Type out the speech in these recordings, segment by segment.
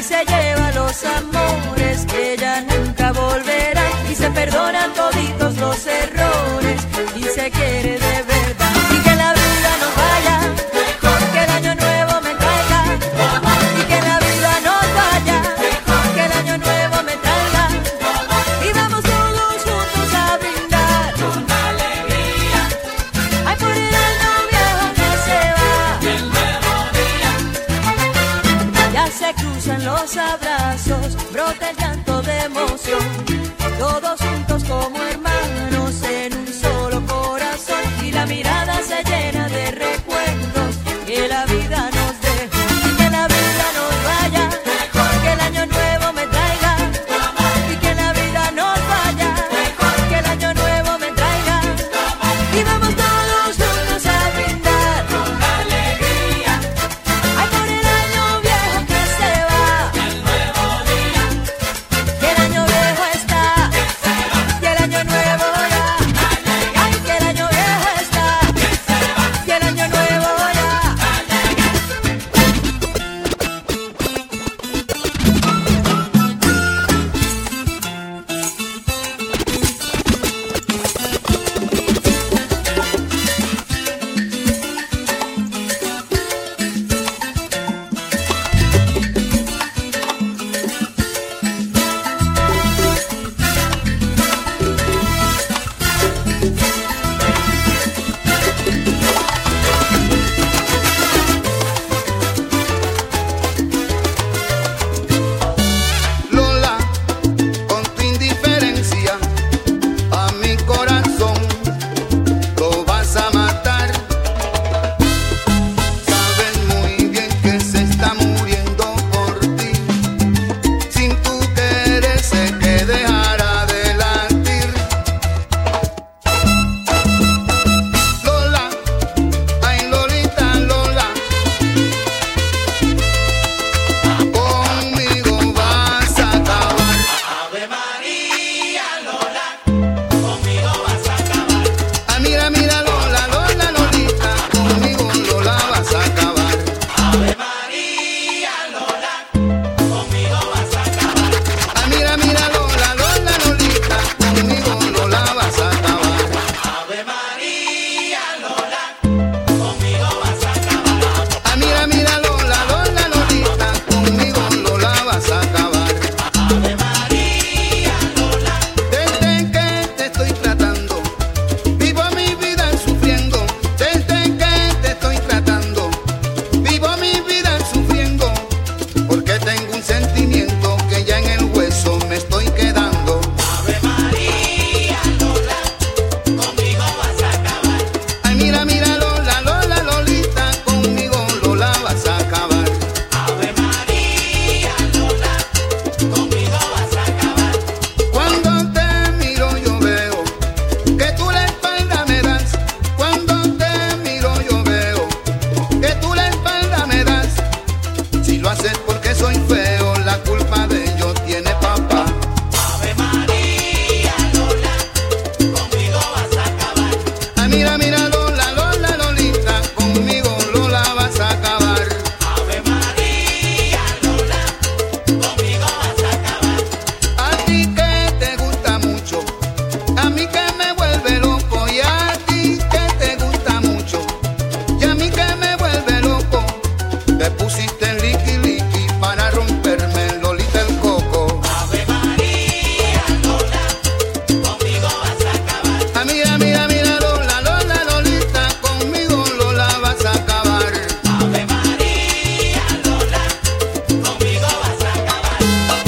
se lleva los amores que ya nunca volverán, y se perdonan toditos los errores y se quiere de verdad. Y que la vida nos vaya mejor, que el año nuevo me traiga, y que la vida nos vaya mejor, que el año nuevo me traiga, y vamos todos juntos a brindar con alegría, ay, por el año viejo que se va, y el nuevo día. Ya se cruzan los abrazos, brota el llanto de emoción, todos juntos como hermanos en un solo corazón, y la mirada se llena de recuerdos que la vida nos dejó. Y que la vida nos vaya mejor, que el año nuevo me traiga, y que la vida nos vaya mejor, que el año nuevo me traiga, y vamos todos juntos a brindar con alegría, ay, por el año viejo que se va, el nuevo día, que el año viejo está, y el año nuevo ya, ay, que el año viejo está, y el año nuevo ya. Lola, con tu indiferencia a mi corazón lo vas a matar. Sabes muy bien que se está muriendo por ti. Sin tu querer sé que dejará de latir. Lola, ay, Lolita, Lola, conmigo vas a acabar. Ave María, Lola, conmigo vas a acabar. Ah, mira, mira, Lola, Lola, Lolita, conmigo Lola vas a acabar. Ave María, Lola, conmigo vas a acabar. Ah, mira, mira, Lola, Lola, Lolita, conmigo Lola vas a acabar. Ave María, Lola, conmigo vas a acabar. Ah, mira, mira, Lola, Lola, Lolita, conmigo Lola vas a acabar. Ave María, Lola, Desde que te estoy tratando, vivo mi vida sufriendo. Desde que te estoy tratando, vivo mi vida sufriendo. Porque tengo un sentimiento que ya en el hueso me estoy quedando. Ave María, Lola, conmigo vas a acabar. Ay, mira, mira, Lola, Lola, Lolita, conmigo Lola vas a acabar. Ave María, Lola, conmigo vas a acabar. Cuando te miro yo veo que tú la espalda me das. Cuando te miro yo veo que tú la espalda me das. Si lo haces porque soy feo, la culpa de ello tiene papá. Ave María, Lola, conmigo vas a acabar. Ah, mira, mira, Lola, Lola, Lolita, conmigo Lola vas a acabar. Ave María, Lola, conmigo vas a acabar. A ti que te gusta mucho, a mí que me vuelve loco, y a ti que te gusta mucho, y a mí que me vuelve loco. Te pusiste en liqui liqui para romperme, Lolita, el coco. Ave María, Lola, conmigo vas a acabar. Ah, mira, mira, mira, Lola, Lola, Lolita, conmigo Lola vas a acabar. Ave María, Lola, conmigo vas a acabar.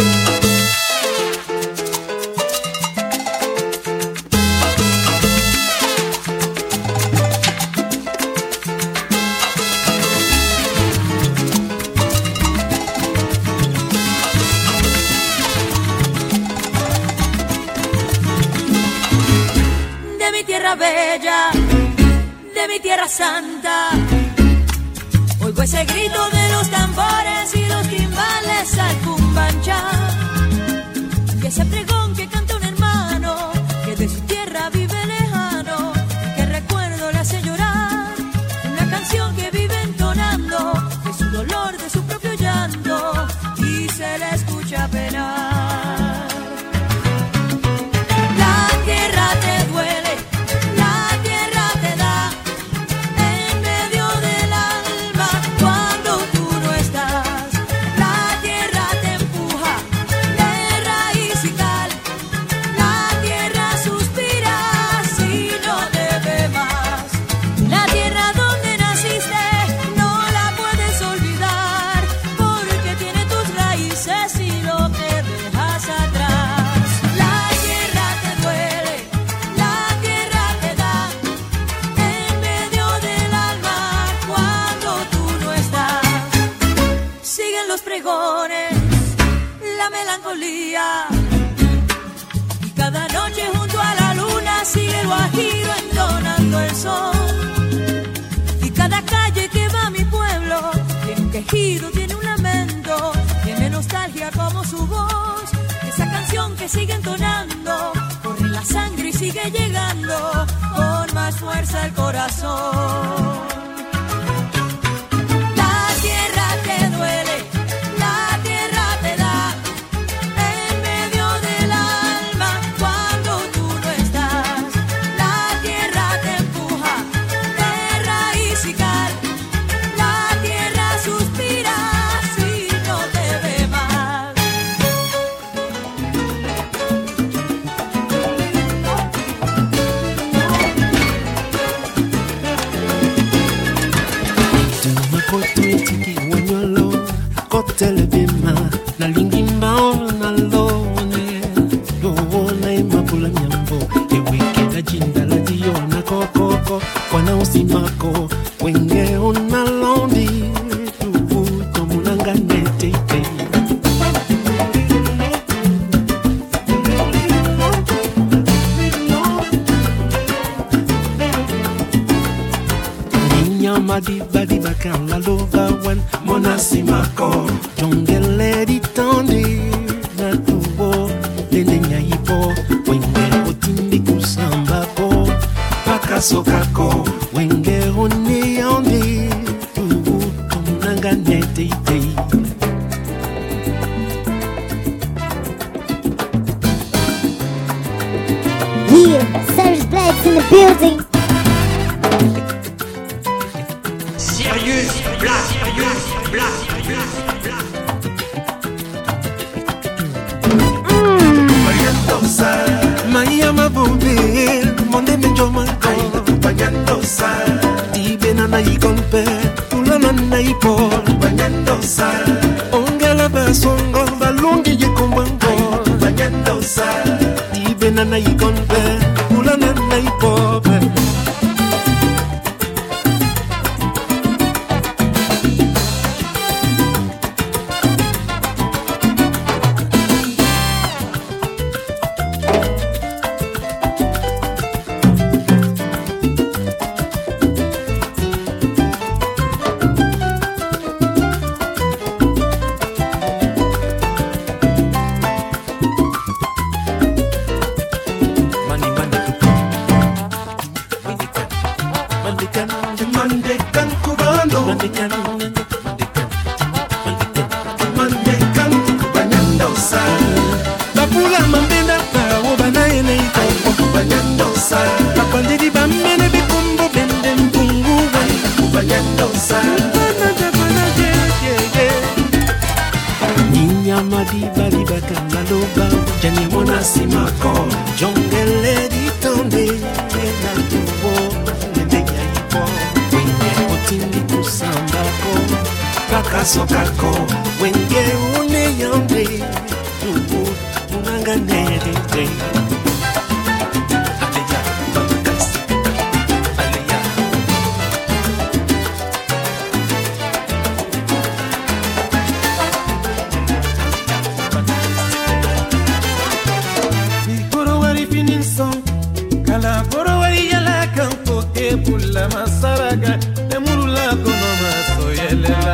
De mi tierra bella, de mi tierra santa, oigo ese grito de los tambores y los timbales al cumbanchá, y ese pregón que canta un hermano que de su tierra vive lejano, que recuerdo le hace llorar, una canción que vive entonando de su dolor, de su propio llanto, y se dices y lo que dejas atrás. La tierra te duele, la tierra te da en medio del alma cuando tú no estás. Siguen los pregones, la melancolía, y cada noche junto a la luna sigue el guajiro entonando el son. Y cada calle que va a mi pueblo tiene un quejido, tiene un lamento, tiene nostalgia como su voz. Esa canción que sigue entonando corre la sangre y sigue llegando con más fuerza al corazón. La tierra te duele, la tierra te da en medio del alma cuando tú no estás. La tierra te empuja de raíz y cal. La tierra suspira si no te ve más. Kotele bima na lingimba na lone yo na imapula nyambo eweke na jinda la dio na kokoko kwana usimako wenge ona londi tu tomunanga nete Madi badi bakam la lova wan monasimako jongele di tondi na tubo lendenya ipo wenge otindi kusamba ko pakasokako wenge oni yondi tubu komunanga nete ite. Yeah, Serge Blacks in the building. Maya mabube, monde menjoma ai acompañando sal. Tibena na ikompe, ulana na ipo acompañando sal. Ongela basongo balungi yekombango acompañando sal. Tibena na ikompe, ulana na ipo. Sokako wenge une yonde tubu unanga nede aleya bakasi aleya Ikoro wari fininson kala koro wari yala kampo ke bulla masaraga emurula kono masoyelela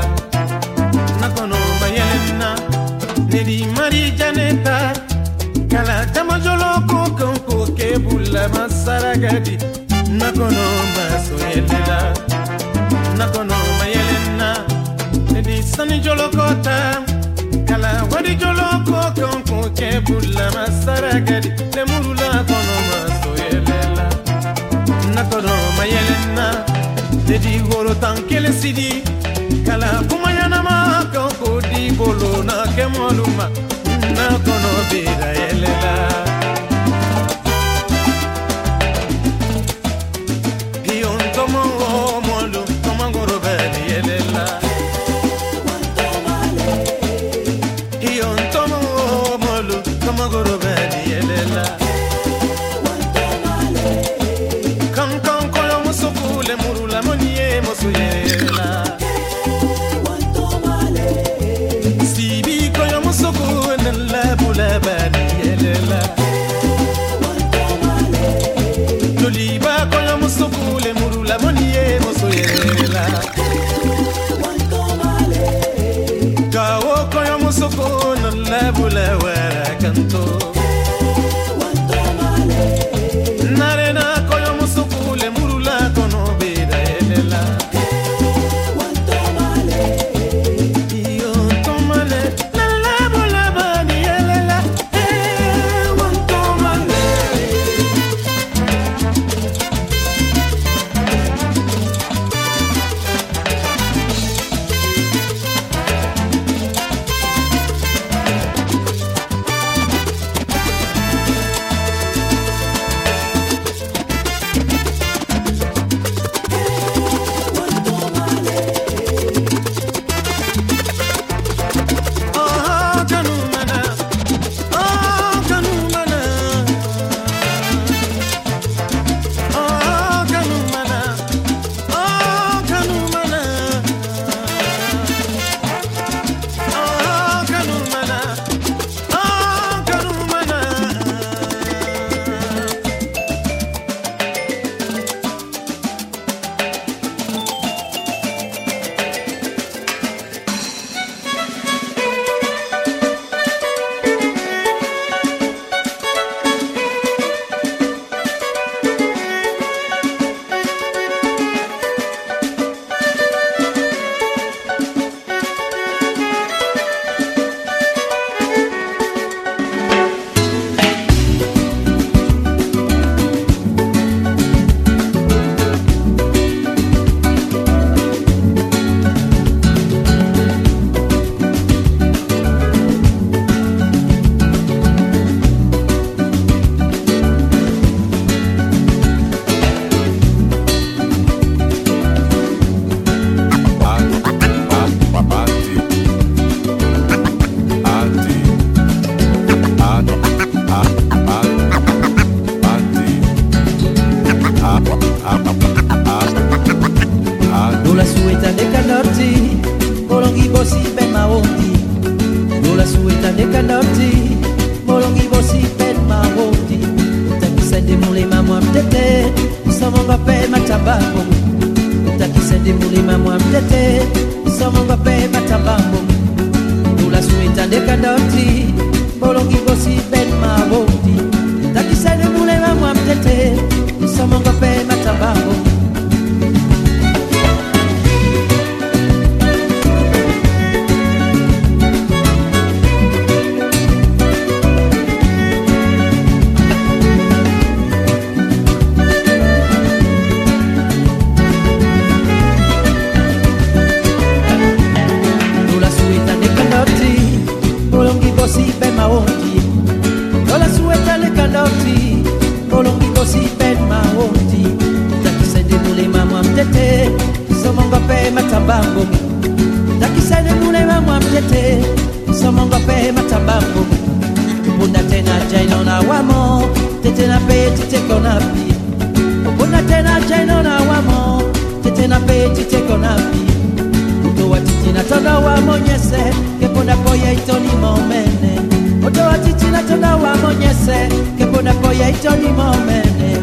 Nedi mari janeta kala jamajolo ko ke bulla masaragadi nakono masoyelela nakono mayelena nedi sani jolo kota kala wadi jolo ko ke bulla masaragadi lemurula kono masoyelela nakono mayelena nedi goro tankele sidi kala kumayana ma ko di bolo na kemoluma na kono bira yelela Dion tomo molu tomangoro beli yelela Dion tande kanoti molongi bosi pen mawoti takisende mulima mwa mtete somonga pe matabambo takisende mulima mwa mtete somonga pe matabambo tula suwe tande kanoti molongi bosi pen mawoti takisende mulima mwa mtete somonga pe matabambo matabambo takisane mulema mwa mtete somonga pe matabambo bunda tena jaino na wamo tete na pe tete kona pi bunda tena jaino na wamo tete na pe tete kona pi uto watiti na toda wa monyese keponda koya itoni momene uto watiti na toda wa monyese keponda koya itoni momene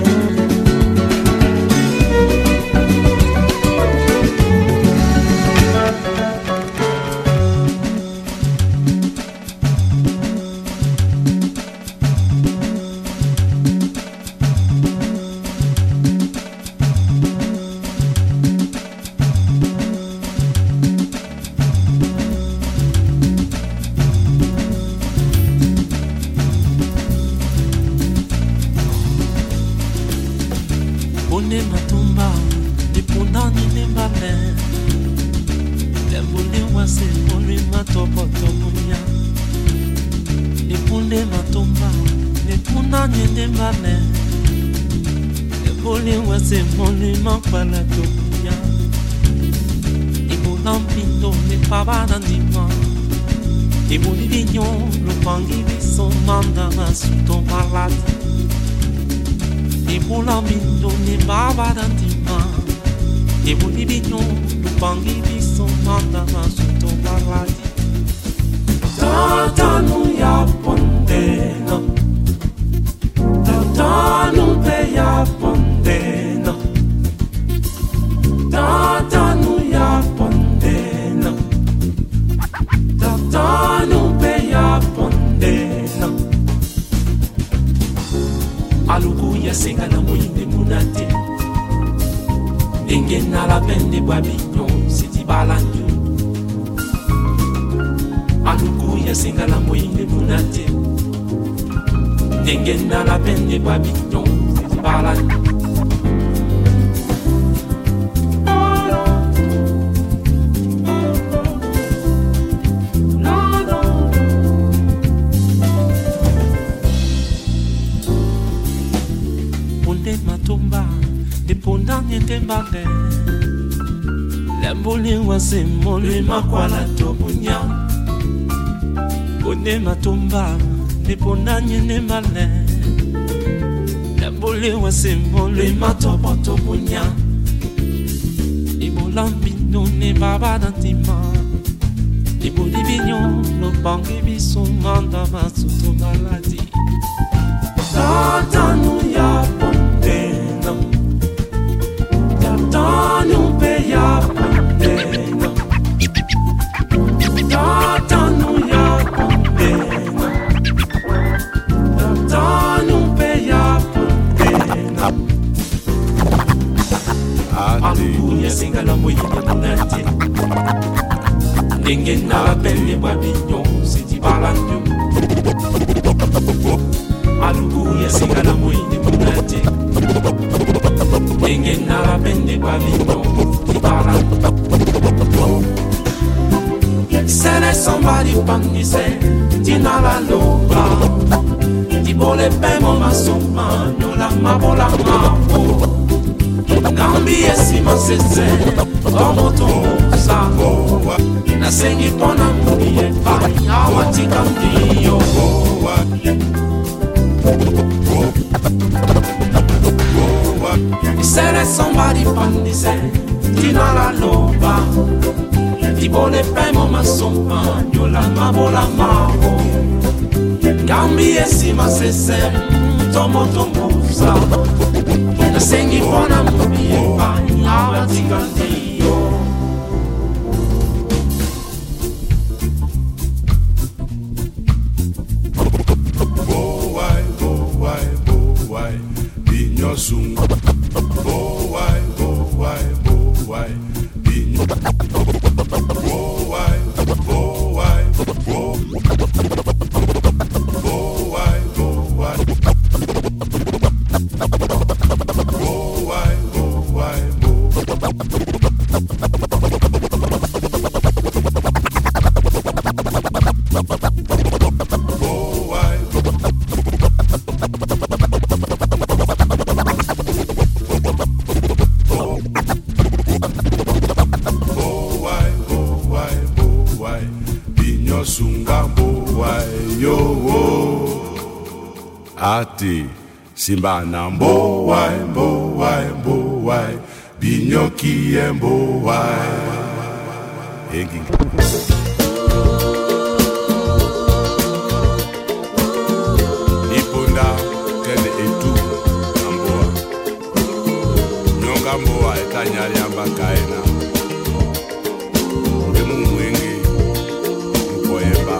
makwala tobunya Bone matumba Niponanye nemale Lembole wa simbole matopo tobunya Ibolambino ne baba dantima Ibolibinyo Lo bangi biso manda masuto maladi Tatanu ya pondena Tatanu pe ya pondena Tatanu ya pondena Tatanu pe ya pondena Alukuye singala moyi munate Nenge na pele babinyo siti balanyo Alukuye singala moyi munate Nenge na pele babinyo siti balanyo Sele somebody panise Tina la loba Tibole pemo masoma Nola mabola mabo Nambi esima sese Como tosa Nasengi pona muni e pai Awati kandiyo Sele somebody panise Tina la loba Tibole pemo masoma Nyola mabola mabo Tombi esima sese tomo tomusa nasengi pona mbiye pa abatingandiyo boy binyo sunga boy binyo ati simba na mbowai binyoki mbowai engi ipunda kene etu na mboa nyonga mboa etanyari amba kaena emu mwenge mkoyemba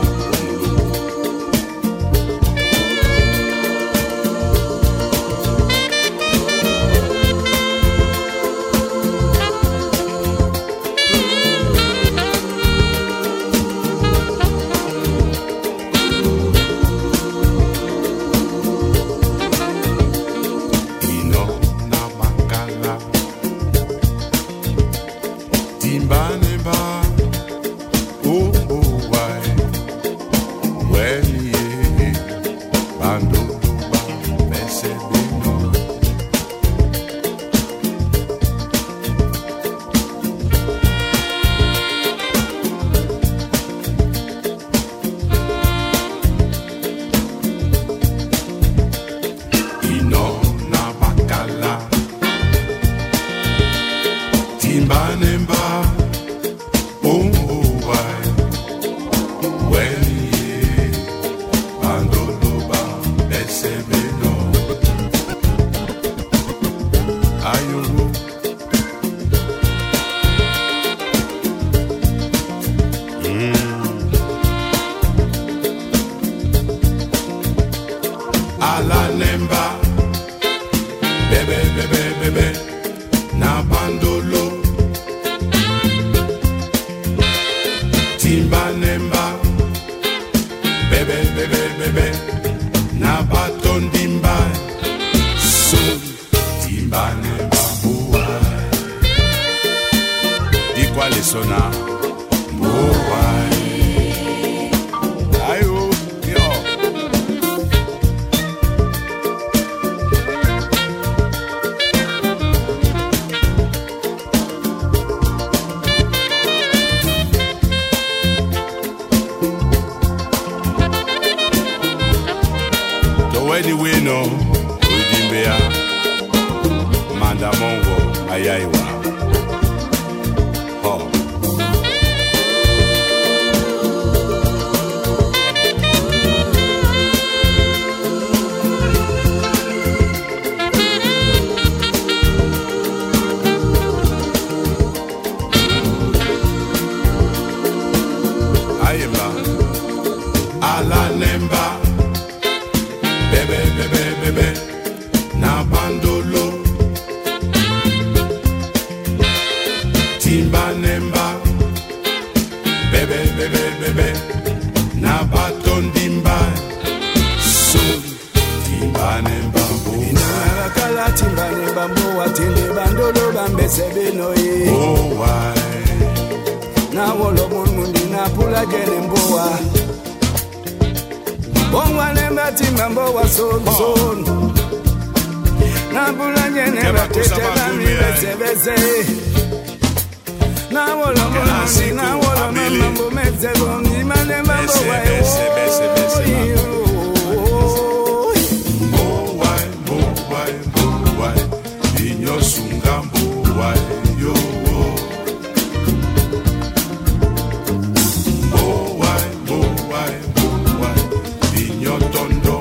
tondo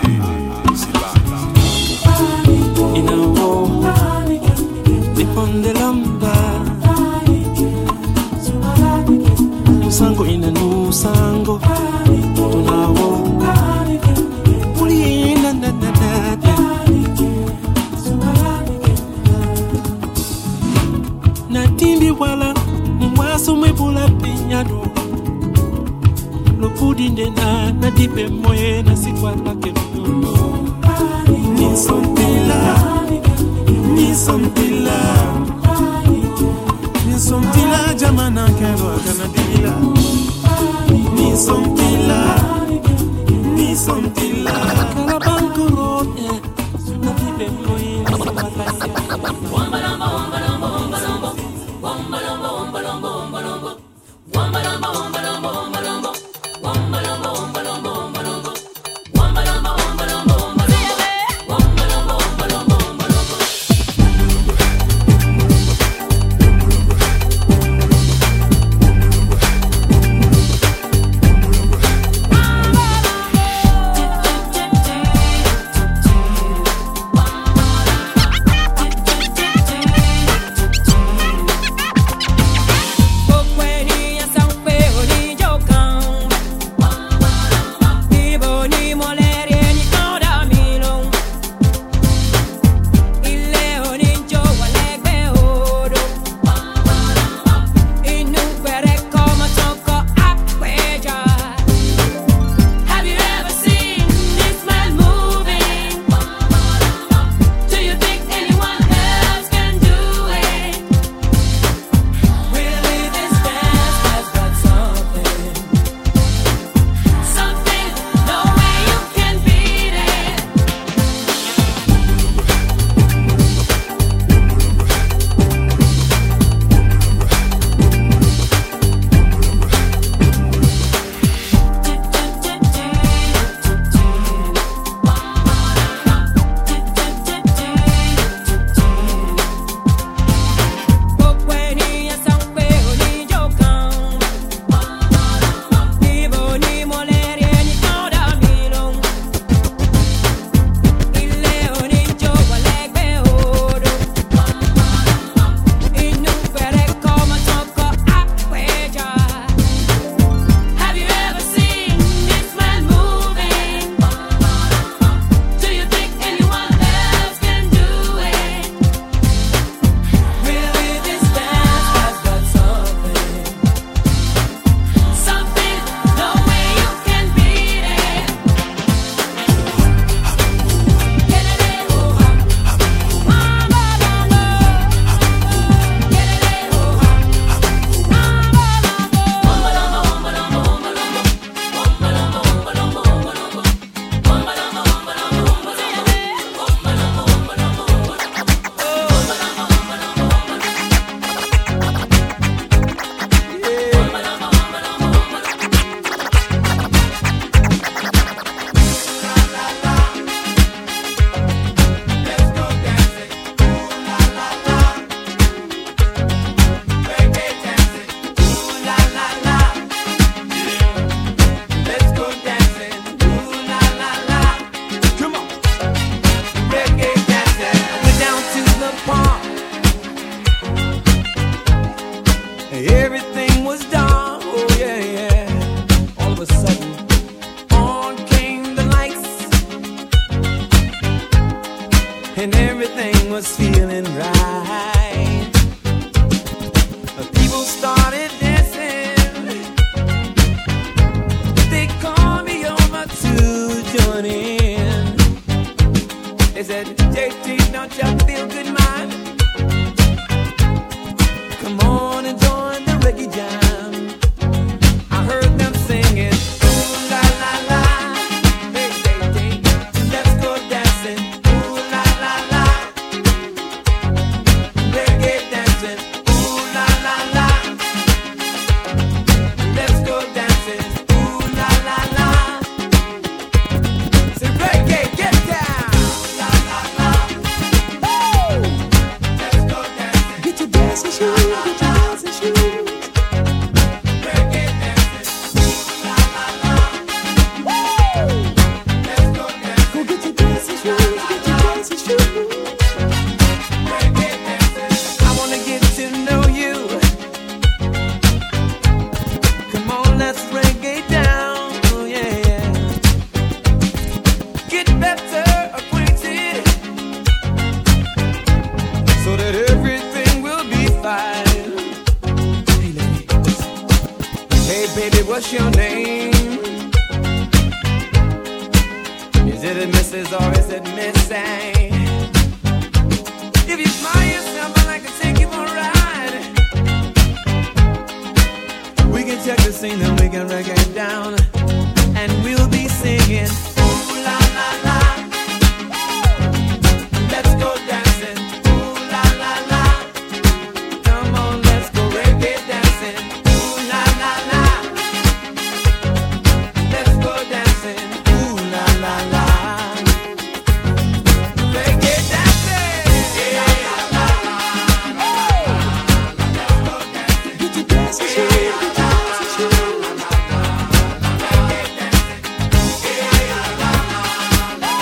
Sango ina nu sango tunawo puli na na na na timbi wala mwaso mwebula pinyado lo pudinde na dipe moye na sikwala kelo ni sontila jamana kero akanadila ni sontila kala banko rote na dipe moye na sikwala Say reggae, get down. La, la, la. What's your name? Is it a Mrs. or is it Miss A? If you smile yourself, I'd like to take you for a ride. We can check the scene and we can reggae it down, and we'll be singing ooh la la la. Let's go dancing, ooh la la la. Come on, let's go reggae dancing, ooh la la la. Let's go dancing, ooh la la la. Reggae dancing, yeah la la la. Let's go dancing, get your dancing shoes, get your dancing shoes. Reggae dancing, yeah la la la.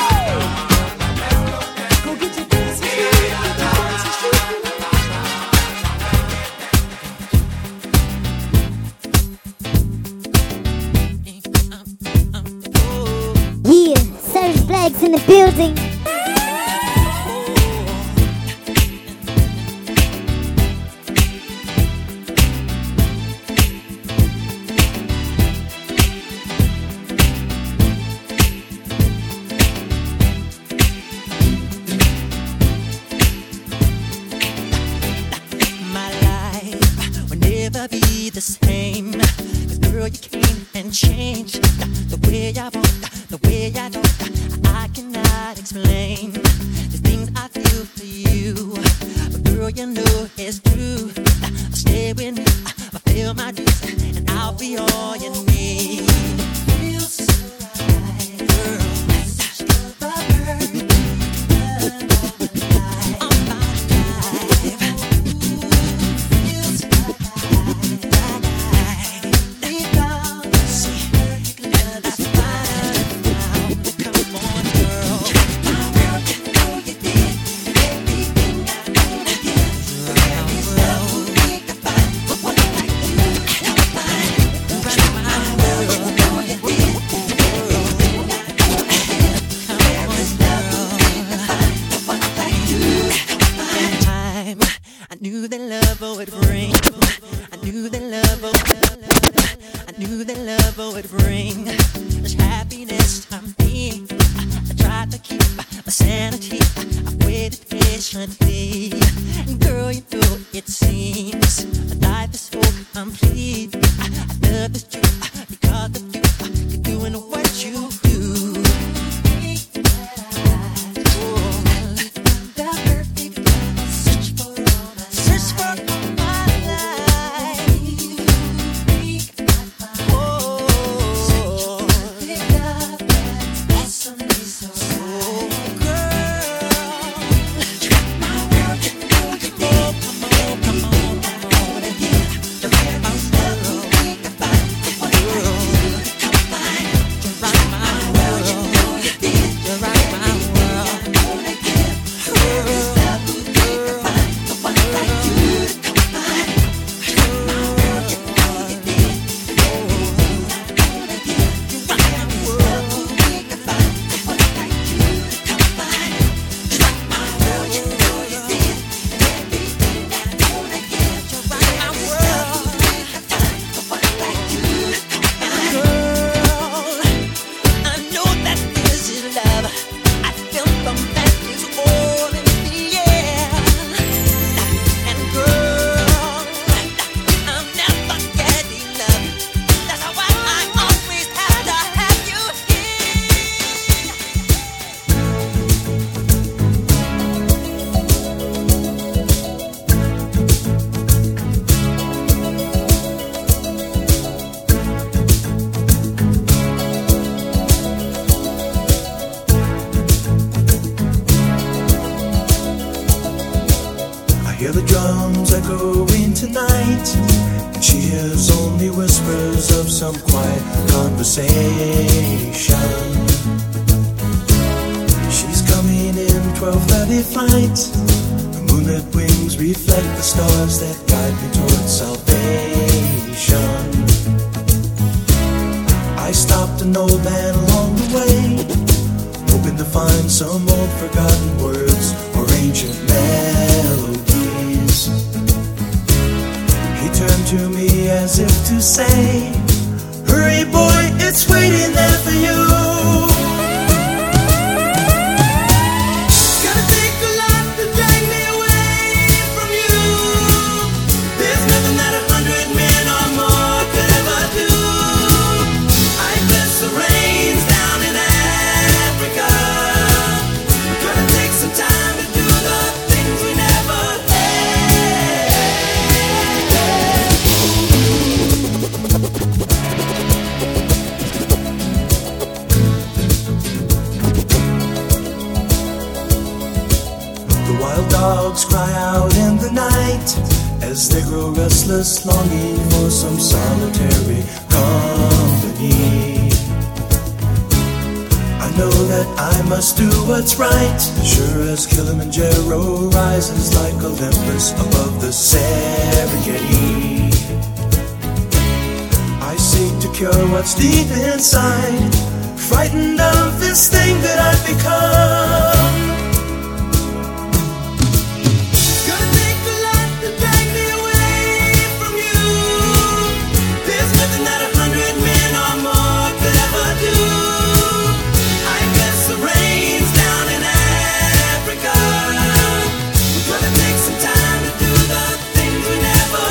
Go get your dancing shoes, get your dancing shoes. Yeah, Serge Black's in the building. My life will never be the same. 'Cause girl, you came and changed the way I walk, the way I talk. I cannot explain the things I feel for you. But girl, you know it's true. Stay with me, fulfill my dreams, and I'll be all you need. Feels so right, girl. Such the perfect on my life. Feels I knew that love would bring. I knew that love I knew that love would bring this happiness to me. I tried to keep my sanity. I waited patiently. And girl, you know it seems life is so complete. I love this you because of you. You're doing what you do. Hear the drums echoing tonight, and she hears only whispers of some quiet conversation. She's coming in 12:30 flight. Her moonlit wings reflect the stars that guide me towards salvation. I stopped an old man along the way, hoping to find some old forgotten words or ancient melodies. He turned to me as if to say, Hurry, boy, it's waiting there for you. Gotta take a lot to drag me away from you. There's nothing that 100 men or more could ever do. I bless the rains down in Africa. Gonna take some time to do the things we never had. The wild dogs cry out in the night as they grow restless, longing for some solitary company. I know that I must do what's right, sure as Kilimanjaro rises like Olympus above the Serengeti. I seek to cure what's deep inside, frightened of this thing that I've become. Gonna take a lot to drag me away from you. There's nothing that 100 men or more could ever do. I guess the rains down in Africa. We're gonna take some time to do the things we never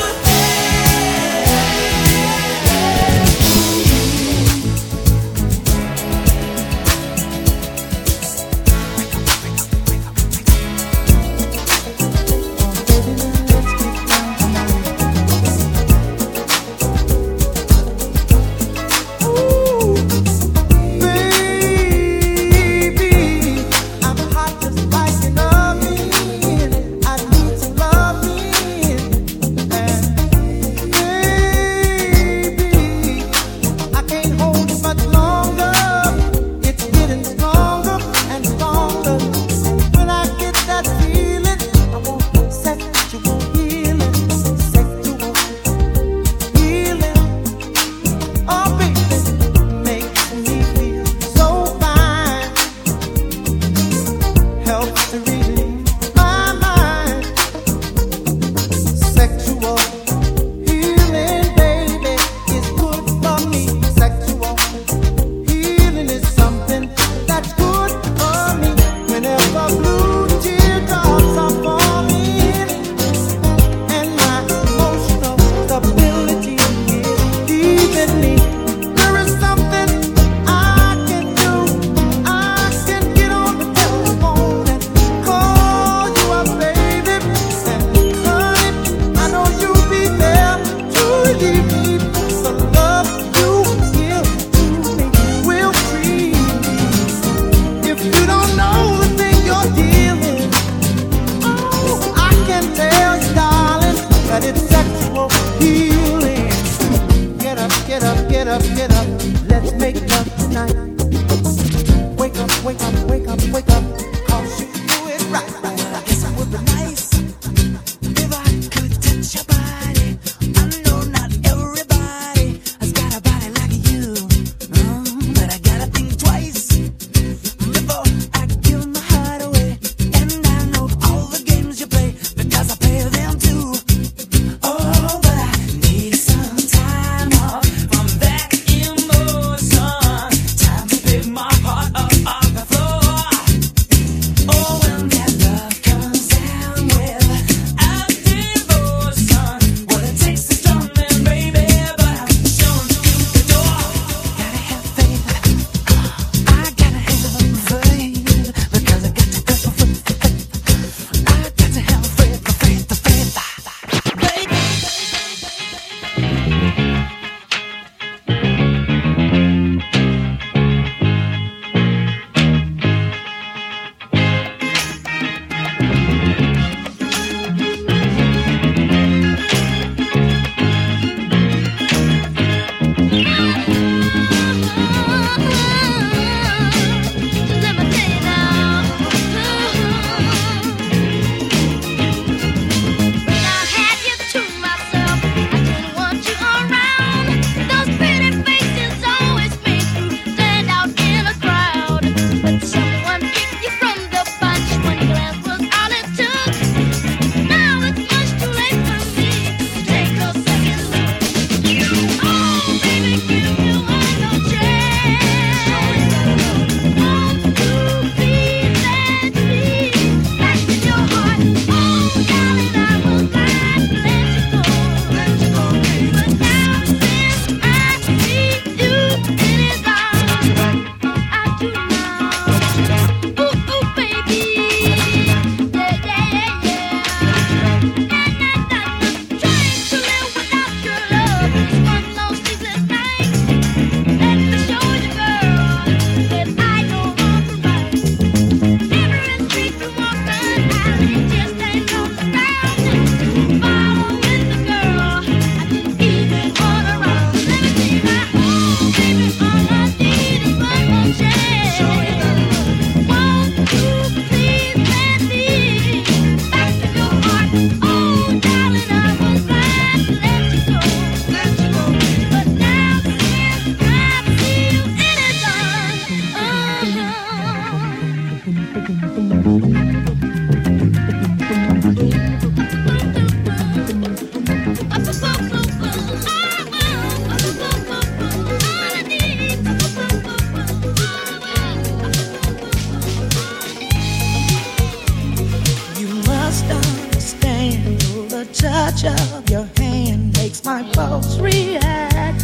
touch of your hand makes my pulse react.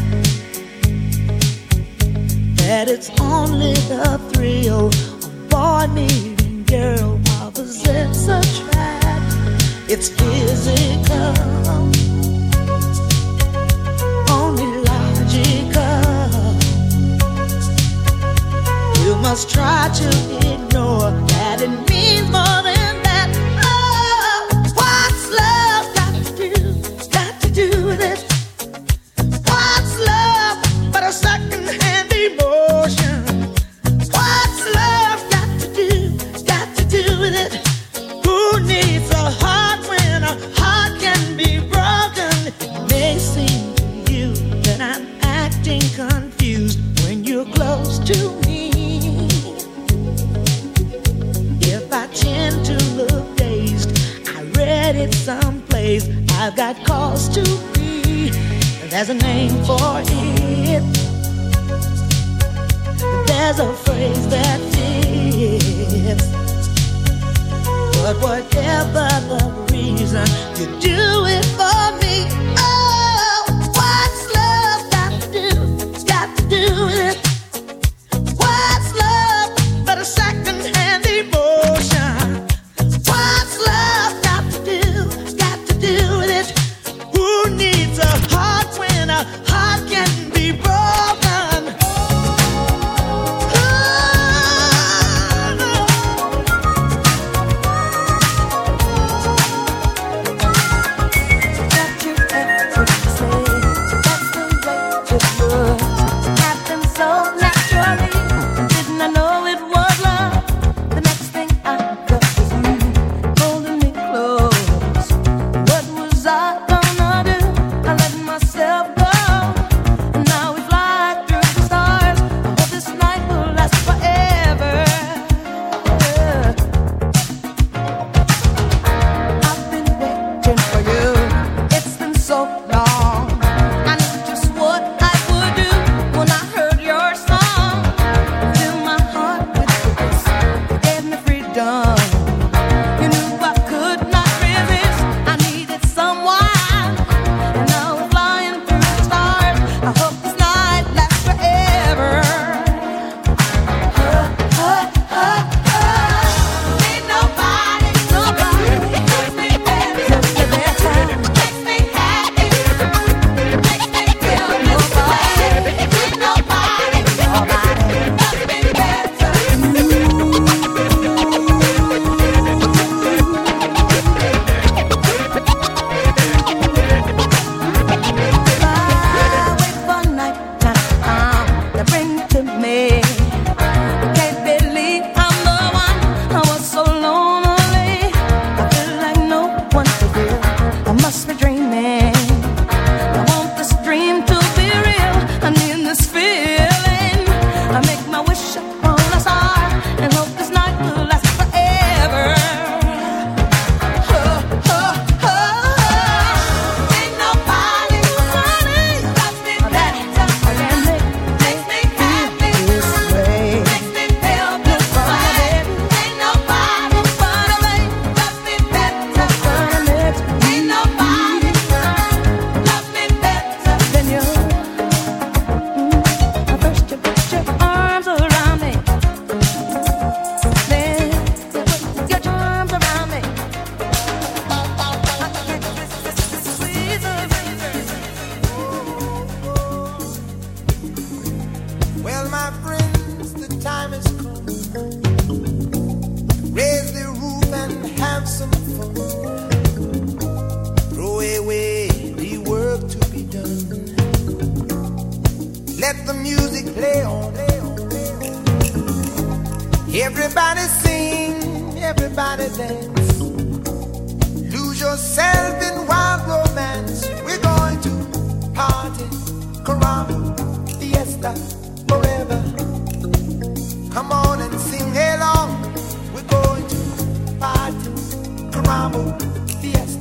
That it's only the thrill of boy meeting girl, opposites attract. It's physical, only logical. You must try to ignore that it means more than that. Oh, what's love got to do with it? What's love but a second-hand emotion? What's love got to do with it? Who needs a heart when a heart can be broken? It may seem to you that I'm acting confused when you're close to me. If I tend to look dazed, I read it someplace, I've got cause to be. There's a name for it. There's a phrase that fits. But whatever the reason, you do it for me. Oh, what's love got to do with it? What's love but a second-hand emotion? What's love got to do with it? Who needs a heart when a heart can be broken?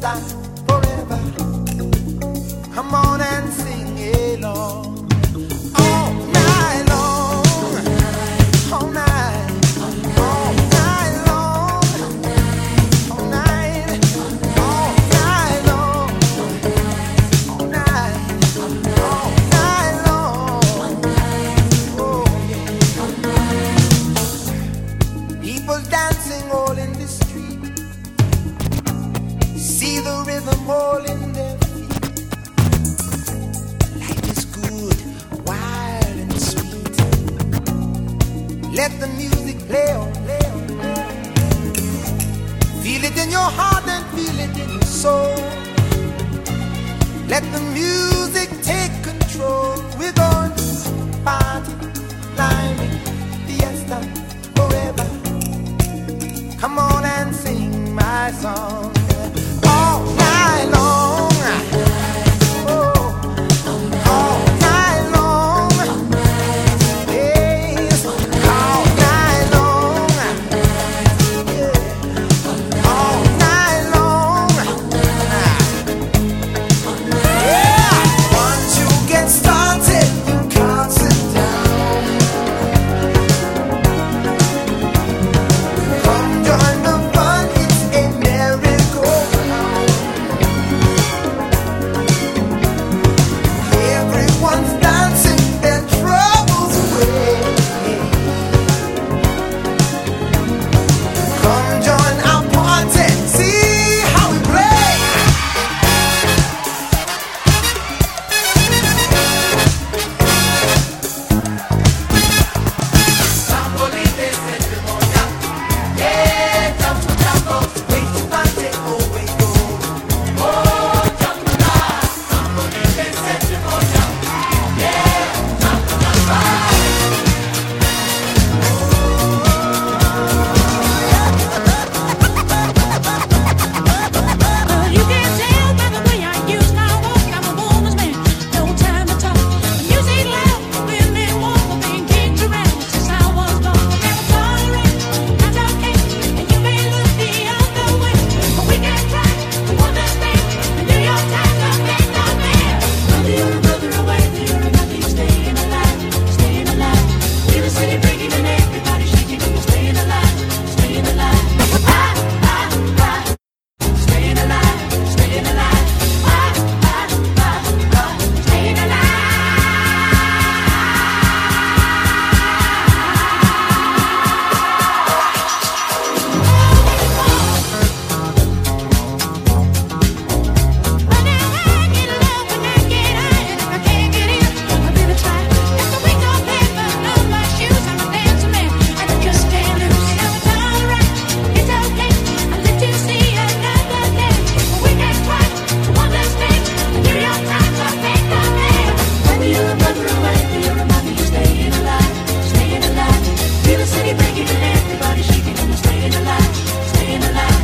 stop forever. Come on and sing along. All night long. All night. All night long. All night. All night long. All night. All night long. Oh, yeah. People dancing all in the street. See the rhythm all in their feet. Life is good, wild and sweet. Let the music play on, play on, play on. Feel it in your heart and feel it in your soul. Let the music take control. We're going to party, climbing, fiesta, forever. Come on and sing my song. All night long. Oh, all night long. Yes, all night long. Yeah, all night long. Yeah, once you get started, you can't sit down. Come join the fun, it's a merry-go-round. Everyone's dancing their troubles away. Come join our party, see how we play. Sambolite setimoya, yeah, jambo jambo, wait to party, oh we go. Oh, jambo la, sambolite setimoya, yeah, jambo jambo. You can tell by the way I use my walk, I'm a woman's man, no time to talk. Music loud, women walk, I've been kicked around since I was born. Never tolerate, not okay, and you may look the other way, but we can try to understand and do your time to make the man. Whether you're a brother or whether you're a mother, you're staying alive, staying alive. Feel the city breaking and everybody shaking, and you're staying alive, staying alive. Staying alive, staying alive, staying alive. But now I get love when I get high, and if I can't get in, I'm gonna try. Got the wings on paper, on my shoes, I'm a dancing man, and I just can't lose. You know it's alright, it's okay, I'll let you see another day. But we can try to understand and do your time to make the man. Whether you're a brother or whether you're a mother, you're staying alive, staying alive. Feel the city breaking and everybody shaking, and you're staying alive, staying alive.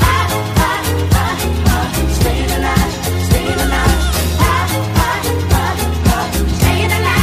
Staying alive, staying alive, staying alive.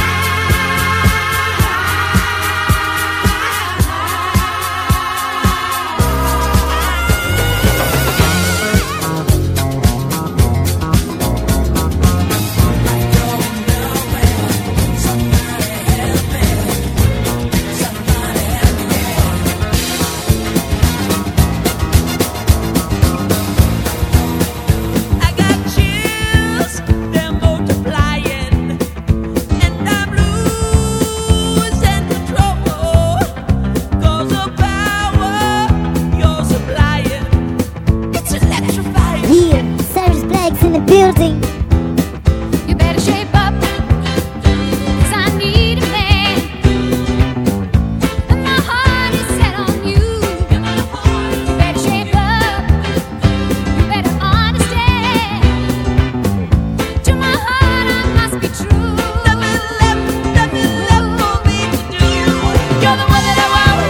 I got chills, they're multiplying, and I'm losing control. 'Cause the power you're supplying, it's electrifying. Yeah, Cyrus Black's in the building. You better shape up, 'cause I need a man, and my heart is set on you. You better shape up, you better understand. To my heart I must be true. Nothing left for me to do. You're the one that I want.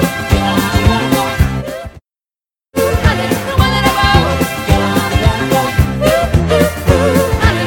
Honey, the one that I want. Honey,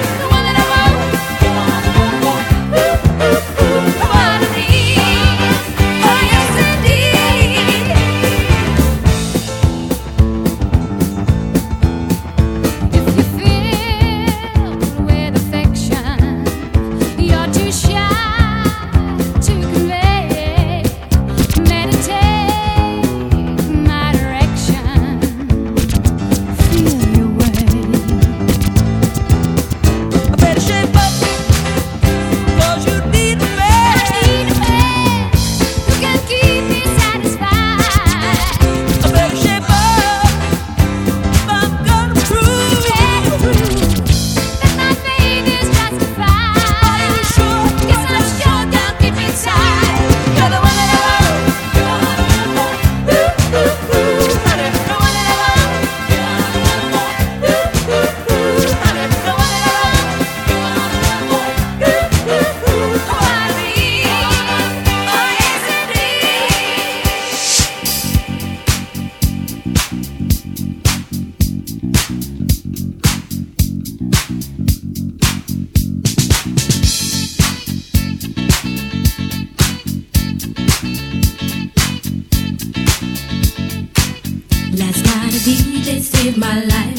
DJ saved my life.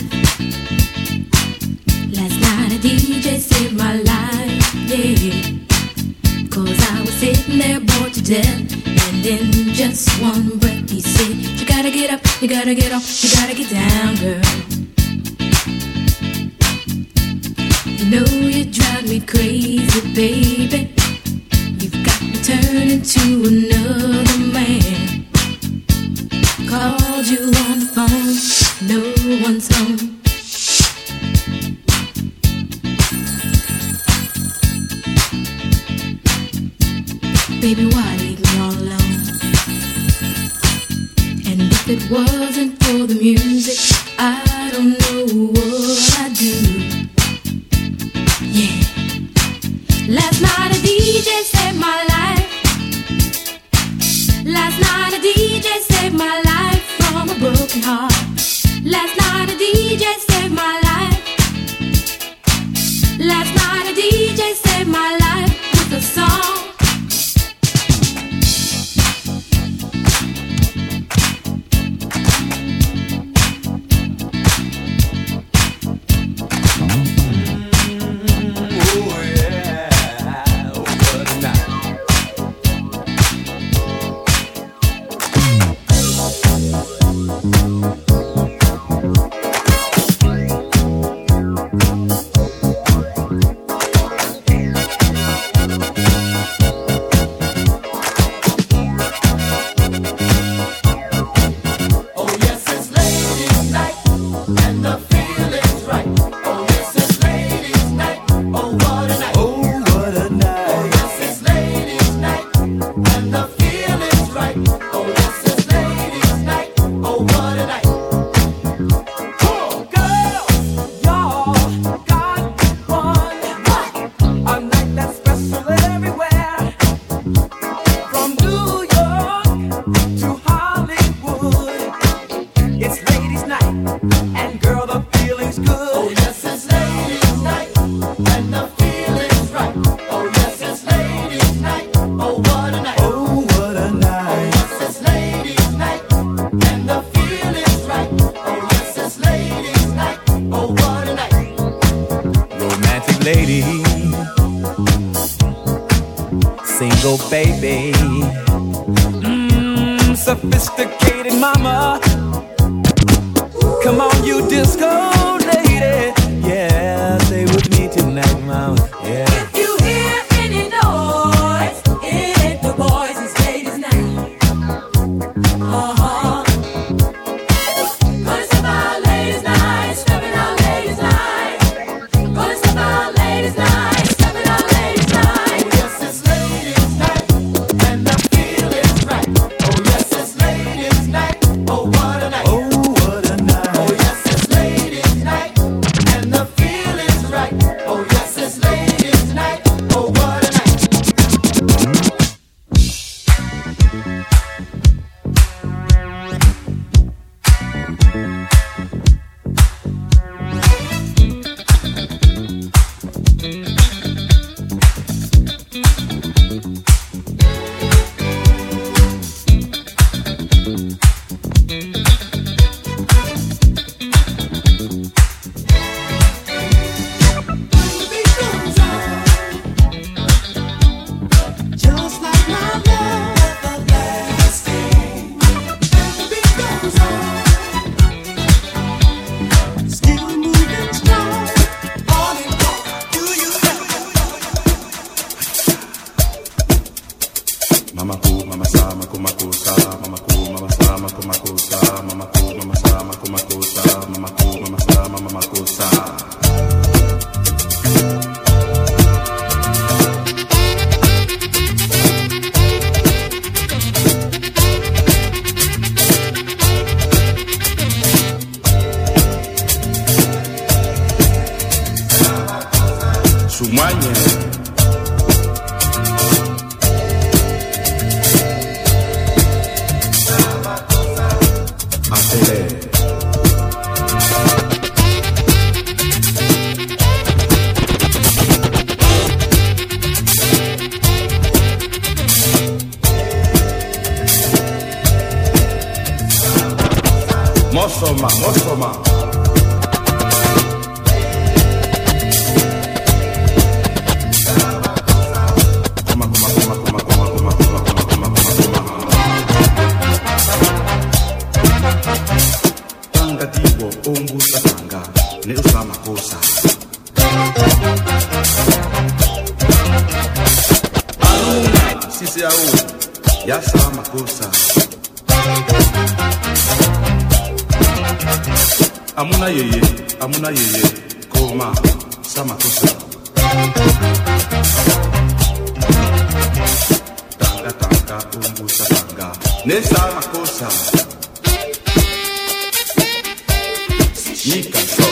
Last night a DJ saved my life, yeah. 'Cause I was sitting there bored to death, and in just one breath he said, you gotta get up, you gotta get off, you gotta get down, girl. You know you drive me crazy, baby. You've got me turning to another man. Called you on the phone, no one's home. Baby, why leave me all alone? And if it wasn't for the music, I don't know what I'd do. Yeah. Last night a DJ saved my life. Last night a DJ saved my life from a broken heart. Last night a DJ saved my life. Last night a DJ saved my life with a song. Sophisticated mama, come on you disco lady, yeah, stay with me tonight, mama, yeah. If you hear any noise, it ain't the boys, it's ladies' night. Gonna step out ladies' night, stepping out ladies' night. Gonna step out ladies' night, stepping out ladies' night. Oh yes, it's ladies' night, and the feeling's right. Oh yes, it's ladies' night, oh what a night. Oh what a night. Oh yes, it's ladies' night, and the feeling's right. Oh yes, it's ladies' night, oh what a night. Just like my love everlasting. The beat goes on. Still moving strong. On and on. Do you Mama cool, mama sa, mama cool sa, mama cool, mama sa, mama cool sa, mama cool, mama sa, mama cool sa, mama cool, mama sa, mama cool sa. Sumanye. Mosoma. Tanga diwo umbusa tanga ne usama kosa. Sisi au ya sama kosa. Amuna yeye, koma, sama kosa. Tanga, umbusa tanga, ne sama kosa. Nika so.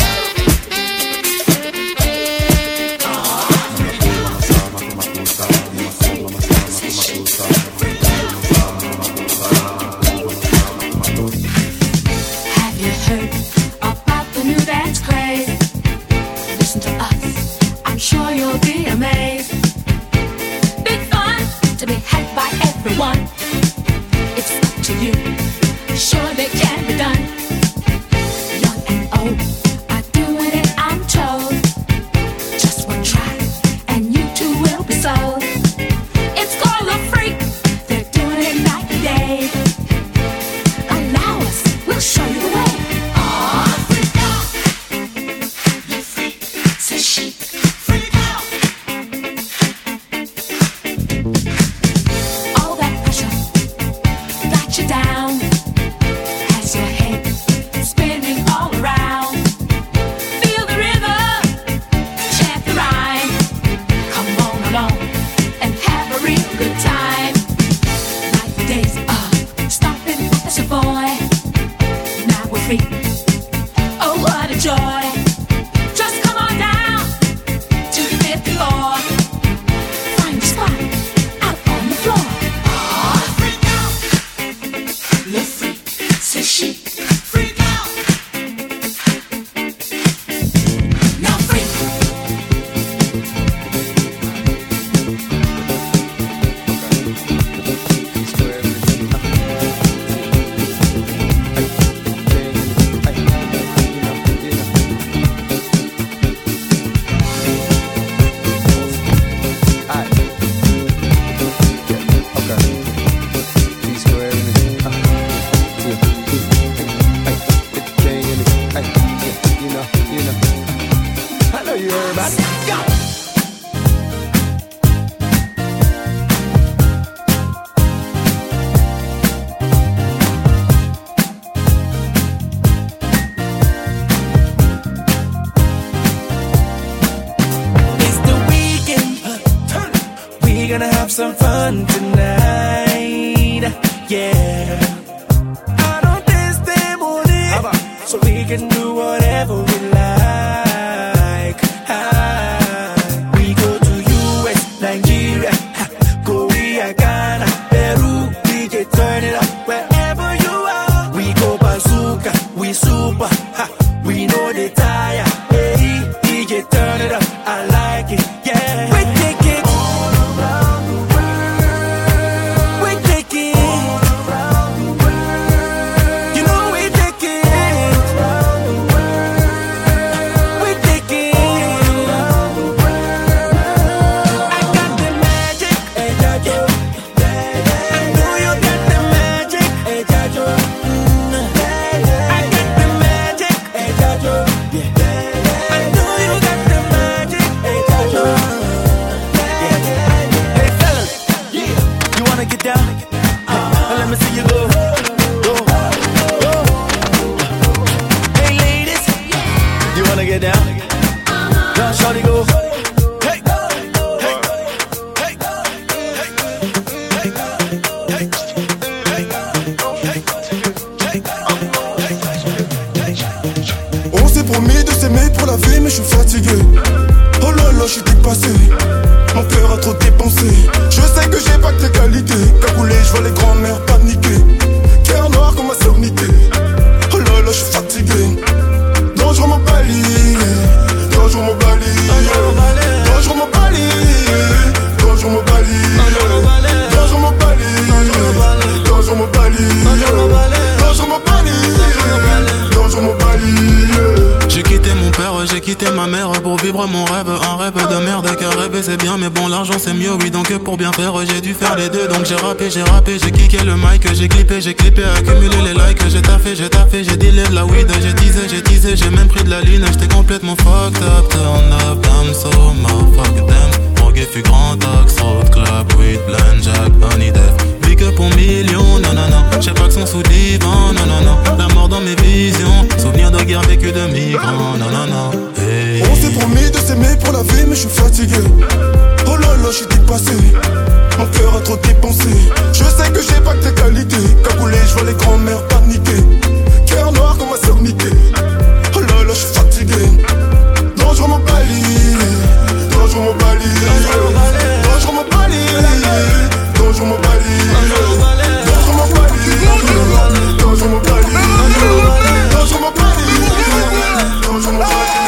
Some fun tonight, yeah. I don't dance them on it, so we can do whatever we like. We go to US, Nigeria, Korea, Ghana, Peru. We can turn it up wherever you are. We go bazooka, we super, we know they tire. Hey, DJ, turn it up, I like it, yeah. We take it. Mon cœur a trop dépensé. Je sais que j'ai pas que tes qualités. Cagoulé, je vois les grands-mères paniquer. Cœur noir comme ma sommité. Oh là là, je suis fatigué. Dangereux mon bali. Dangereux mon bali. Dangereux mon bali. Dangereux mon bali. Dangereux mon bali. Dangereux mon bali. Dangereux mon bali. vivre mon rêve, un rêve de merde car rêver c'est bien mais bon l'argent c'est mieux oui donc pour bien faire j'ai dû faire les deux donc j'ai rappé, j'ai kické le mic, j'ai clippé, accumulé les likes, j'ai taffé, j'ai dealé de la weed, j'ai teasé, j'ai même pris de la ligne, j'étais complètement fucked up, turn up, damn so fuck them, drogué fut grand axe, road club, weed, blend, jack, honey death, big up pour millions, nanana, j'ai pas que son sous divan, nanana, la mort dans mes visions, souvenir de guerre vécue de migrants, nanana, hey. On s'est promis de s'aimer pour la vie mais je suis fatigué. Oh là là, je suis dépassé. Mon cœur a trop dépensé. Je sais que j'ai pas que tes qualités. Cagoulé, je vois les grands-mères paniquer. Cœur noir comme ma sœur niquée. Oh là là, je suis fatigué. Dangereux mon bali. Dangereux mon bali. Dangereux mon bali. Dangereux mon bali. Dangereux mon bali. Dangereux mon bali. Dangereux mon bali. Dangereux mon bali.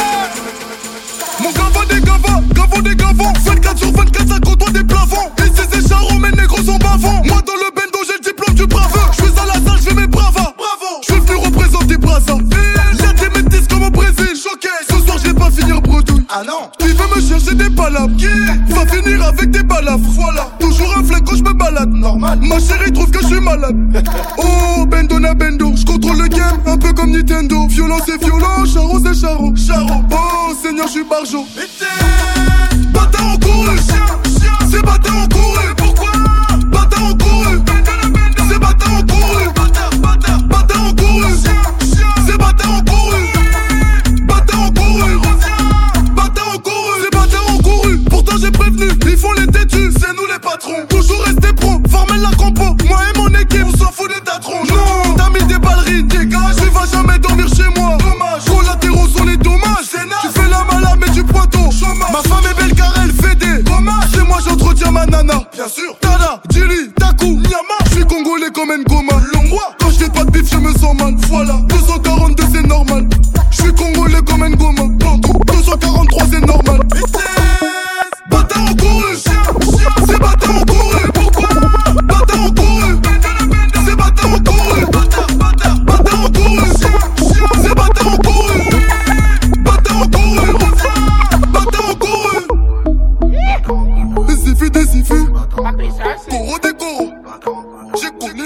Mon gavant des gavants 24 sur 24 ça côtoie des plafonds. Et c'est charron mes négros sont bavants. Moi dans le bendo j'ai le diplôme du braveur. Je fais à la salle, je fais mes bravas. Bravo, je suis venu représenter Brazza. Y'a des métis comme au Brésil. Choqué, ce soir je vais pas finir bredouille. Ah non, tu veux me chercher des palabres. Va finir avec des balafres. Voilà, toujours un flingue quand je me balade. Normal, ma chérie trouve que je suis malade. Oh, bendo na bendo, je contrôle le game un peu comme Nintendo. Violent c'est violent, charron c'est charron. Oh Seigneur, je suis barjo. Bâtard en couru, c'est bâtard en couru. Pourquoi? Bâtard en couru, c'est bâtard en couru. Bâtard en couru, c'est bâtard en couru. Bâtard en couru, bâtard en couru, c'est bâtard en couru. Pourtant j'ai prévenu, ils font les têtus, c'est nous les patrons. Toujours rester pro, former la compo. Moi et mon équipe, on s'en fout des tatrons. Non, t'as mis des ballerines, dégage. Tu vas jamais dormir chez moi. Dommage, collatéraux sont les dommages. Tu fais la malade mais du poitou. Ma femme est belle car elle fait des dommages. C'est moi j'entretiens ma nana. Bien sûr. Tada, Djili, Taku, Nyama. Je suis congolais comme Ngoma. Longwa. Quand je fais pas de bif je me sens mal. Voilà. 242 c'est normal. Je suis congolais comme Ngoma. 243 c'est normal. Bâtard en couru. C'est bâtard en couru. Pourquoi? Bâtard en couru. C'est bâtard en couru. Bâtard en couru. C'est bâtard en couru. Bâtard en couru. Bâtard en couru. Des ifus. Coro des coros. J'ai connu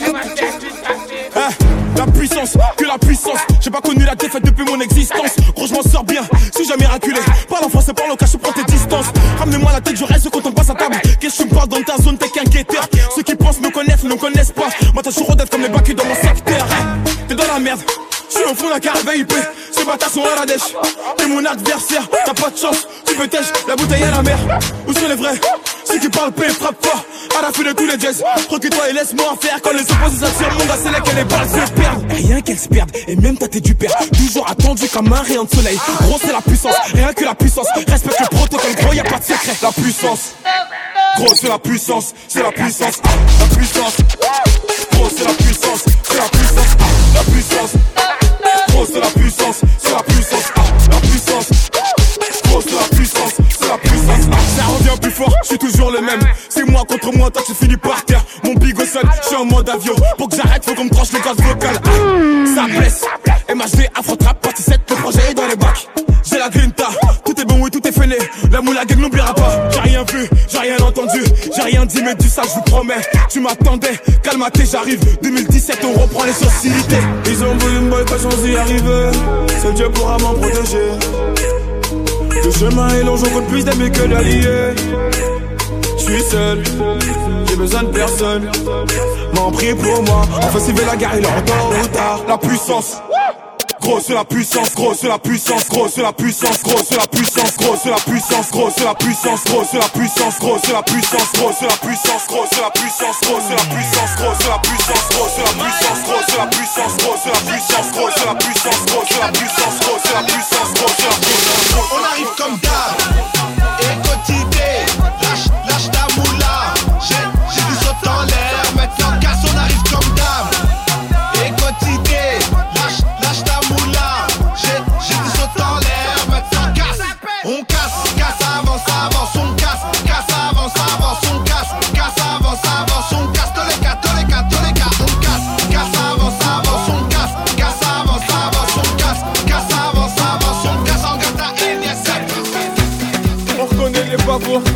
la puissance, que la puissance. J'ai pas connu la défaite depuis mon existence. Gros je m'en sors bien, si jamais miraculé. Parle en français, parle au cash, prends tes distances. Ramenez-moi la tête, je reste quand on passe à table. Qu'est-ce que tu me parles dans ta zone, t'es qu'un guetteur. Ceux qui pensent me connaissent, ne me connaissent pas. Moi t'as toujours d'être comme les bacs dans mon secteur. T'es dans la merde, je suis au fond d'un caravane IP. Ces bâtards sont à la dèche. T'es mon adversaire, t'as pas de chance. Tu peux tèche, la bouteille à la mer. Où sont les vrais? Ceux qui parlent paix, frappe fort. À la fin de tous les jazz, recule-toi et laisse-moi en faire. Quand les opposés s'attirent, mon gars, c'est là que les balles se perdent. Rien qu'elles se perdent, et même ta tête du père. Toujours attendu comme un rayon de soleil. Gros, c'est la puissance, rien que la puissance. Respecte le protocole, gros, y'a pas de secret. La puissance, gros, c'est la puissance, c'est la puissance. La puissance, gros, c'est la puissance, c'est la puissance. La puissance, gros, c'est la puissance, c'est la puissance. La puissance, gros, c'est la puissance, c'est la puissance. Ça revient plus fort, je suis toujours le même. C'est moi contre moi, toi tu finis par terre. Mon bigot seul, je suis en mode avion. Pour que j'arrête, faut qu'on me tranche les cordes vocales. Ça blesse, MHD, Afro-Trap, partie 7, le projet est dans les bacs. J'ai la grinta, tout est bon, oui, tout est fêlé. La moula gang n'oubliera pas. J'ai rien vu, j'ai rien entendu, j'ai rien dit, mais du ça, je vous promets. Tu m'attendais, calme-toi, j'arrive. 2017, on reprend les sociétés. Ils ont voulu me boycotter sans y arriver. Seul Dieu pourra m'en protéger. Le chemin est long, j'en compte plus d'amis que d'alliés. Je suis seul, j'ai besoin de personne. M'en prie pour moi, enfin s'il veut la guerre, il est en tôt ou tard. La puissance, gros c'est la puissance, gros c'est la puissance, gros c'est la puissance, gros c'est la puissance, gros c'est la puissance, gros c'est la puissance, gros c'est la puissance, gros c'est la puissance, gros c'est la puissance, gros c'est la puissance, gros c'est la puissance, gros c'est la puissance, gros c'est la puissance, gros c'est la puissance, gros c'est la puissance, gros c'est la puissance, gros c'est la puissance, gros c'est la puissance, gros c'est la puissance. On arrive comme d'hab, écotidé, lâche ta moula. J'ai du saut en l'air, maintenant casse, on arrive comme d'hab. Écotidé, lâche ta moula. J'ai du saut en l'air, maintenant casse. On casse, avance, on casse, avance, on casse, avance, on casse. Tous les gars, on casse, avance, on casse, avance, on casse, avance, on casse. En gata, il y a 7.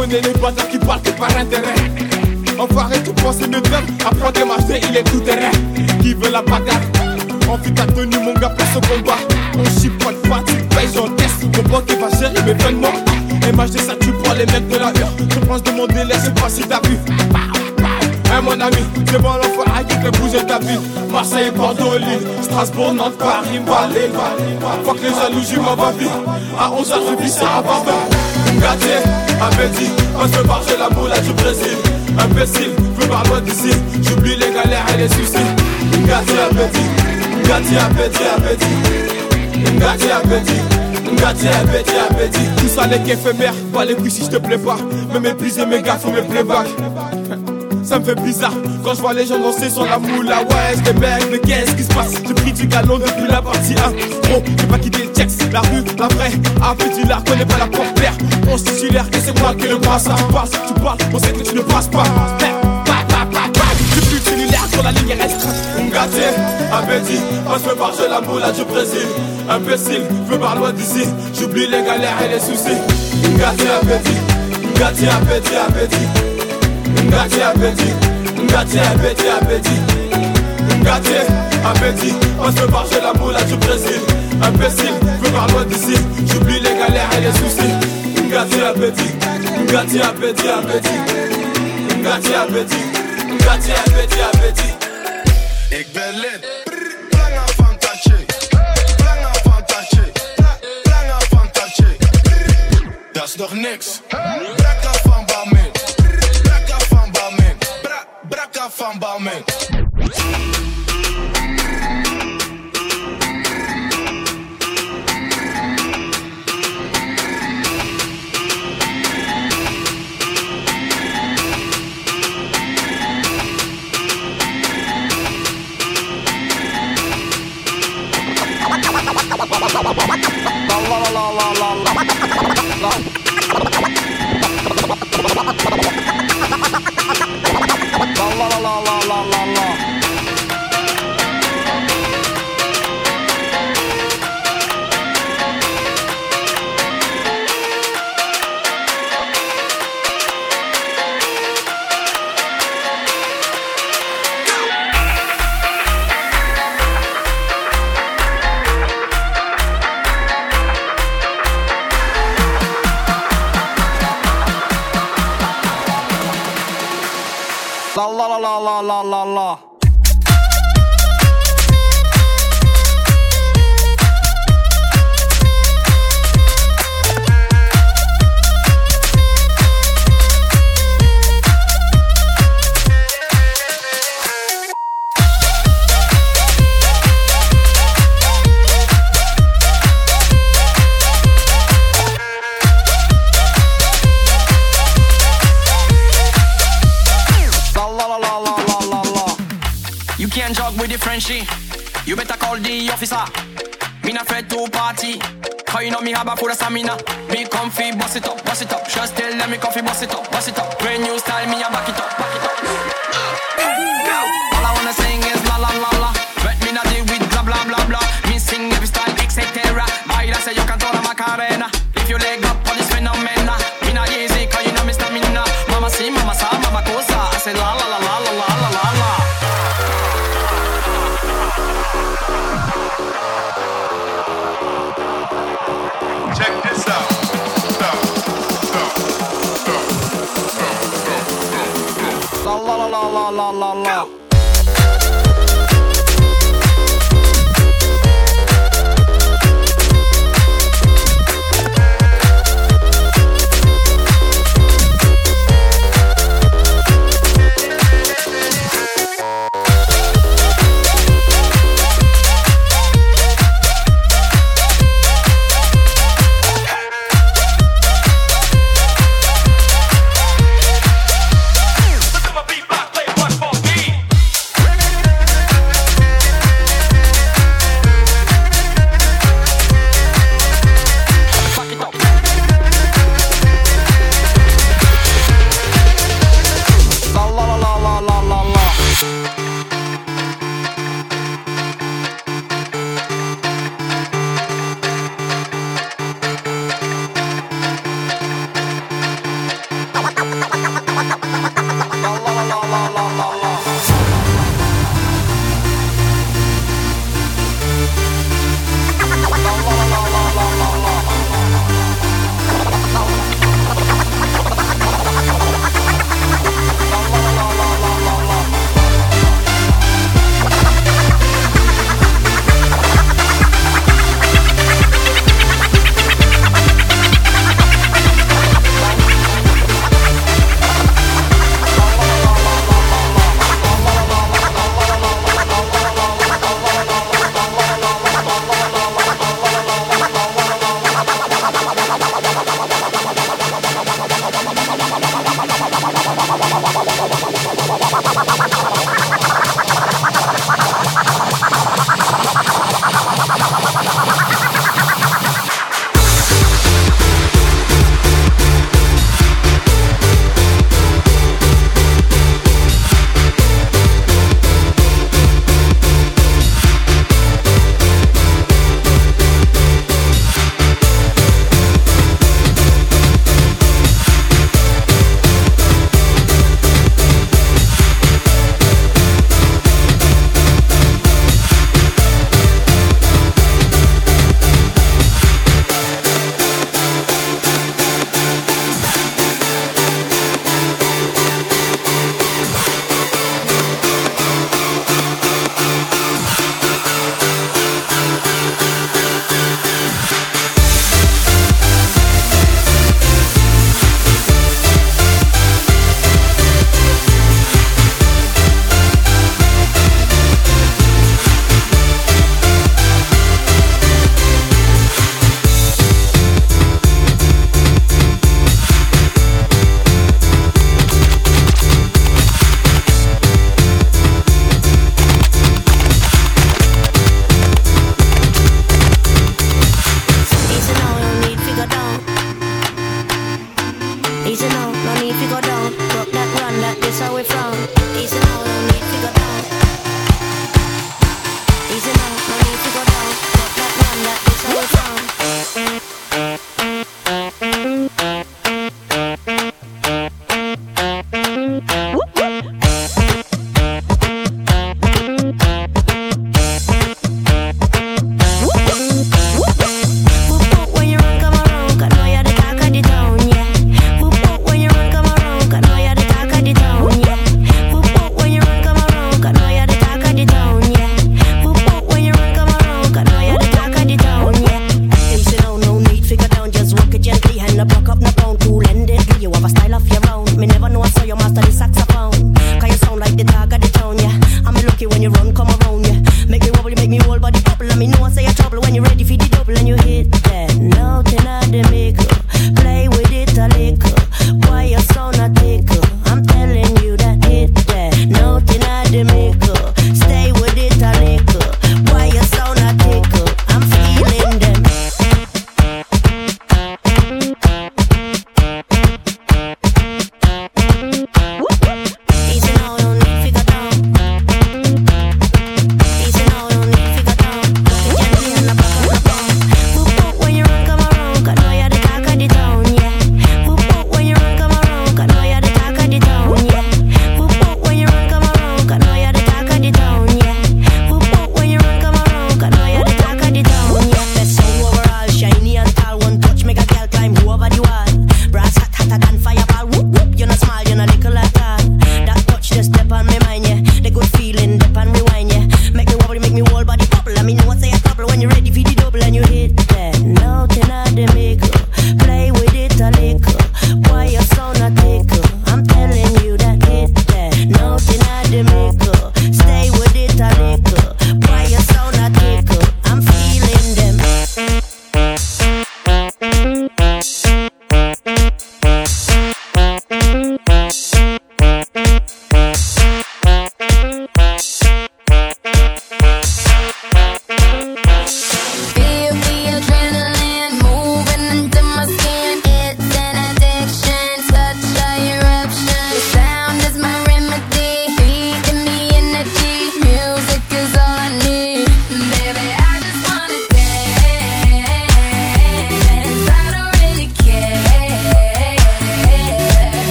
connais les bâtards qui parlent que par intérêt. Enfoiré, tu penses mieux faire. Apprends des marchés, il est tout terrain. Qui veut la bagarre? Envie ta tenue, mon gars, place au combat. On chip, pas de fatigue, paye, j'encaisse. Mon banque qui va gérer mes paiements. MHD, ça tue pour les mecs de la rue. Je pense de mon délai, je sais pas si t'as vu. Hey mon ami, c'est bon l'enfoiré qui fait bouger ta ville. Marseille, Bordeaux, Lille, Strasbourg, Nantes, Paris, Valais. Faut que les jalousies m'envoient vite. À 11h, je vis ça à Barbel. Gâté, appétit, on se barge la moula du Brésil. Imbécile, veux voir loin d'ici. J'oublie les galères et les soucis. Gâté, appétit, gâté, appétit, appétit. Gâté, appétit. Gâté, appétit, appétit. Tout ça n'est qu'éphémère, pas les couilles si je te plais pas. Me mépriser mes gars, faut mes playbacks. Ça me fait bizarre quand je vois les gens danser sur la moula. Ouais, j'étais bête, mais qu'est-ce qui se passe? J'ai pris du galon depuis la partie 1. Gros, j'ai pas quitté le texte, la rue, la vraie. Appétit là, connais pas la porte-l'air. On se titulaire et c'est moi qui le passe. Tu parles, on sait que tu ne passes pas. Je suis cellulaire sur la ligne restreinte. Gâté, appétit, on se fait barger la moula du Brésil. Imbécile, veux voir loin d'ici. J'oublie les galères et les soucis. Gâté, appétit, gâté, appétit, appétit. Gâté, appétit, gâté, appétit, appétit. Gâté, appétit, on se barge la moula du Brésil. Imbécile, veux voir loin d'ici. J'oublie les galères et les soucis. Gâté, appétit, gâté, appétit, appétit. Gâté, appétit, gâté, appétit, appétit. Ik ben lid, lange fantasie. Lange fantasie, lange fantasie. Dat is nog niks. Brakka van Balmain. Brakka van Balmain. La. You better call the officer. Me not afraid to party. Cause you know me have a full of stamina. Me comfy, boss it up, boss it up. Just tell them me comfy, boss it up, boss it up. Brand new style, me a back it up, back it up. All I wanna sing is la la la la. Let me not deal with blah blah blah blah. Me sing every style, etc. Baila say you can throw la Macarena. If you leg up on this phenomena. Me not easy, cause you know me stamina. Mama si, mama sa, mama cosa. I say la la la la la la la la la. Check this out. La la la la la la la.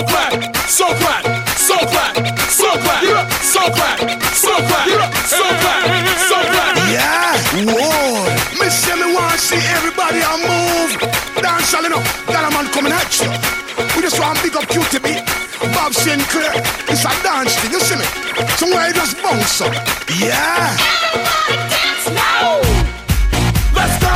clap, so clap, so clap, so clap, so clap, so clap, so clap, so clap. Yeah, whoa. Me say me want see everybody a move. Dance all enough, got a man coming at you. We just want big up QTB, Bob Sinclair. It's a dance thing, you see me? Somewhere you just bounce up. Yeah. Everybody dance now. Let's go.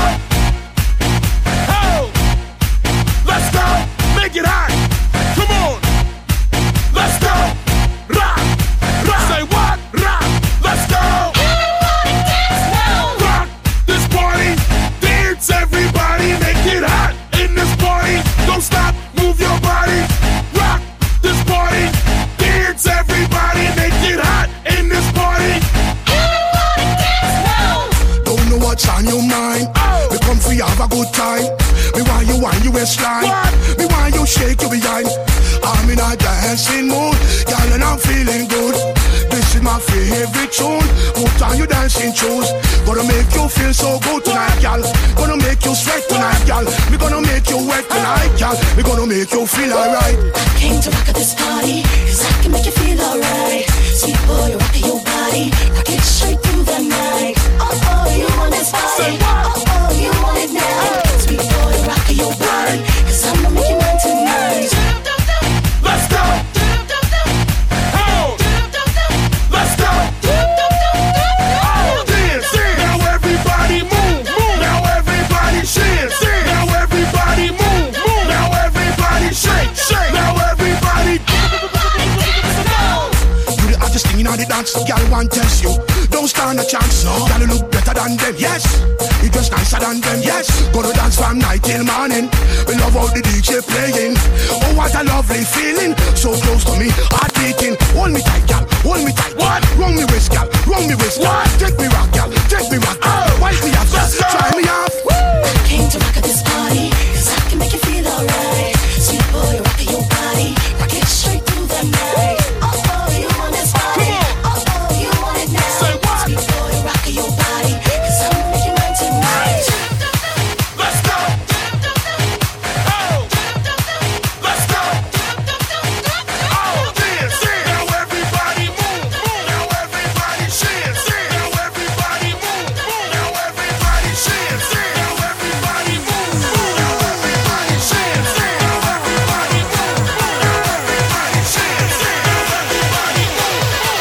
Oh, let's go. Make it hot. Come on. Let's go. Rock, rock. Say what? Rock. Let's go. Everybody dance now. Rock this party. Dance everybody. Make it hot in this party. Don't stop. Move your body. Rock this party. Dance everybody. Make it hot in this party. Everybody dance now. Don't know what's on your mind. We come for you have a good time. Me want you wind your waistline. Me want you shake your behind. I'm in a dancing mood, girl, and I'm feeling good. This is my favorite tune. Put on your dancing shoes. Gonna make you feel so good tonight, girl. Gonna make you sweat tonight, girl. We gonna make you wet tonight, girl. We gonna make you feel alright. I came to rock at this party, cause I can make you feel alright. Sweet boy, you're rocking your body, rock it straight through the night. Oh, oh, you want this party? Oh, oh, you want it now? Sweet boy, you're rocking your body, cause I'ma make you mine tonight. Let's go. Oh, let's go. Oh, dance. Now everybody move, move. Now everybody dance. Now everybody move, move. Now everybody shake, shake. Now everybody. You the hottest thing in all the dance, girl, want test you. Don't stand a chance, no. Girl, you look better than them, yes. You dress nicer than them, yes. Gonna dance from night till morning. We love how the DJ playing. Oh, what a lovely feeling. So close to me, heart beating. Hold me tight, girl, hold me tight. What? Roll me waist, girl, roll me waist. What? Take me rock, girl, take me rock, girl. Wipe me off, Let's go. try me off. I came to rock at this party, cause I can make you feel alright. Sweet boy, rocking your body, rock it straight through the night. Oh, oh, you want this party? Oh, oh, you want it now? Say what? Sweet boy, rocking your body, cause I'ma make you mine tonight. Let's go. Oh, let's go. Oh, dance. Now everybody move, move. Now everybody dance. Now everybody move, move. Now everybody dance. Now everybody move, move. Now everybody dance. Now everybody move, move. Now everybody dance. Now everybody move, move.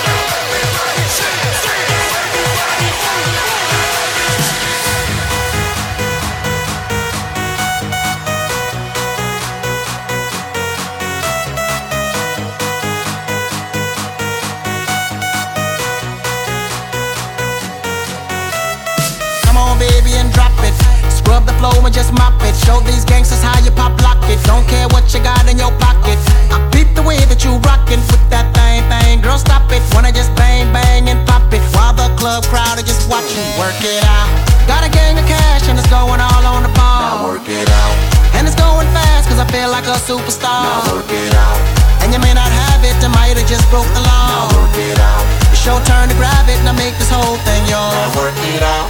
Come on, baby, and drop it. Scrub the flow and just mop it. Show these gangsters how you pop lock it. Don't care what you got in your pocket. I peep the way that you rockin' with that thing. Girl, stop it. Wanna just bang, bang, and pop it. While the club crowd are just watching. Work it out. Got a gang of cash and it's going all on the ball. Now work it out. And it's going fast cause I feel like a superstar. Now work it out. And you may not have it, I might have just broke the law. Now work it out. It's your turn to grab it and I make this whole thing yours. Now work it out.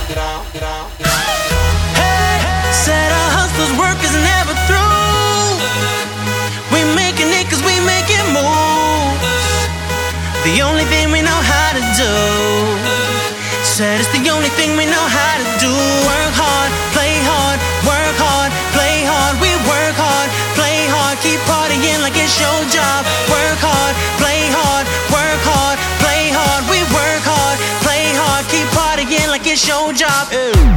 Hey, said our hustlers' work is never through. We making it cause we make it move. The only thing we know how to do. Said it's the only thing we know how to do. Work hard, play hard, work hard, play hard. We work hard, play hard, keep partying like it's your job. Work hard, play hard, work hard, play hard. We work hard, play hard, keep partying like it's your job.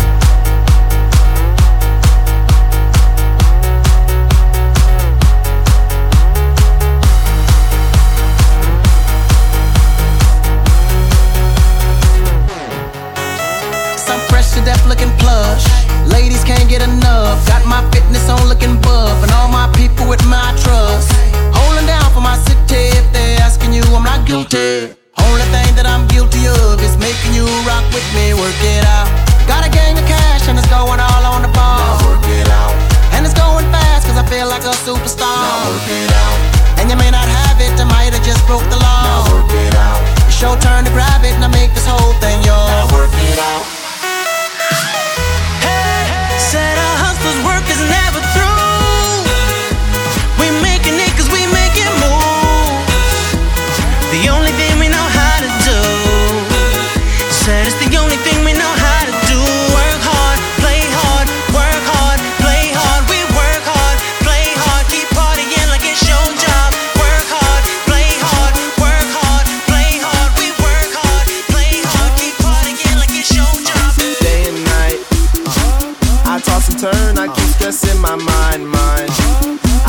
Some fresh to death looking plush. Ladies can't get enough. Got my fitness on looking buff. And all my people with my trust. Holding down for my city. If they're asking you, I'm not guilty. Only thing that I'm guilty of is making you rock with me. Work it out. Got a gang of cash and it's going all on the ball. Now work it out. And it's going fast cause I feel like a superstar. Now work it out. And you may not have it, I might have just broke the law. Now work it out. It's your turn to grab it and I make this whole thing yours. Now work it out. Said our hustlers' work is never through. We making it cause we make it move.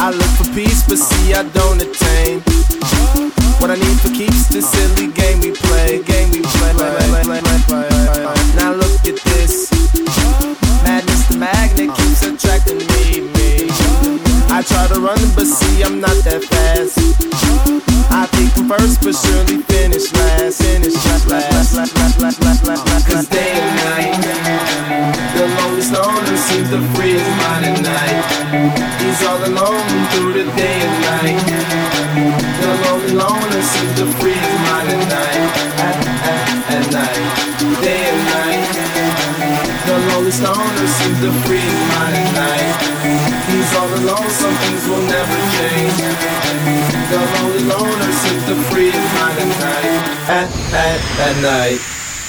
I look for peace, but see I don't attain what I need for keeps this silly game we play. Now look at this. Madness, the magnet keeps attracting me. I try to run, but see I'm not that fast. I think I'm first, but surely finish last. Cause day and night, the loneliest loner seems to free his mind at night. He's all alone through the day and night. The lonely loner seems to free his mind at night. At night, day and night. The loneliest loner seems to free his mind at night. He's all alone, some things will never change. The lonely loner seems to free his mind at night. At night.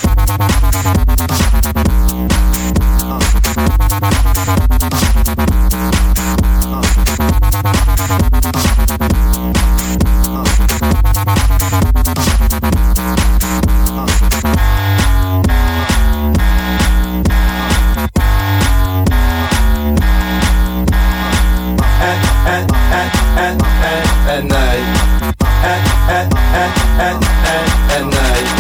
At night. At night.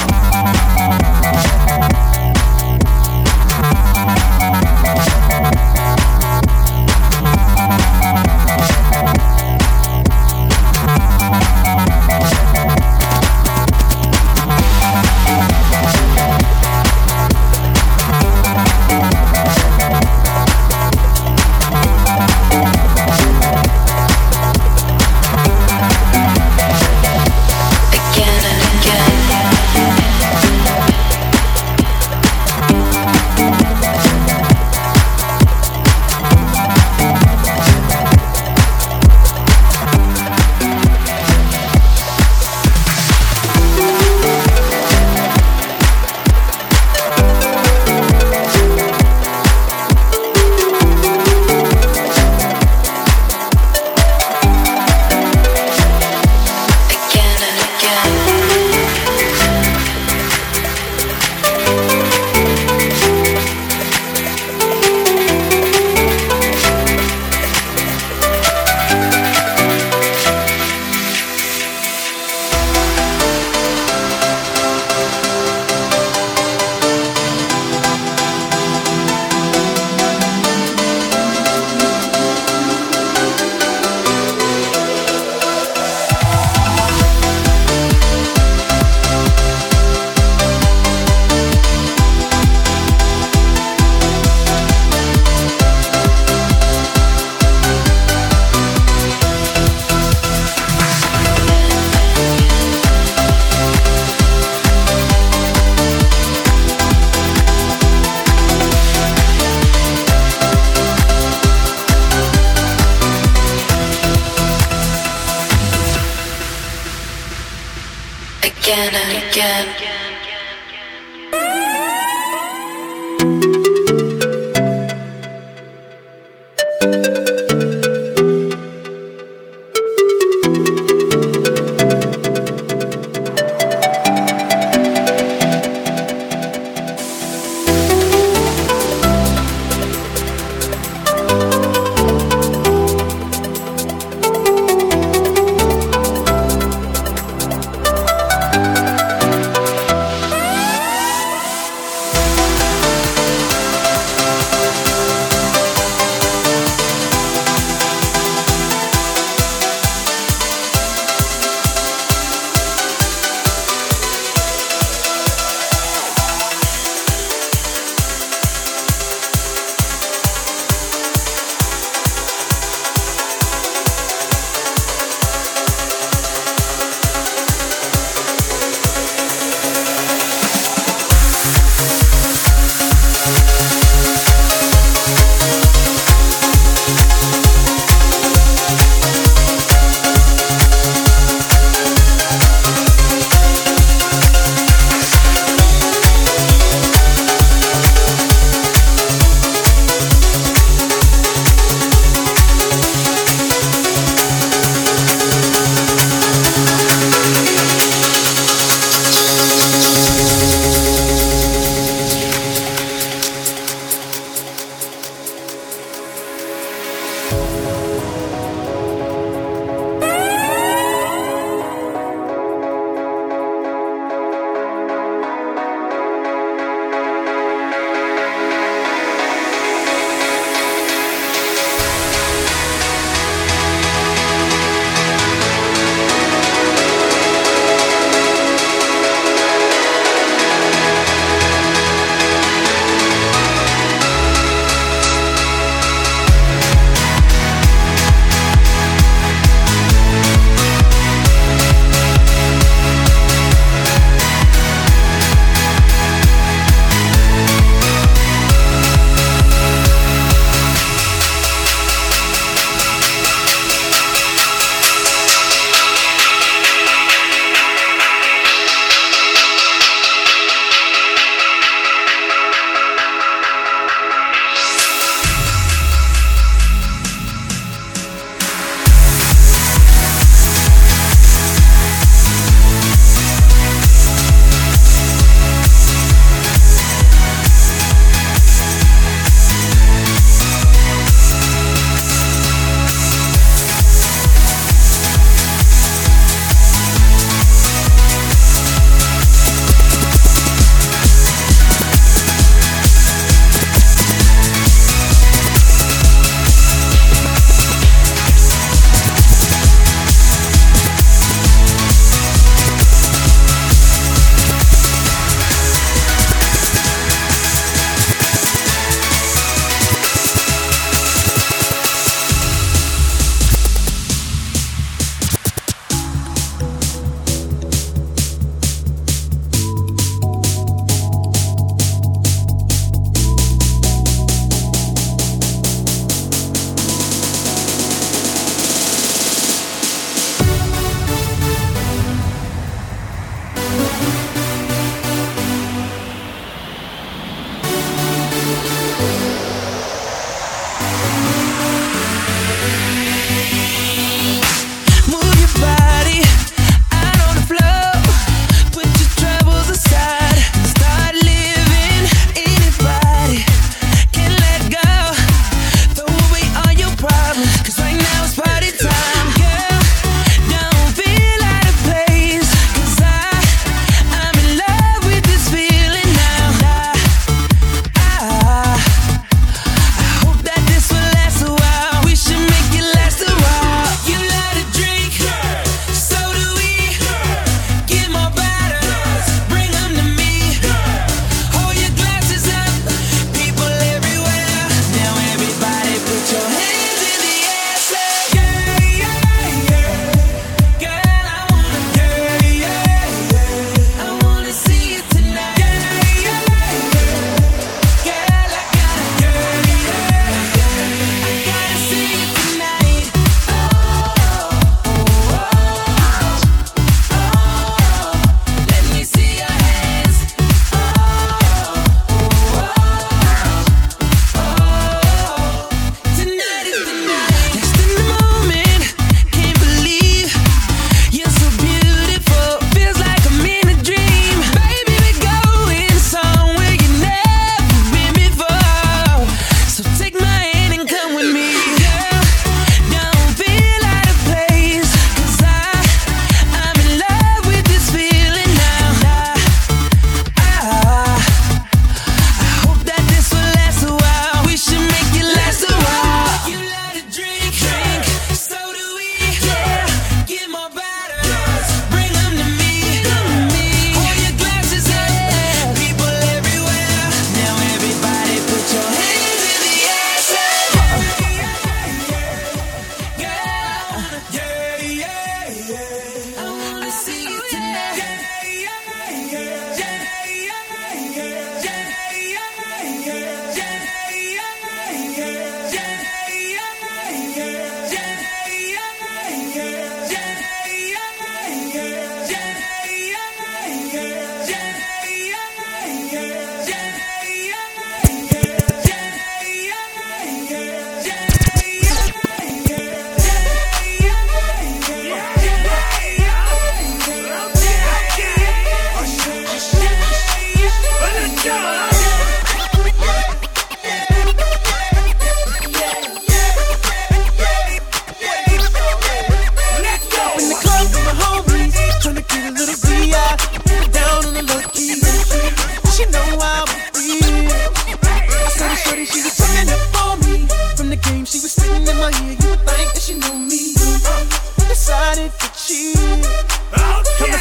Again and again.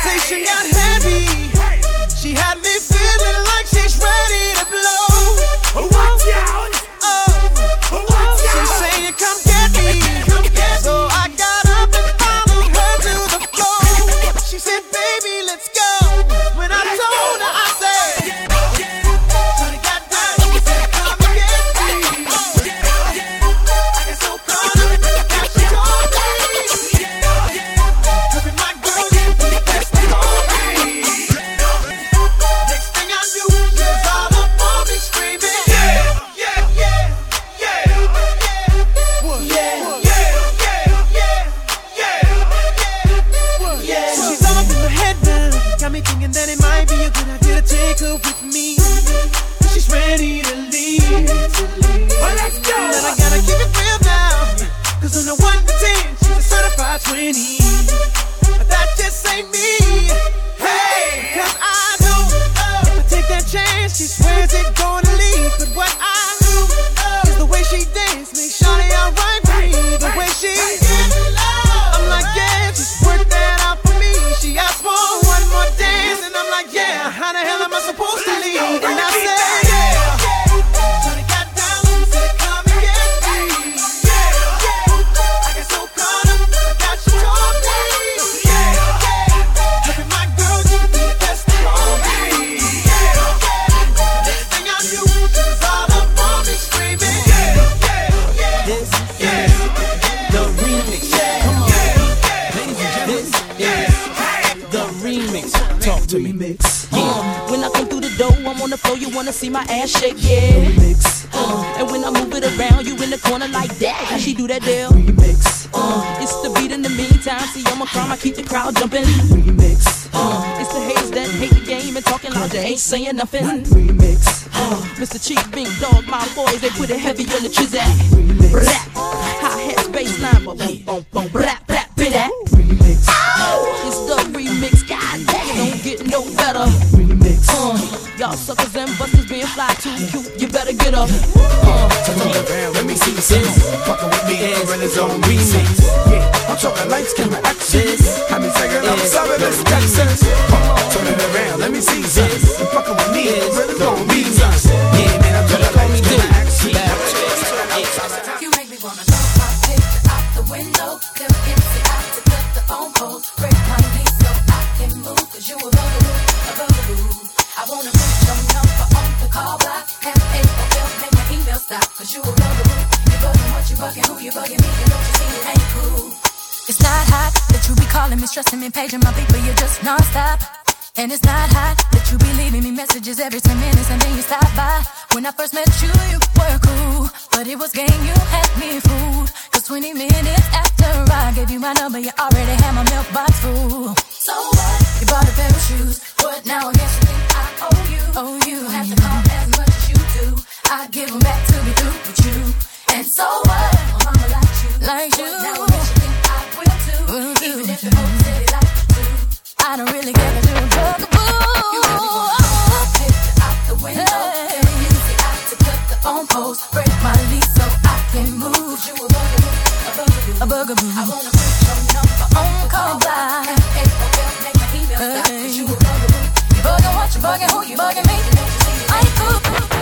conversation got heavy. She had me feeling like she's ready to blow. Watch out! She's saying, come get me. So I got up and followed her to the floor. She said, baby, let's go. When I told her, I said, Shorty got down, she said, come and get me. I got so caught up, now she told me. Hurry, my girl, you be the best thing on me. Next thing I knew, she was all up on me screaming. Got me thinking that it might be a good idea to take her with me. She's ready to leave. Well, let's go. But I gotta keep it real now, cause on the 1 to 10, she's a certified 20. But that just ain't me. Hey, cause I know if I take that chance, she swears it's gonna leave. But what I do is the way she dance makes Shawty alright with me. The way she I'm like, yeah, just work that out for me. She asked for one more dance, and I'm like, yeah, how the hell am I supposed to leave? And I said, Shawty got down and said, come and get me. I got so caught up, I got you told me. Hurry, my girl, you be the best thing on me. Next thing I knew, she was all up on me screaming. This is the remix. Come on, ladies and gentlemen. This is the remix. Talk to me. When I come through the door, I'm on the floor, you wanna see my ass shake, yeah. Remix. And when I move it around, you in the corner like that. How she do that deal? Remix. It's the beat in the meantime. See, I'm a crime, I keep the crowd jumping. Remix. It's the haters that hate the game and talking loud, they ain't saying nothing. Remix. Mr. Chief, Big Dog, my boys, they put it heavy on the trizak. Rap, hi-hat, bassline, boom, boom, boom, rap, rap, bit that. Remix. It's the remix, god dang it, don't get no better. Remix. Y'all suckers and busters being fly too cute, you better get up. Turn around, let me see this. Fucking with me, Rena's on remix. Yeah, I'm talking lights, camera, action. Have me taking up some of this Texas. Turn it around, let me see this. Fucking with me, Rena's on remix. Yeah, man, I'm talking lights, camera, action. You make me wanna throw my picture out the window. Them empty out to cut the phone poles. Break my knees so I can move. Cause you a bugaboo. I wanna put your number on the call block. M-A-O-L, make my email stop. Cause you a bugaboo. You bugging what you bugging, who you bugging me. And don't you see it ain't cool. It's not hot that you be calling me, stressing me, paging my beat, but you're just non-stop. And it's not hot that you be leaving me messages every 10 minutes and then you stop by. When I first met you, you were cool, but it was game, you had me fooled. Cause 20 minutes after I gave you my number, you already had my mailbox full. So what? You bought a pair of shoes, but now I guess you think I owe you. You don't have to call as much as you do. I give them back to be through with you. And so what? My mama likes you. Like you. Now I guess you think I will too. Even if the whole city likes you too. I don't really care if you're a bugaboo. You really wanna throw my picture out the window. Hey. Use it out to cut the phone poles. Break my lease so I can move. You a bugaboo, a bugaboo. I wanna put your number on the call block. M-A-O-L, make my email stop. Cause you a bugaboo. You bugging what you bugging, who you bugging me. I ain't cool.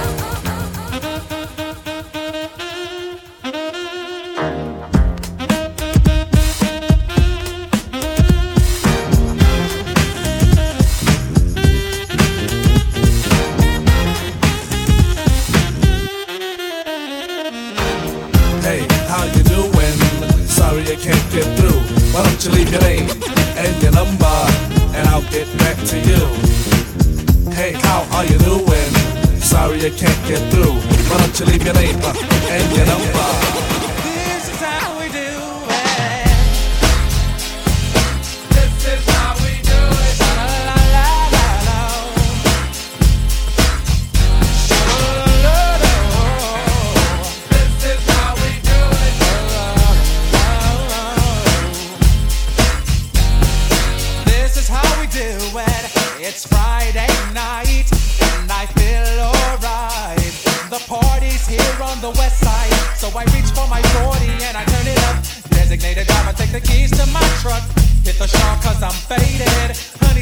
Sorry I can't get through. Why don't you leave your name and your number, and I'll get back to you. Hey, how are you doing? Sorry I can't get through. Why don't you leave your name and your number? This is how we do it. This is how we do it. La la la la la. This is how we do it. This is how we do it. It's Friday night and I feel alright. The party's here on the west side, so I reach for my 40 and I turn it up. Designated driver, take the keys to my truck. Hit the shop cause I'm faded. Honey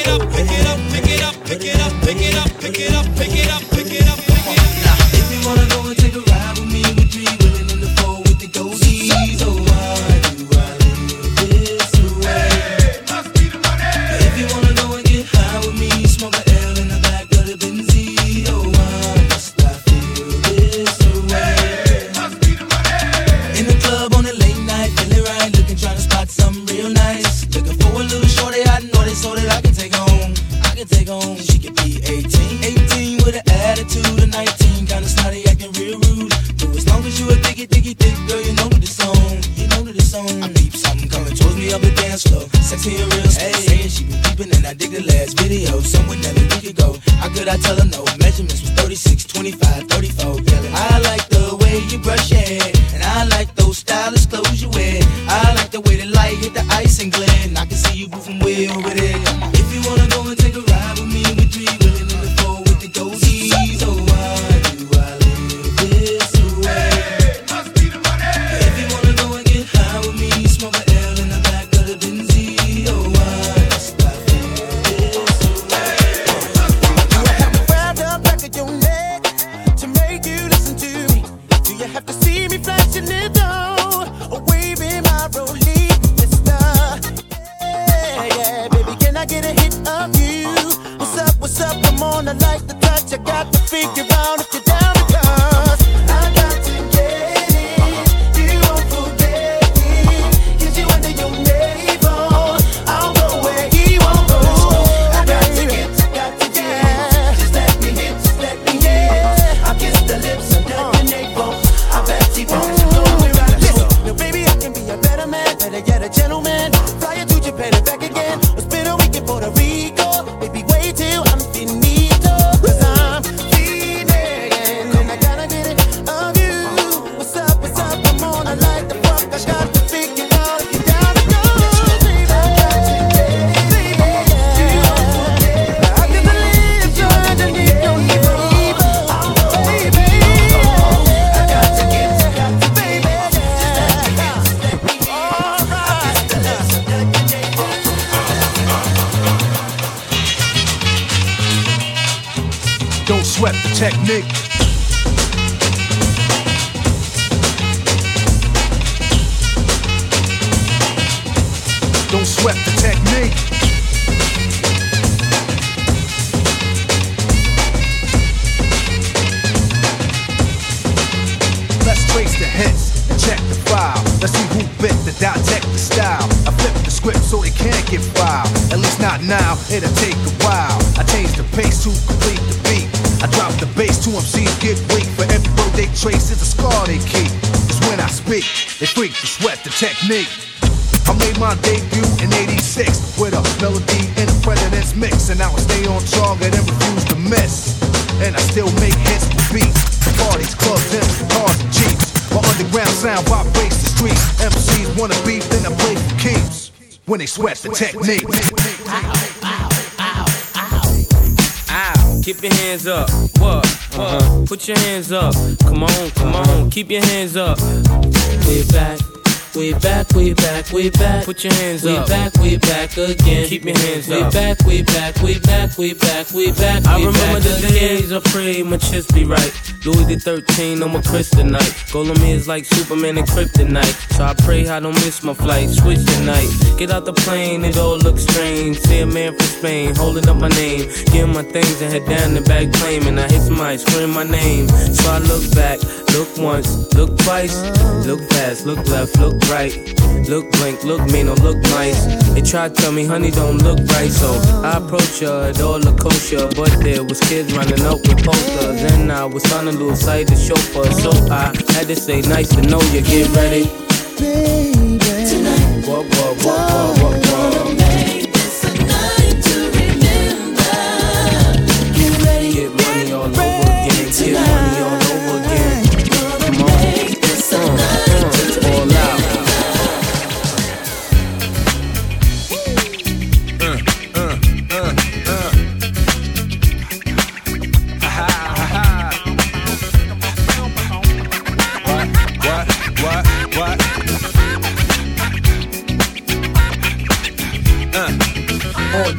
it up, pick it up, pick it up, pick it up, pick it up, pick it up, pick it up, pick it up, pick it up. Now, if you wanna go and take a ride with me, we three women in the four with the goldies. Oh, why do I live this way? Hey, must be the money. If you wanna go and get high with me, smoke a L in the back of the Benzie. Oh, why must I feel this way? Hey, must be the money. In the club on the late night, feeling right, looking, trying to spot something real nice. Looking for a little shorty, I know they so that I can take home. I can take home. She could be 18 with an attitude of 19, kinda snotty, acting real rude. But as long as you a thick, girl, you know that it's on. You know that it's on. I peep something coming towards me up the dance floor, sexy and real slow. Saying she been peeping and I dig the last video. Somewhere that a week ago. How could I tell her no? Measurements was 36, 25, 34. Yelling. I like the way you brush your hair, and I like those stylish clothes you wear. I like the way the light hit the ice and glare, and I can see you moving way over there. If you wanna go and take a ride with me, we three willing in the four with the goldies. Oh, why do I live this way? Hey, must be the money. If you wanna go and get high with me, smoke a L in the back of the Benzie. Oh, why must I feel this way? Do I have to wear the back of your neck to make you listen to me? Do you have to see me flashing it down or waving my rollie, mister? Yeah, baby, can I get a hit of you? What's up, I'm on, I like the touch. I got to figure out if you're down because I got to get it. You won't forget it. Get you under your navel. I'll go where he won't go. I got to get, just let me hit, I'll kiss the lips under your navel. I bet he won't go where I go. Now baby, I can be a better man, better yet a gentleman. Fly you to Japan and back again, or spend a week in Puerto Rico. Baby, wait till I'm finito, 'cause I'm feeling, and I gotta get it of you. What's up, I'm on, I like the fuck. I got to figure out if you're down to go, baby. I got to get it, baby. I can believe you're underneath your navel, baby. I got to get, baby. Just let me all right. Don't sweat the technique. Don't sweat the technique. Let's trace the hits and check the file. Let's see who bit the dissect the style. I flip the script so it can't get filed. At least not now, it'll take a while. I change the pace to complete the beat. I drop the bass to MCs get weak. For every word they trace is a scar they keep. It's when I speak, they freak to sweat the technique. I made my debut in '86 with a melody in the President's mix, and now I stay on target and refuse to miss. And I still make hits with beats. Parties, clubs, and cars and jeeps. My underground sound vibrates the streets. MCs wanna beef, then I play for keeps. When they sweat the technique. Keep your hands up. What? Put your hands up. Come on. Keep your hands up. We're back. We back. Put your hands up. We back again. Keep your hands up. We back. I remember the days I pray my chest be right. Louis the 13 on my kryptonite. Goal on me is like Superman and kryptonite. So I pray I don't miss my flight. Switch tonight. Get out the plane, it all looks strange. See a man from Spain holding up my name. Give my things and head down the back plane. And I hit somebody scream my name. So I look back, look once, look twice, look past, look left, look right. Look blank, look mean, or look nice. They tried to tell me, honey, don't look right. So I approached her, it all looked kosher. But there was kids running up with posters. And I was trying to do a sight to show for her. So I had to say, nice to know you, get ready. Baby, tonight, don't make this a night to remember. Get ready, get money all over again. Get money all over again. Come on, all out. What?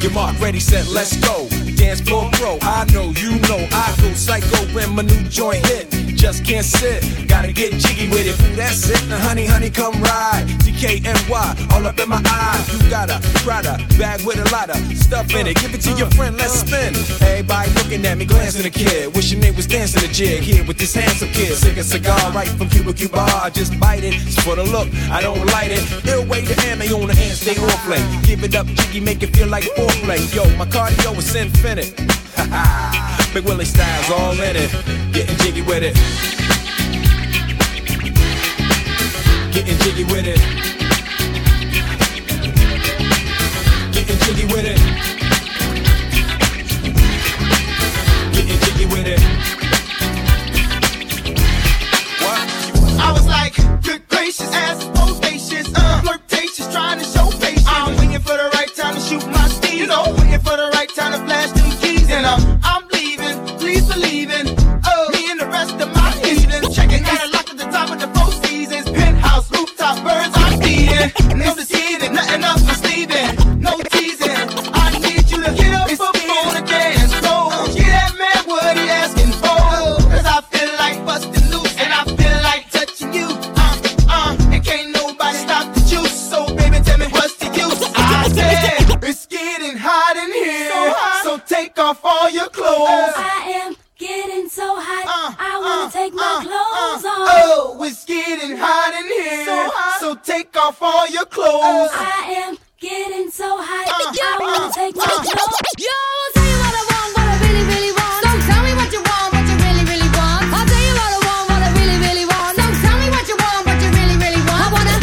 Your mark ready, set, let's go. Dance floor pro, I know, you know, I go psycho when my new joint hit. Just can't sit, gotta get jiggy with it. That's it, now honey, honey, come ride. DKNY, all up in my eyes. You got a Prada bag with a lot of stuff in it. Give it to your friend, let's spin. Everybody looking at me, glancing a kid. Wishing they was dancing a jig here with this handsome kid. Sick a cigar right from Cuba Cuba. I just bite it, it's for the look, I don't light it. Ill way to ammo on the hand, stay on play. Give it up, jiggy, make it feel like foreplay. Yo, my cardio is infinite. Big Willie style's all in it. Getting jiggy with it. Getting jiggy with it. Getting jiggy with it. Getting jiggy with it. What? I was like, good gracious, ass bodacious, flirtatious, trying to show patience. I'm waiting for the right time to shoot my steam. You know, waiting for the right time to flash them keys. And I'm leaving, please believe in me and the rest of my heathens. Checking out a lock at the top of the Four Seasons. Penthouse, rooftop, birds I'm feeding. No deceiving, nothing else misleading. No teasing, I need you to get up before the dance floor. Get that man what he asking for. Cause I feel like busting loose and I feel like touching you. And can't nobody stop the juice. So baby, tell me what's the use. I said, it's getting hot in here. So take off all your clothes. I am getting so hot, I wanna take my clothes off. Oh, it's getting hot in here. So take off all your clothes. I am getting so hot, I wanna take my clothes off. Yo, I'll tell you what I want, what I really, really want. Don't tell me what you want, what you really, really want. I'll tell you what I want, what I really, really want. Don't tell me what you want, what you really, really want. I wanna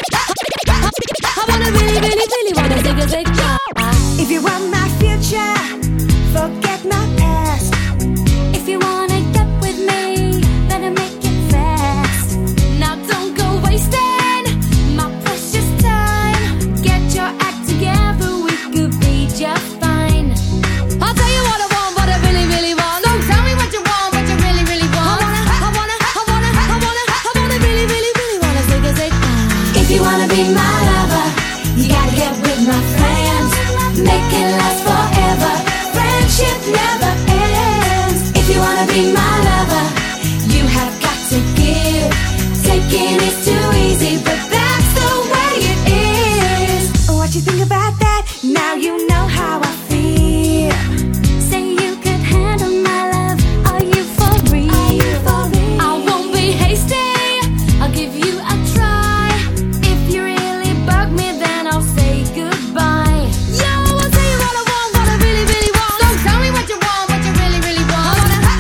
really, really, really wanna take a big job. If you want my future, forget my past. If you wanna get with me, better make it fast. Now don't go wasting my precious time. Get your act together, we could be just fine. I'll tell you what I want, what I really, really want. Don't tell me what you want, what you really, really want. I wanna really, really, really wanna take a big time. If you wanna be my lover, you gotta get with my friends. Make it last forever. Friendship never ends. If you wanna be my lover, you have got to give. Taking is too easy, but that's the way it is. What you think about that? Now you know how I feel. Say you could handle my love. Are you for real? I won't be hasty, I'll give you a try. If you really bug me, then I'll say goodbye. Yo, I'll tell you what I want, what I really, really want. Don't tell me what you want, what you really, really want.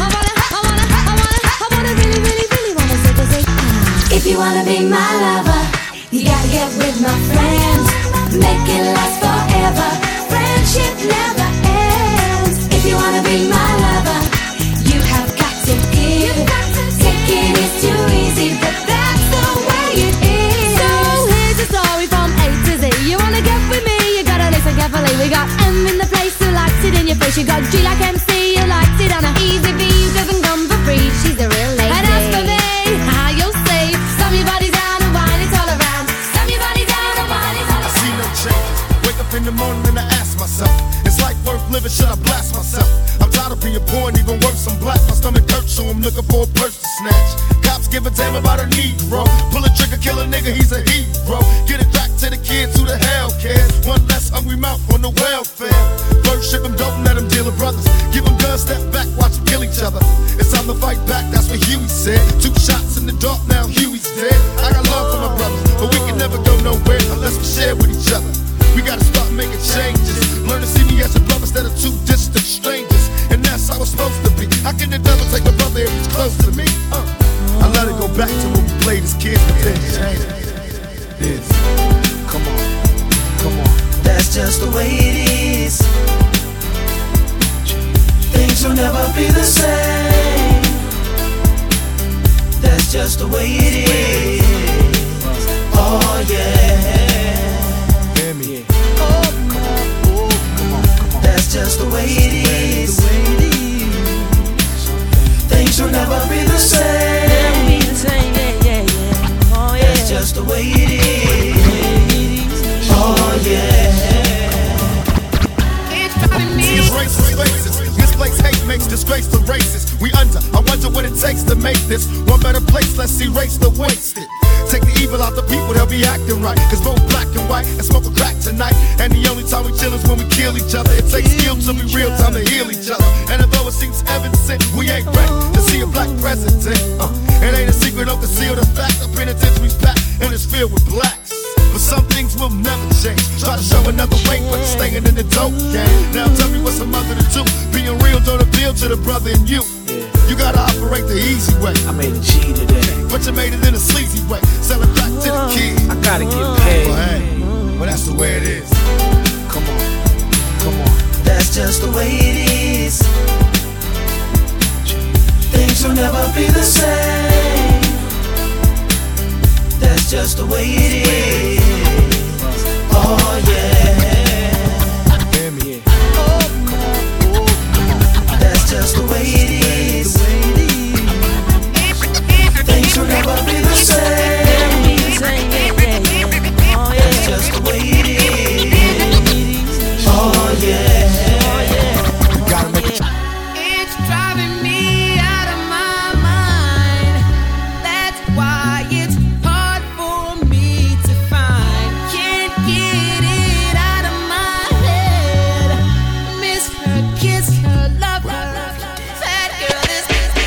I wanna really, really, really wanna say if you wanna be my lover, you gotta get with my friends. Make it last forever. Friendship never ends. If you wanna be my lover, you have got to give. Taking is too easy, but that's the way it is. So here's the story from A to Z. You wanna get with me, you gotta listen carefully. We got M in the place who likes it in your face. You got G like MC, who likes it on a easy V, who doesn't come for free. She's a real lady. And as for me, how you'll say, slam your body down and wine it all around. Slam your body down and wine it all around. I see no change. Wake up in the morning and I ask myself, is life worth living? Should I blast myself? I'm tired of being poor and even worse, I'm black. My stomach hurts, so I'm looking for a purse to snatch. Cops give a damn about a Negro. Pull a trigger, kill a nigga, he's a hero. Get it back to the kids who the hell cares. One less hungry mouth on the welfare. First ship them, don't let them deal with brothers. Give them guns, step back, watch them kill each other. It's time to fight back, that's what Huey said. 2 shots in the dark, now Huey's dead. I got love for my brothers, but we can never go nowhere unless we share with each other. We gotta start making changes. Learn to see me as a brother instead of 2 distant strangers. And that's how it's supposed to be. How can the devil take a brother if he's close to me? I let it go back to when we played as kids, but then change. Yes. Come on, come on. That's just the way it is. Things will never be the same. That's just the way it is. Oh yeah. Hear me. Oh, come on. Oh, come on, come on. That's just the way it is. Things will never be the same. Oh yeah. That's just the way it is. Oh yeah. disgrace to races. We under, I wonder what it takes to make this one better place. Let's erase the wasted. Take the evil out the people, they'll be acting right. Cause both black and white and smoke a crack tonight. And the only time we chill is when we kill each other. It takes skill to be real time to heal each other. And although it seems evident, we ain't ready to see a black president. It ain't a secret, don't conceal the fact. The penitentiary's packed and it's filled with blacks. But some things will never change. Try to show another way, but it's staying in the dope game. Now tell me what's a mother to do. Being real don't appeal to the brother in you. You gotta operate the easy way. I made a G today, but you made it in a sleazy way. Sell it back to the kids. I gotta get paid. Well, hey, well that's the way it is. Come on, come on. That's just the way it is. Things will never be the same. That's just the way it is. Oh yeah. That's just the way it is. Things will never be the same. That's just the way it is. Oh yeah. You gotta make it. It's driving me out of my mind. That's why it's hard for me to find. Can't get it out of my head. Miss her, kiss her, love her. That girl is.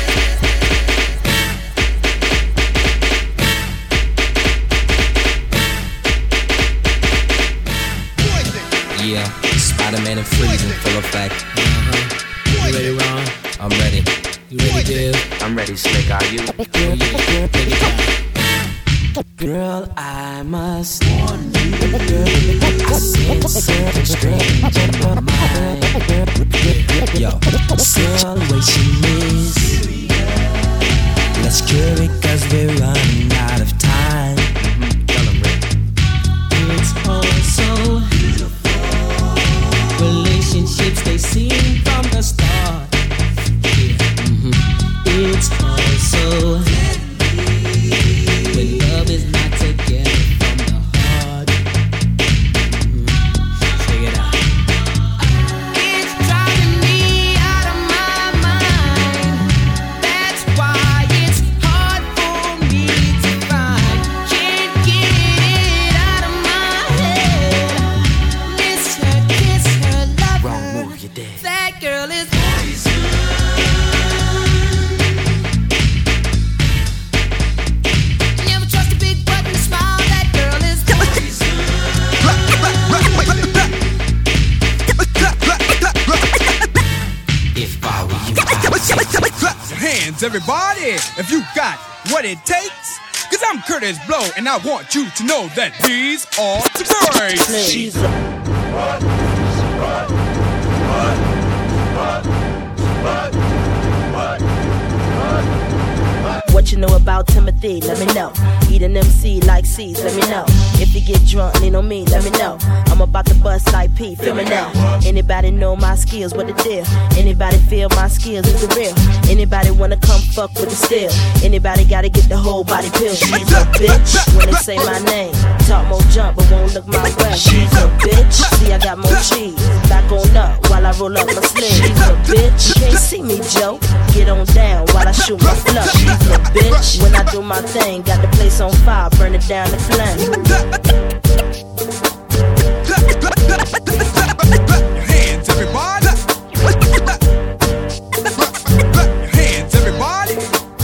Yeah, Spider-Man and Freeze in full effect. You ready, Ron? I'm ready. You ready, Dave? I'm ready, Slick. Are you? Girl, I must warn you. I sense something strange in my mind. Yo, Girl, situation is. Let's cure it 'cause we're running out of time. tell him, Rick. It's all so beautiful. Relationships, they seem from the start. It's all so when love is not together from the heart. Check it out. It's driving me out of my mind. That's why it's hard for me to find. Can't get it out of my head. Miss her, kiss her, love her. Wrong move, you're dead. That girl is. Never trust a big button smile. That girl is. If I were you, I would take Clap your hands, everybody, if you got what it takes. Cause I'm Curtis Blow, and I want you to know that these are the breaks. She's What you know about Timothy, let me know. Eat an MC like C's, let me know. If you get drunk, lean on me, let me know. I'm about to bust like P, feel me now. Anybody know my skills, what the deal? Anybody feel my skills is the real? Anybody wanna come fuck with the steel? Anybody gotta get the whole body pill? She's a bitch when they say my name. Talk more jump, but won't look my way. She's a bitch, see I got more cheese. Back on up while I roll up my sleeve. She's a bitch, you can't see me, Joe. Get on down while I shoot my flow. She's a bitch, when I do my thing, got the place on fire, burn it down to flame. Your hands, everybody. Your hands, everybody.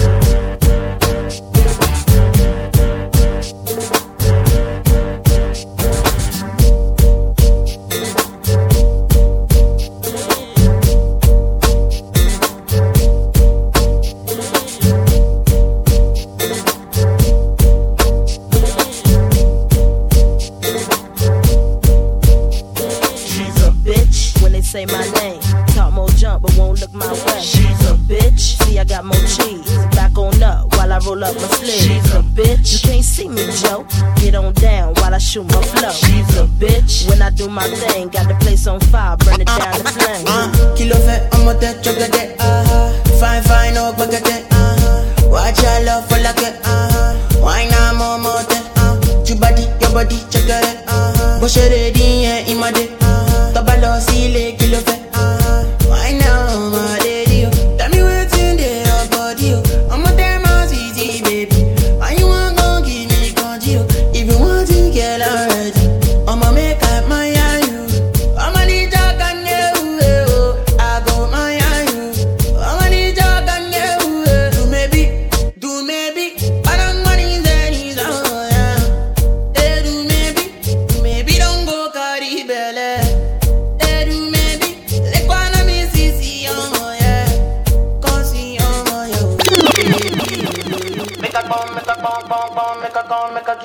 Say my name, talk more jump, but won't look my way. She's a bitch, see I got more cheese. Back on up while I roll up my sleeves. She's a bitch, you can't see me, Joe. Get on down while I shoot my flow. She's a bitch, when I do my thing, got the place on fire, burn it down to flame. Kilo fe, amo te chocolate. Fine, fine, oh, bagate. Watch your love for like it. Wine na momote. Your body, check it. Bush ready, yeah, in my day. Tabalo, see, kilo fe. Wine now, my lady.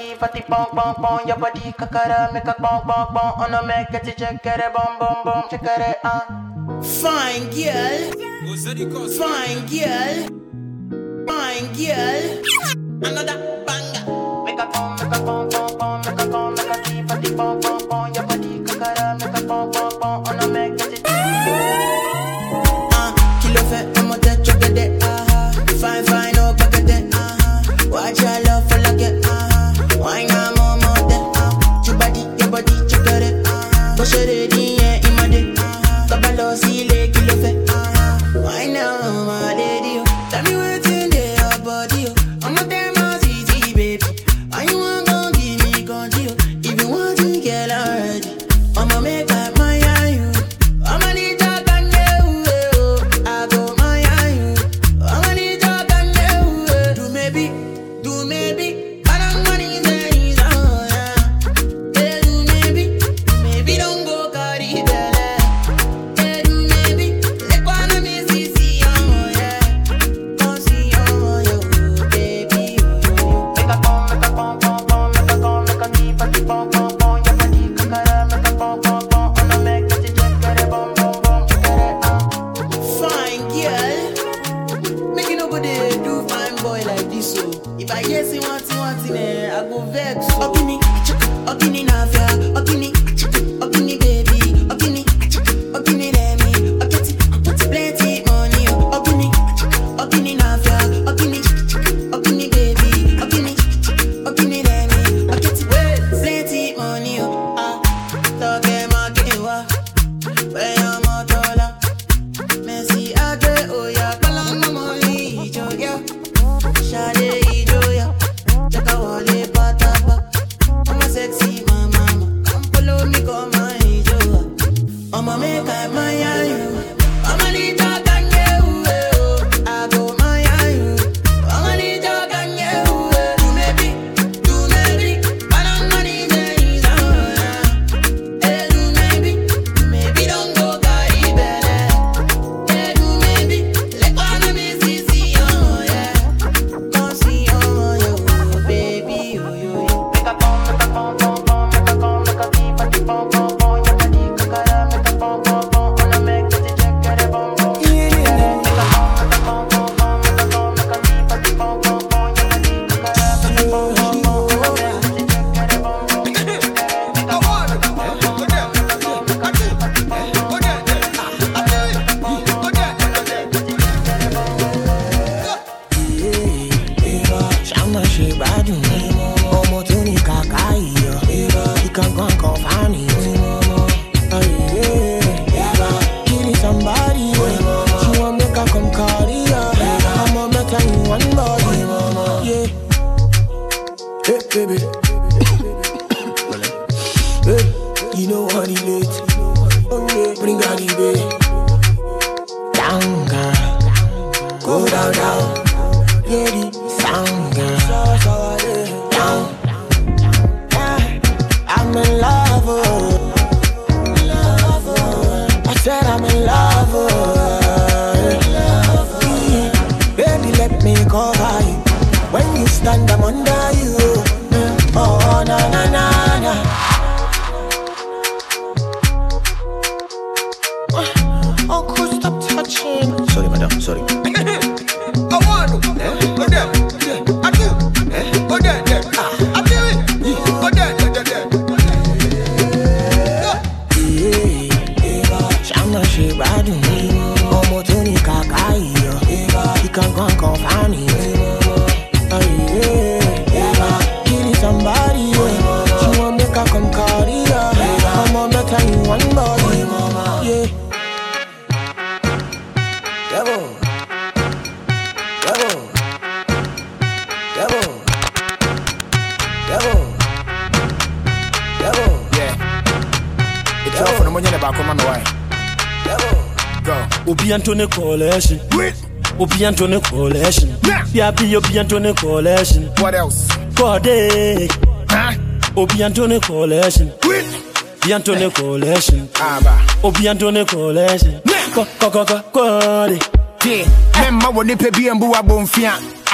fatty, fatty, bong, bong, bong. Your body kakara, make a bong, bong, bong. On a make it check it, bong, bong, bong. Check it, Fine girl, fine girl, fine girl. Another banger. Make a bong, bong, bong, make a bong, make a fatty, bong, bong, bong. Your body kakara, make a bong, bong, bong. On a make it check. Kilo fait, I'm a dead check it, Fine, fine, oh, back at it, Watch your love for like it, Why not more, Your body, check it, Push it in, yeah, in my dick. Kabalo, see, le, kilo fait, Why now, my lady, Tell me what's in your body, I'm a damn easy, baby. Why you want to give me control? If you want to get already, I'ma make up my you. I'ma need to can you. I go my you. I'ma need to can you. Do maybe. I don't want to say so, yeah. Yeah, do maybe don't go carry belly. Yeah, do maybe let one of me see yeah. Come see yo, baby. Make a bong, make a bong, bong, bong, make a bong, make a deep, a deep, bong, bong, bong. Your body kakara, make a bong, bong, bong. On a make it check it, bong, bong, bong, check it, Fine girl, make it nobody do fine boy like this, so. If I hear say want it, I go vex. Okini, navia, okini, baby, okini, let me, plenty money, okini, navia, okini, baby, okini, let me, plenty money, talk market wa, where your motola, Messi agre, oh yeah, kalang money, joya, shade. Sexy mama, come follow me, come my joa. I'ma make up my you. I'ma need to can you. I go my you. I'ma need to can you. Do maybe. I don't want to say so. Hey, do maybe don't go carry belly. Hey, do maybe let one of me see yeah. Come see yo, baby, yo. Make a bong, make a bong, bong, bong, make a bong, make a deep, a deep, bong, bong, bong. Your body kakara, make a bong, bong, bong. On a make it check it, bong, bong. Make a bong, make a bong, bong, bong, make a bong, make a deep, a deep, bong, bong, bong. Your body kakara, make a bong, bong, bong. On a make it check it, bong, bong. Make a bong, make a bong, bong, make a bong, make a deep, a deep, bong, bong. Shama she bad me, omo tuni kakai yo. You can go and confine me, killing somebody. She want make her come carry her. I'ma make her in one body, yeah. Hey baby, hey, you know what it is. Oh yeah, bring her the bay. Down girl, go down. Yeah, the sound girl. Down. I'm in love, I said I'm in love, Baby, let me cover you. When you stand, I'm under you. Oh, na. Oh, cool, stop touching. Sorry, madam, sorry. I want to. Go there. I do. Go there. I do it. Go there. Shama she bad me. Omo tuni kakai yo. You can go and confine me. Killing somebody. She want make her come carry her. I'ma make her in one body. Yeah. Devil. Yeah. It's all for the money about come on the way. Go. Obi Antone Coalition. Obi Antone Coalition. Yeah, be Obi Antone Coalition. What else? Code. Huh? Obi Antone Coalition. Obi Antone Coalition. Obi Antone Coalition. Code. Yeah. Memma woni pe bi embu abonfia.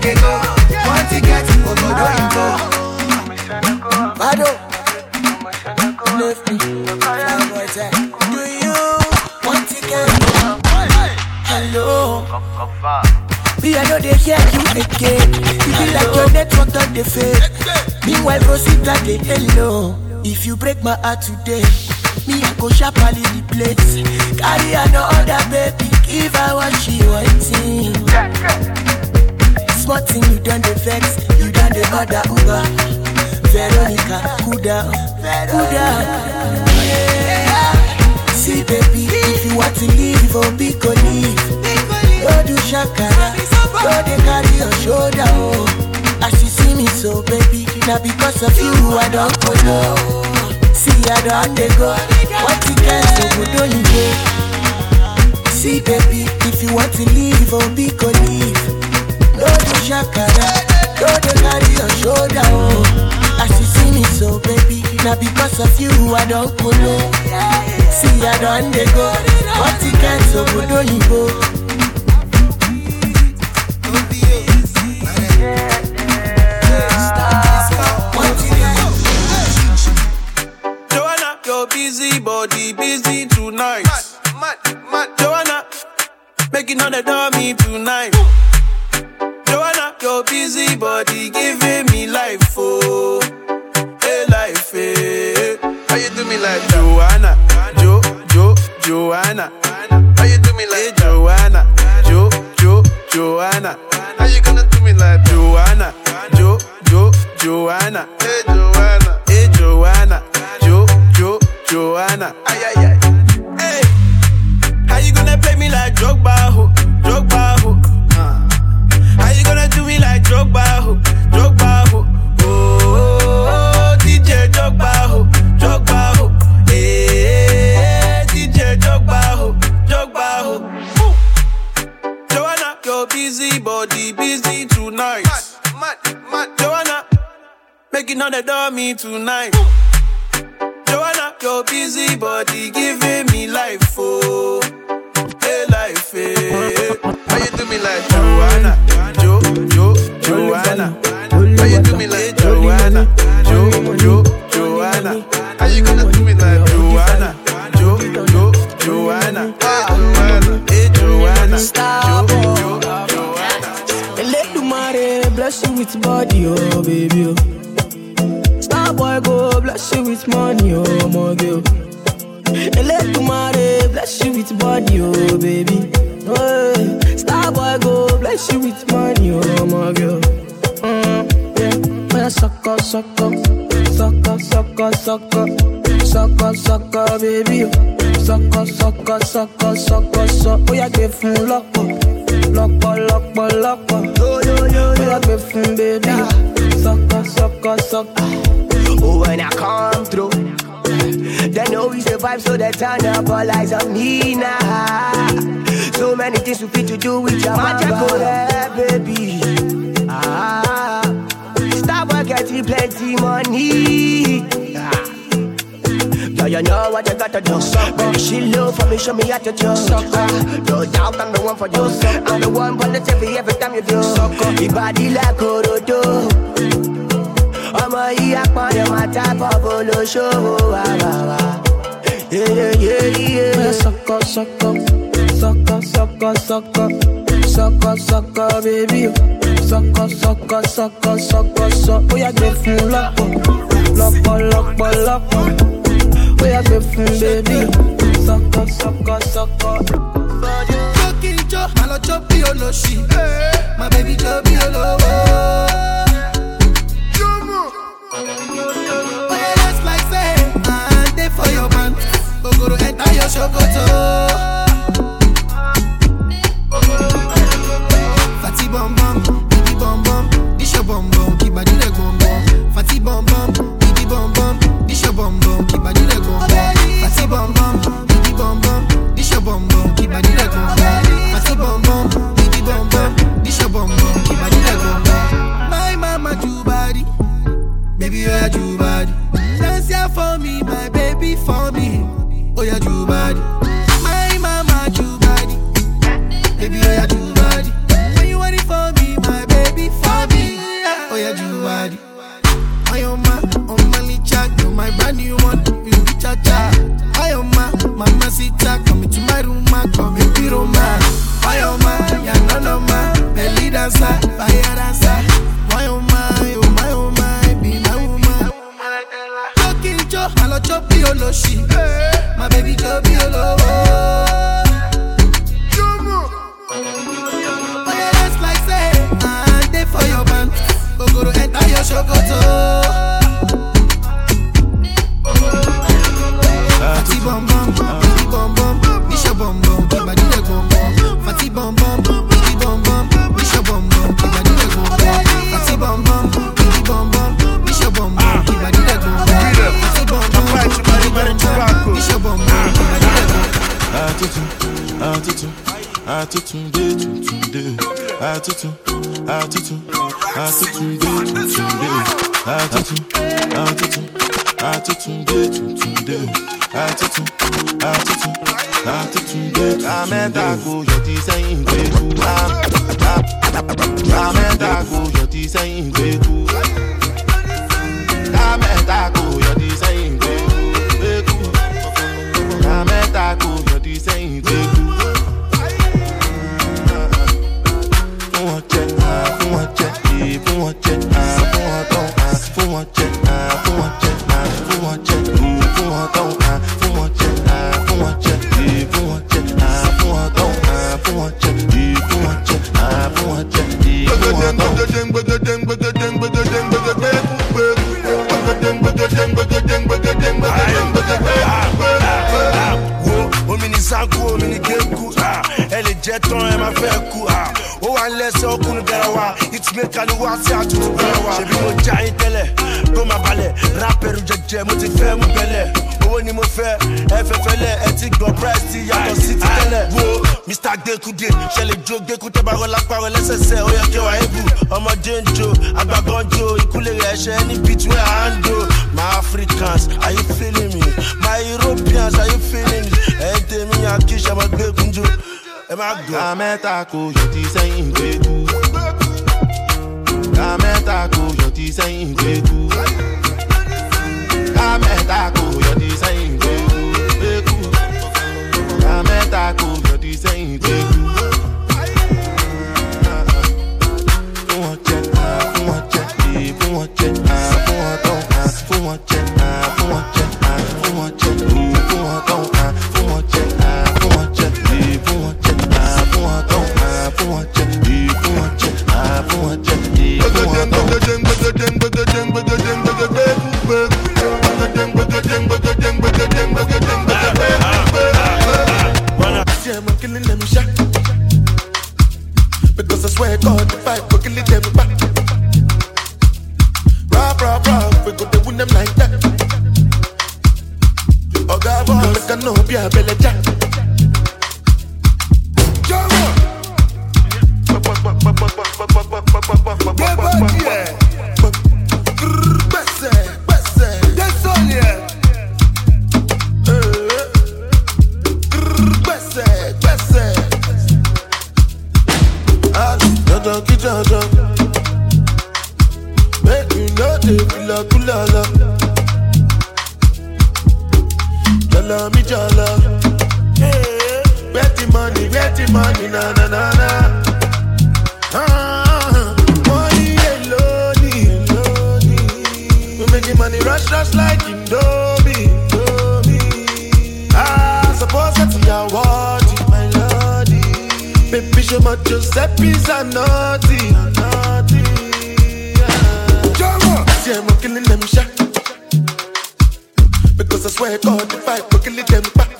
they go. Want to get to Obodo Imbo. Bado. Left me. Do you want to get hello? Me, I know they hear you again. You be like your network on the fake. Meanwhile, Rosita, they hello. If you break my heart today, me, I go sharply the place. Carry another baby, give her what she wanting. Smart thing, you done the vex, you done the mother Uber. Veronica, cool down, cool down. Yeah. See, baby, if you want to leave, oh, be go leave. Don't do shakara, don't they carry your shoulder, oh. As you see me so, baby, now because of you, I don't go no. See, I don't they go. What you can so good, don't you go? See, baby, if you want to leave, oh, be go leave. Don't do shakara, don't they carry your shoulder, oh. As you see me so, baby, now because of you, I don't go no. See, I don't they go. What you can so good, don't you go? Joanna, your busy body busy tonight. Joanna, making all the dummy tonight. Joanna, your busy body giving me life, oh, hey life, hey. How you do me like Joanna, Joanna? How you do me like Joanna, Joanna? How you gonna do me like Joanna, Joanna? Hey Joanna, hey Joanna, Joanna? Ay ay ay. Hey, how you gonna play me like Drogba, ho? How you gonna do me like Drogba, ho? Oh, DJ Drogba, ho. Hey, DJ Drogba, ho. Joanna, your busy body busy tonight. Joanna, making all the dummy tonight. Joanna, your busy body giving me life, oh, hey life, hey. How you do me like Joanna, Joanna? How you do me like Joanna, Joanna? How you gonna do me like Joanna, Joanna? Hey Joanna, Joanna. Let the mare bless you with body, oh baby, oh. Boy, go bless you with money, oh my girl. And let the mare bless you with body, oh baby. Oh, star boy, go bless you with money, oh my girl. Yeah, when I suck up, baby. Suck up. Oh, yeah, give from lock up. Oh, yeah, give from baby. Suck up. Oh, when I come through, they know we survive, so they turn up all eyes on me now. So many things we fit to do with your magic, baby. Stop work, getting plenty money. Girl, you know what you gotta do. Baby, she low for me, show me how to do. No doubt I'm the one for you. I'm the one positive every time you do. Your body like Orodo. I'm a yakman, my type of polo show. Yeah. Suck up, baby. Suck. Oh, yeah, give from lock. Oh, yeah, give from baby. Suck. Joking, I love choppy, oh, no shit. My baby choppy, oh, no. Oh, yeah, just like say, I'm there for your man. Go to enter your shokoto. Fatty bum bum, baby bum bum, this your bum bum, keep body leg bum bum. Fatty bum bum, baby bum bum, this your bum bum, keep body leg bum bum. Fatty bum bum, baby bum bum, this your bum bum, keep body leg bum bum. Fatty bum bum, baby bum bum, this your bum bum, keep body leg bum bum. Atutunde, tutunde, atutu, atutu, atutunde, tutunde, atutu, atutu, atutunde, tutunde, atutu, atutu, atutunde. Amenda ko yoti sayin gbeku, amenda ko yoti sayin gbeku, amenda ko yoti sayin gbeku, amenda ko yoti sayin gbeku. It's me kaluwa si atutu barawa. Ṣebí mo jayin tẹ́lẹ̀, kó má balẹ̀. Rapẹ̀rù jẹjẹ, mo ti fẹ́ mú bẹ̀lẹ̀. Owó ni mo fẹ́, ẹ fẹ́ fẹ́lẹ̀. Ẹ ti gbọ́ price ti yàtọ̀ sí ti tẹ́lẹ̀. Wo Mr. Gbekude, ṣẹlẹ̀ jó Gbekute bá rọlá parọ́ lẹ́sẹsẹ. Ó yẹ kí wàá ebù. Ọmọdé ń jó, àgbàgbọ́ ń jó. Ìkúlẹ̀ rẹ̀ ṣẹ́ ní between hand do. My Africans, are you feeling me? My Europeans, are you feeling me? Ẹ̀yin tèmi yàn kí ṣe ọmọ Gbekunjo. Ẹ má gbọ́. Àmẹ́ta kò yọ ti sẹ́yìn Gbeku. Kameta ko yoti sayin gbeku. Kameta ko yoti sayin gbeku. Kameta ko yoti sayin gbeku. Fún wọn jẹ, fún wọn jẹ, fún wọn jẹ, fún wọn tán, fún wọn jẹ, fún wọn jẹ, fún wọn jẹ, fún wọn tán, fún wọn jẹ, fún wọn jẹ, fún wọn jẹ, fún wọn tán, fún wọn jẹ, fún wọn jẹ, fún wọn jẹ. I'm killing them shot. Because I swear God, the fight, we're killing them back. Rah, we go to win them like that. Oh God, I know be a belly jack. Make you know they feel a kulala. Jala mi jala. Get the money, na na na na. Money alone. We making money rush like Indomie. Suppose that's your word, my lordy. Baby, show my Giuseppe's a naughty. See, I'm killing them shot. Because I swear God, if I we're killing them back.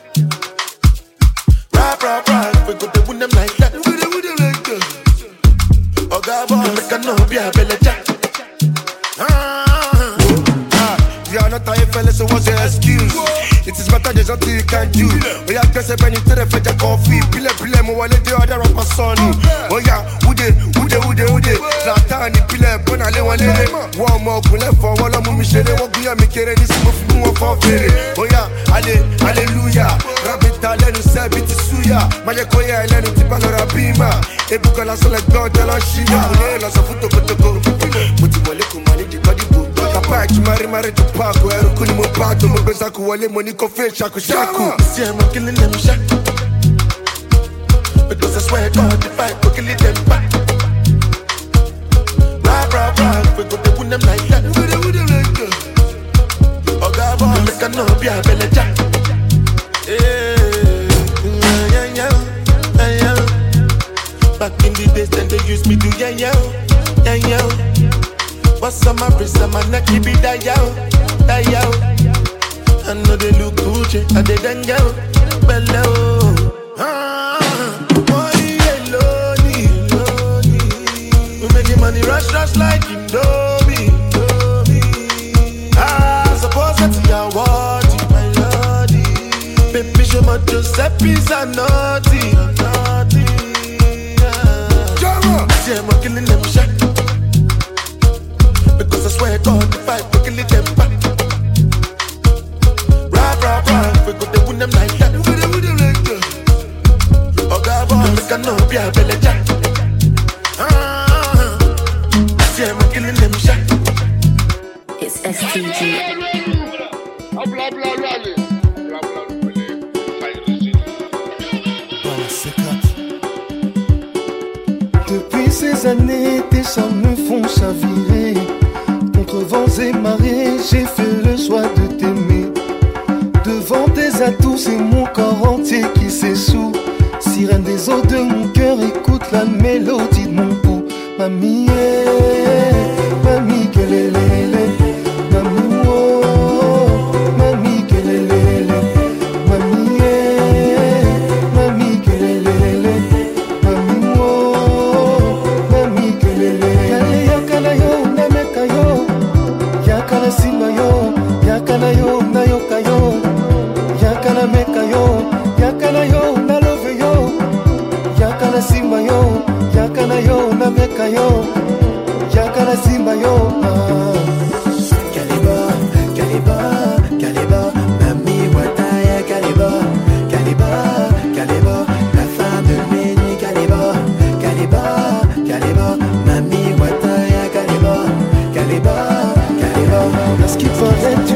Rah, we go to win them like that. Oh God, boy, make a no be a belly jack. You are not a fella, so what's your excuse? It is matter there's nothing you can do. We are just a penny to the fetch a coffee. Pile, mo wale the other of my son. Oh yeah, ude. Zlatani pile, bona le wale. One more kule for one of me shele. One guya me kere ni simo fumu for fere. Oh yeah, hallelujah. Rabita le nu se biti suya. Maje koya le nu tipa lo rabima. Ebuka la sole God la shima. Mune la sa futo kotoko. Muti wale kumani di kadibu. Papa mari to park where kuni mo pato mo beza ku wale money ko fe shaku. See I'm killing them shot. Because I swear God if I go killing them back. Rah, we go to win them like that. Oh God, boy, make a no be a belly jack. Yeah. Back in the days then they used me to yeah. What's on my wrist and my neck, keep it that yo. I know they look Gucci, I they then go below. Money alone. We making money rush like Indomie. Suppose that's your word, my lordy. Baby, show my Giuseppe's a naughty. see I'm killing them shot. Because I swear God, if I go kill them back. Rah, we go to win them like that. Oh God, boy, I know be a belly jack. See I'm killing them shot. It's STG. Depuis ces années, tes chats me font chavirer. Contre vents et marées, j'ai fait le choix de t'aimer. Devant tes atouts, c'est mon corps entier qui s'essoue. Sirène des eaux de mon cœur, écoute la mélodie de mon pouls. Mamie, mamie, quelle est l'élé. Mamie, oh, mamie, quelle est l'élé. Mamie, mamie, quelle est l'élé. Mamie, oh, mamie, quelle est l'élé. Yale yakana yo, nameka yo. Yakana simba yo, yakana yo, nayoka yo. Yakana meka yo, yakana yo, nalove yo. Yakana simba yo, yakana yo, nameka yo. Yakana simba yo. Kaliba, Kaliba, Kaliba, Mami Wataya Kaliba, Kaliba, Kaliba, la fin de mes nuits Kaliba, Kaliba, Kaliba, Mami Wataya Kaliba, Kaliba, Kaliba, Parce qu'il paraît tu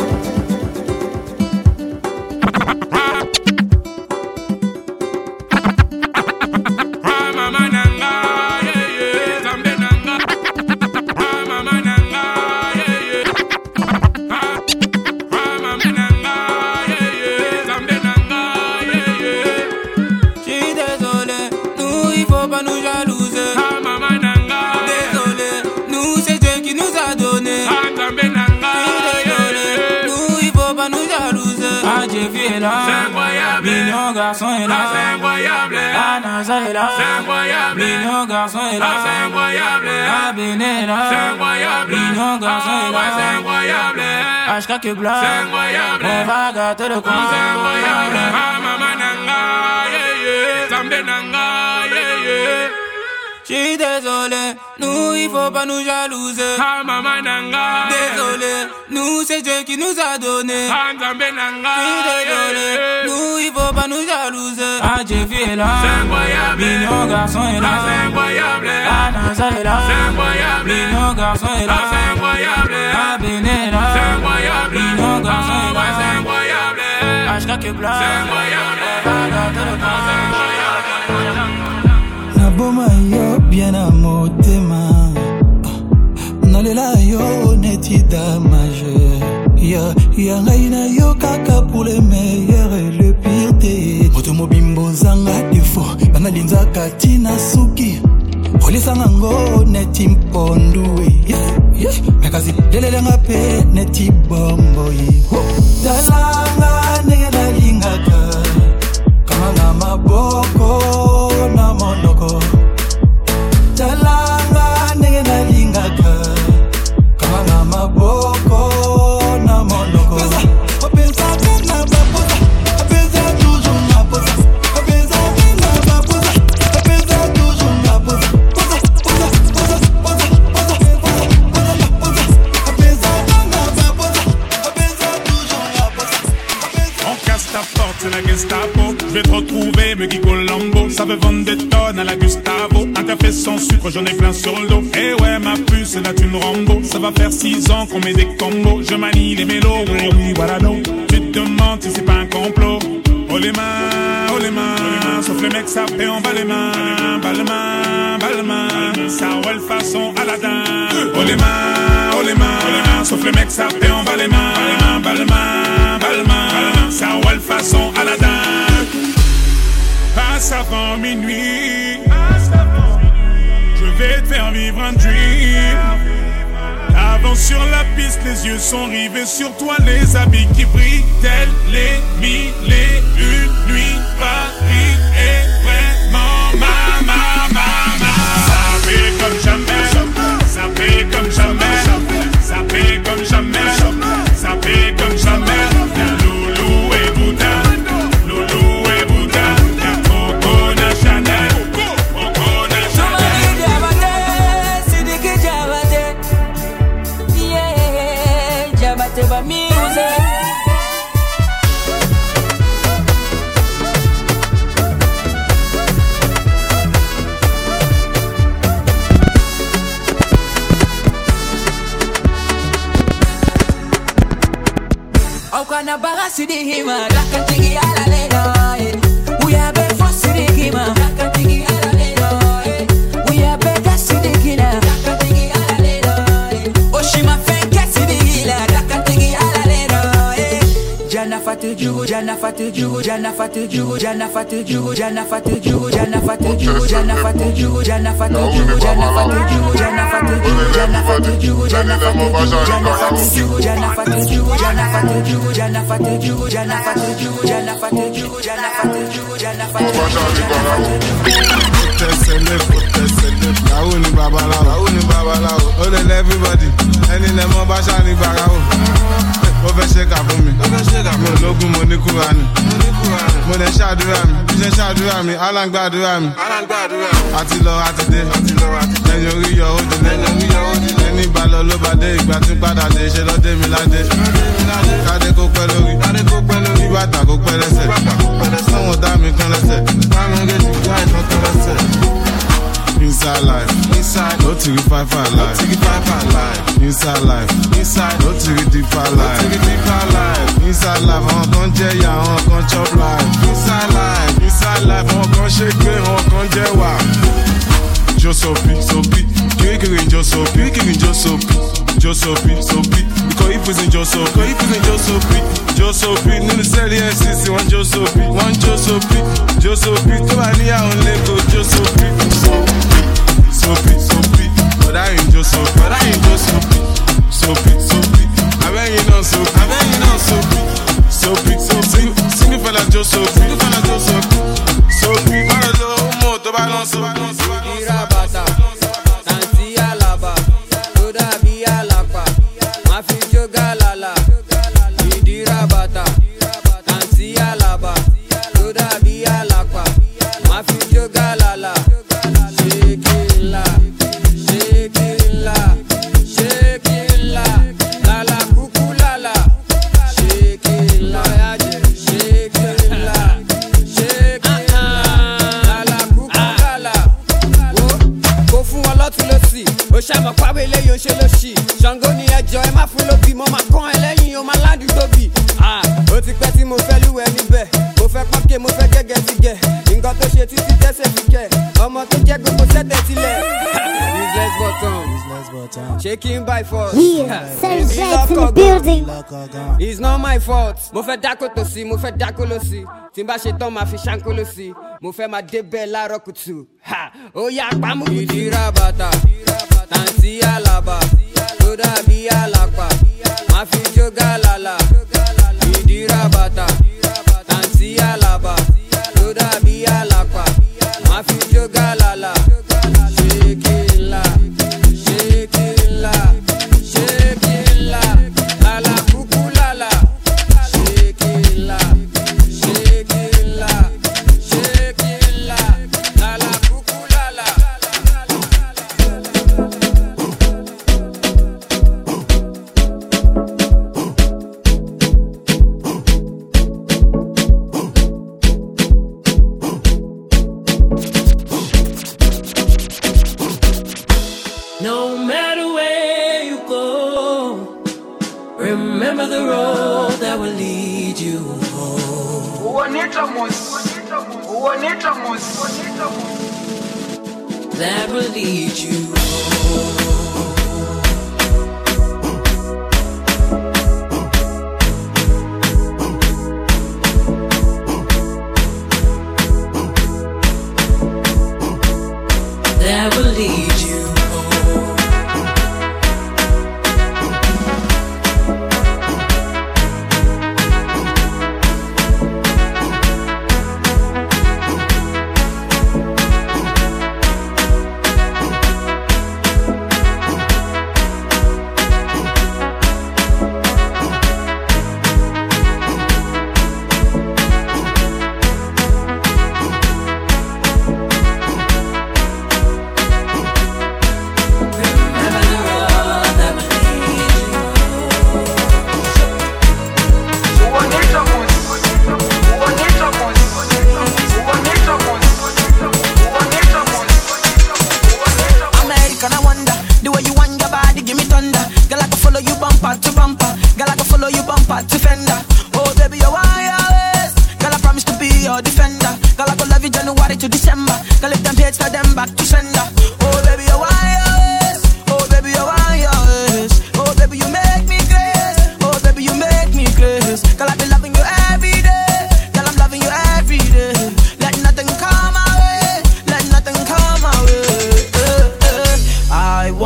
c'est incroyable. Mignon garçon est là, c'est incroyable. Anasa est là, c'est incroyable. Mignon garçon est là, c'est incroyable. Abéné est là, c'est incroyable. Mignon garçon est là, c'est incroyable. HK que blanc, c'est incroyable. On va gâter le coin, c'est incroyable. Maman nanga, yeah yeah, Zambé nanga, yeah yeah. J'suis désolé, nous il faut pas nous jalouser. Ah maman nanga, désolé, nous c'est Dieu qui nous a donné. Ah Zambé nanga, désolé, nous il faut pas nous jalouser. Ah Jeffy est là, c'est incroyable. Mignon garçon est là, c'est incroyable. Anasa est là, c'est incroyable. Mignon garçon est là, c'est incroyable. Abéné est là, c'est incroyable. Mignon garçon est là, c'est incroyable. HK que blanc, c'est incroyable. Naboma yo bien à motema nalela yo neti damage ya ngai na yo kaka pour le meilleur et le pire te moto mobimbo zanga défaut bana linza katina suki olisanga ngo neti mpondu mekazi lelelenga pe neti bombo talanga nenge na lingaka kamanga maboko na monoko talanga nenge na lingaka kamanga maboko na monoko openza kana bapoza openza toujours na poza openza kana bapoza openza toujours na poza poza poza poza poza poza poza openza kana bapoza openza toujours na poza. On casse ta porte, c'est la Gestapo. Je vais te retrouver, me Guy Colombo. Ça veut vendre des tonnes à la Gustavo. Un café sans sucre, j'en ai plein sur le dos. Eh ouais, ma puce, là tu me Rambo. Ça va faire 6 ans qu'on met des combos. Je manie les mélos, oui, voilà donc. Tu te demandes si c'est pas un complot. Oh les mains, sauf les mecs ça fait en bas les mains. Bas les mains, ça roule façon Aladdin. Oh les mains, sauf les mecs ça fait en bas les mains. Bas les mains, ça roule façon Aladdin. Passe avant minuit, je vais te faire vivre un dream. Avance sur la piste, les yeux sont rivés sur toi, les habits qui brillent, tels les 1001 nuits. Paris est vraiment ma. Ça fait comme jamais, ça fait comme jamais, ça fait comme jamais, ça fait comme jamais. Loulou et Bouddha, Coco na Chanel, Coco na Chanel. Aukana bagasi di hima, rakantigi ala leno. We are big for city hima, rakantigi ala leno. We are big for city hima, rakantigi ala leno. Oshima fenke city hila, rakantigi ala leno. Jana fatu jugu, jana fatu jugu, jana fatu jugu, jana fatu jugu, jana fatu jugu, jana fatu jugu, jana fatu jugu, jana fatu jugu, jana fatu jugu, jana fatu jugu, jana fatu jugu, jana fatu jugu, jana fatu jugu, jana fatu jugu, jana fatu jugu, jana fatu jugu, jana fatu jugu, jana fatu jugu, jana fatu jugu. Tẹsẹlẹ, làwọn ní babaláwo, ó lè lẹ everybody, ẹni lẹ mọ bá ṣáà ní gbàgbọ́. Ó fẹ́ ṣe kà fún mi, mi ò lógún mo ní Kúránì. Mo lè ṣàdúrà mi, bí ṣe ṣàdúrà mi, Allah ń gbàdúrà mi. Àti lọ àti dé, lẹ́yìn orí yọ ó dilé. Ẹni bá lọ ló bá dé, ìgbà tí padà dé, ṣe lọ dé mi ládé. Kádé kó pẹ́ lórí, kí bàtà kó pẹ́ lẹ́sẹ̀. Sọ́wọ́n dá mi kan lẹ́sẹ̀, bá mi gé jù láì tán kan lẹ́sẹ̀. Inside life, no to the five life. Inside life, no to the deeper life. Inside life, àwọn kan jẹ́ ìyà, àwọn kan chop life. Inside life, àwọn kan ṣe pé, àwọn kan jẹ́ wà. Josopi, kiri Josopi. Because if it's in Josopi, nínú sẹ́ẹ̀lì NCC, one Josopi, tó bá ní àwọn lẹ́kọ̀ọ́ Josopi. Soapy, but I ain't Josopi. I bet you know Soapy. Sing it for la Josopi. Soapy, para lo humo, to ba non Soapy. Irabata, Tanti Alaba, Toda Bi Alapa, Mafi Joga Lala, Idirabata, Tanti Alaba, Toda Bi Alapa, Mafi Joga Lala. Ṣàmọ̀ pàwé lẹ́yìn oṣù lóṣì Ṣàngó ni ẹjọ́ ẹ má fún lóbi mo máa kán ẹ lẹ́yìn o máa ládùú tóbi. Ó ti pẹ́ tí mo fẹ́ lúwẹ̀ níbẹ̀ mo fẹ́ pọ́nkẹ́ mo fẹ́ gẹ́gẹ́ ti gẹ̀ nǹkan tó ṣe títí tẹ́sẹ̀ fi kẹ̀ ọmọ tó jẹ́ gbogbo sẹ́tẹ̀ sílẹ̀. Useless button shaking by force. Serge in the building. It's not my fault. Mo fẹ́ dákó tó sí mo fẹ́ dákó ló sí tí n bá ṣe tán máa fi ṣáńkó ló sí mo fẹ́ máa débẹ̀ láàárọ̀ kùtù. Ó yá pamọ́ kùtù. Ìdírabàtà Tanti Alaba, Toda Bi Alapa, Mafi Joga Lala, Idirabata, Tanti Alaba, Toda Bi Alapa, Mafi Joga Lala, Shake it la, Lala Kuku Lala, Shake it la, Lala Kuku Lala. No matter where you go, remember the road that will lead you home. That will lead you home. That will lead you home.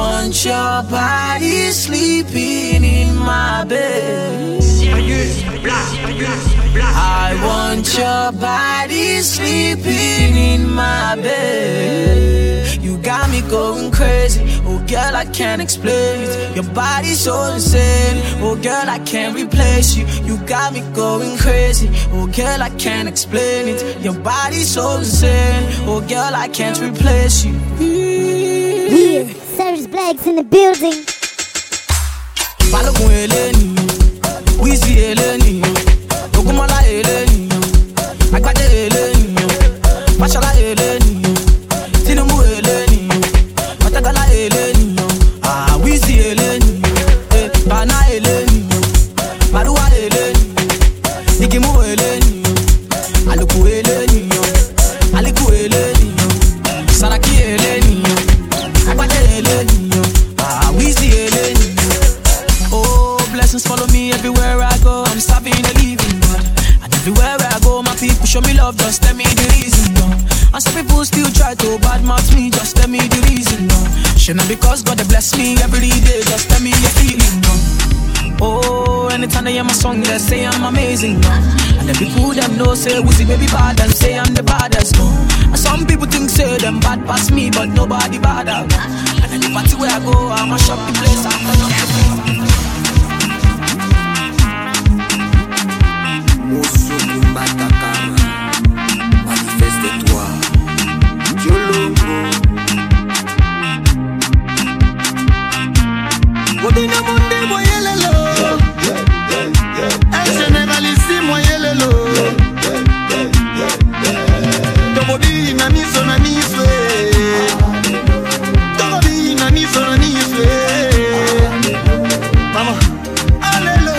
want your body sleeping in my bed. I want your body sleeping in my bed. You got me going crazy. Oh girl, I can't explain it. Your body's so insane. Oh girl, I can't replace you. You got me going crazy. Oh girl, I can't explain it. Your body's so insane. Oh girl, I can't replace you. Yeah, Serge Black's in the building. Balogun Eleni, Wizzy Eleni, Ogunmola Eleni, Agbade Eleni, Fashola Eleni, Tinubu Eleni, Matagala Eleni, Wizzy Eleni, Bana Eleni, Marua Eleni, Nikimu Eleni, Aluku Eleni, Aliku Eleni, Saraki Eleni, Agbade Eleni, Wizzy Eleni. Oh, blessings follow me everywhere I go. I'm serving a living God, and everywhere I go, my people show me love. Just tell me the reason, no. And some people still try to badmouth me. Just tell me the reason, no. Should not because God they bless me every day. Just tell me your feeling, no. Oh, anytime they hear my song, they say I'm amazing, no. And the people them know say Wizzy baby bad and say I'm the baddest, no. And some people think say them bad past me, but nobody bad out. And any party where I go, I'ma shop the place. I'm turn up the place. Moussoukou Matakama, manifeste-toi, Diolongo. Modina Monde, moyelelo. Un général ici, moyelelo. Tobobi, nani sonani fwe. Tobobi, nani sonani fwe. Maman, allélo.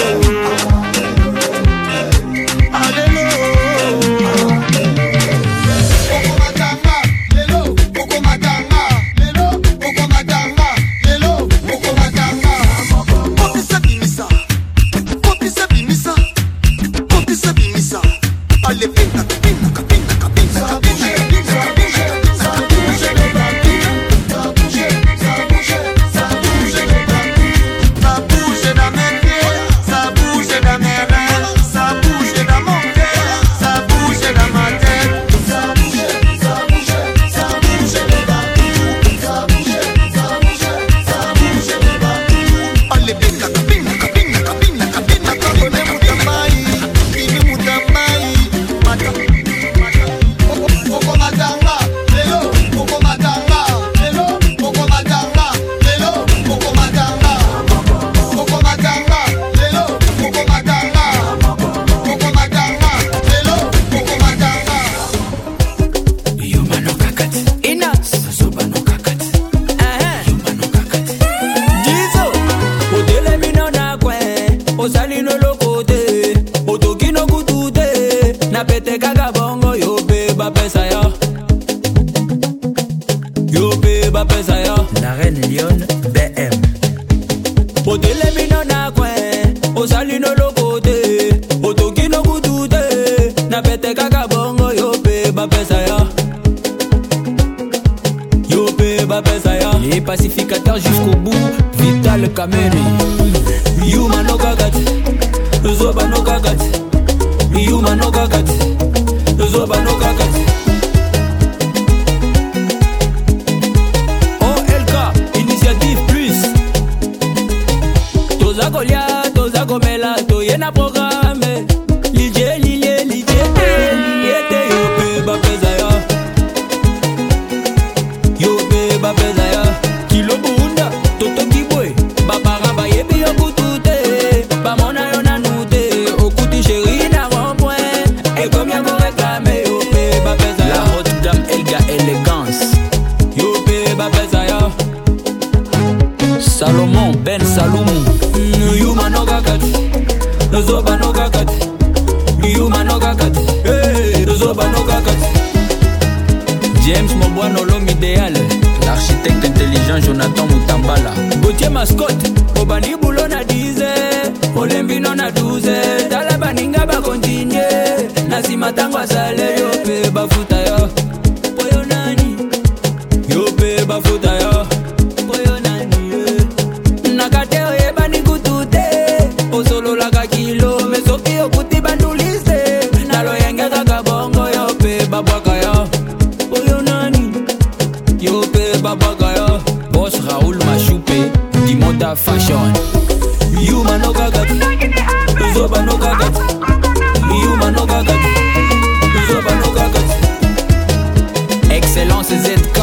La reine Lyon BM. Otele bino na kwen, osali no lokote, otoki no kutute, na pete kaka bongo yope ba pesa ya. Yope ba pesa ya. Les pacificateurs jusqu'au bout, Vital Kameri. Yuma no kakati, Zoba no kakati. Yuma no kakati, Zoba no kakati. Toza komela, toyena programme. Lije te yope ba pesa ya. Yope ba pesa ya. Kilo bunda, toto kibwe. Babara ba yebi yo kutute. Ba mona yo nanute. Okuti chéri na rond-point. Et comme y'a go réclamer, yope ba pesa ya. La haute dame Elga élégance. Yope ba pesa ya. Salomon Ben Saloumou. Yuma no kakati, Zoba no kakati. Yuma no kakati, Zoba no kakati. James Mobuano l'homme idéal. L'architecte intelligent Jonathan Mutambala. Gauthier mascotte, Obani boulot na 10. Olembi non na 12. Tala baninga ba continue. Nasima tango asale yope bafuta yo. Poyo nani, yope bafuta yo. Poyo fashion. Yuma no gagat, Zoba no gagat. Yuma no gagat, Zoba no gagat. Excellence ZK,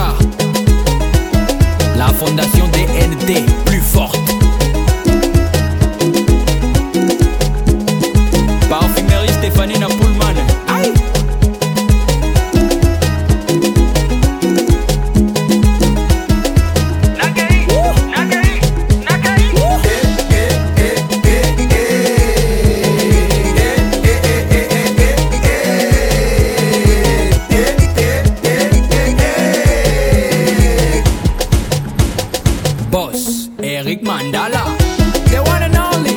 la fondation DNT plus forte. Parfumerie Stéphanie Napoulman. Aïe. Boss, Eric Mandala, the one and only.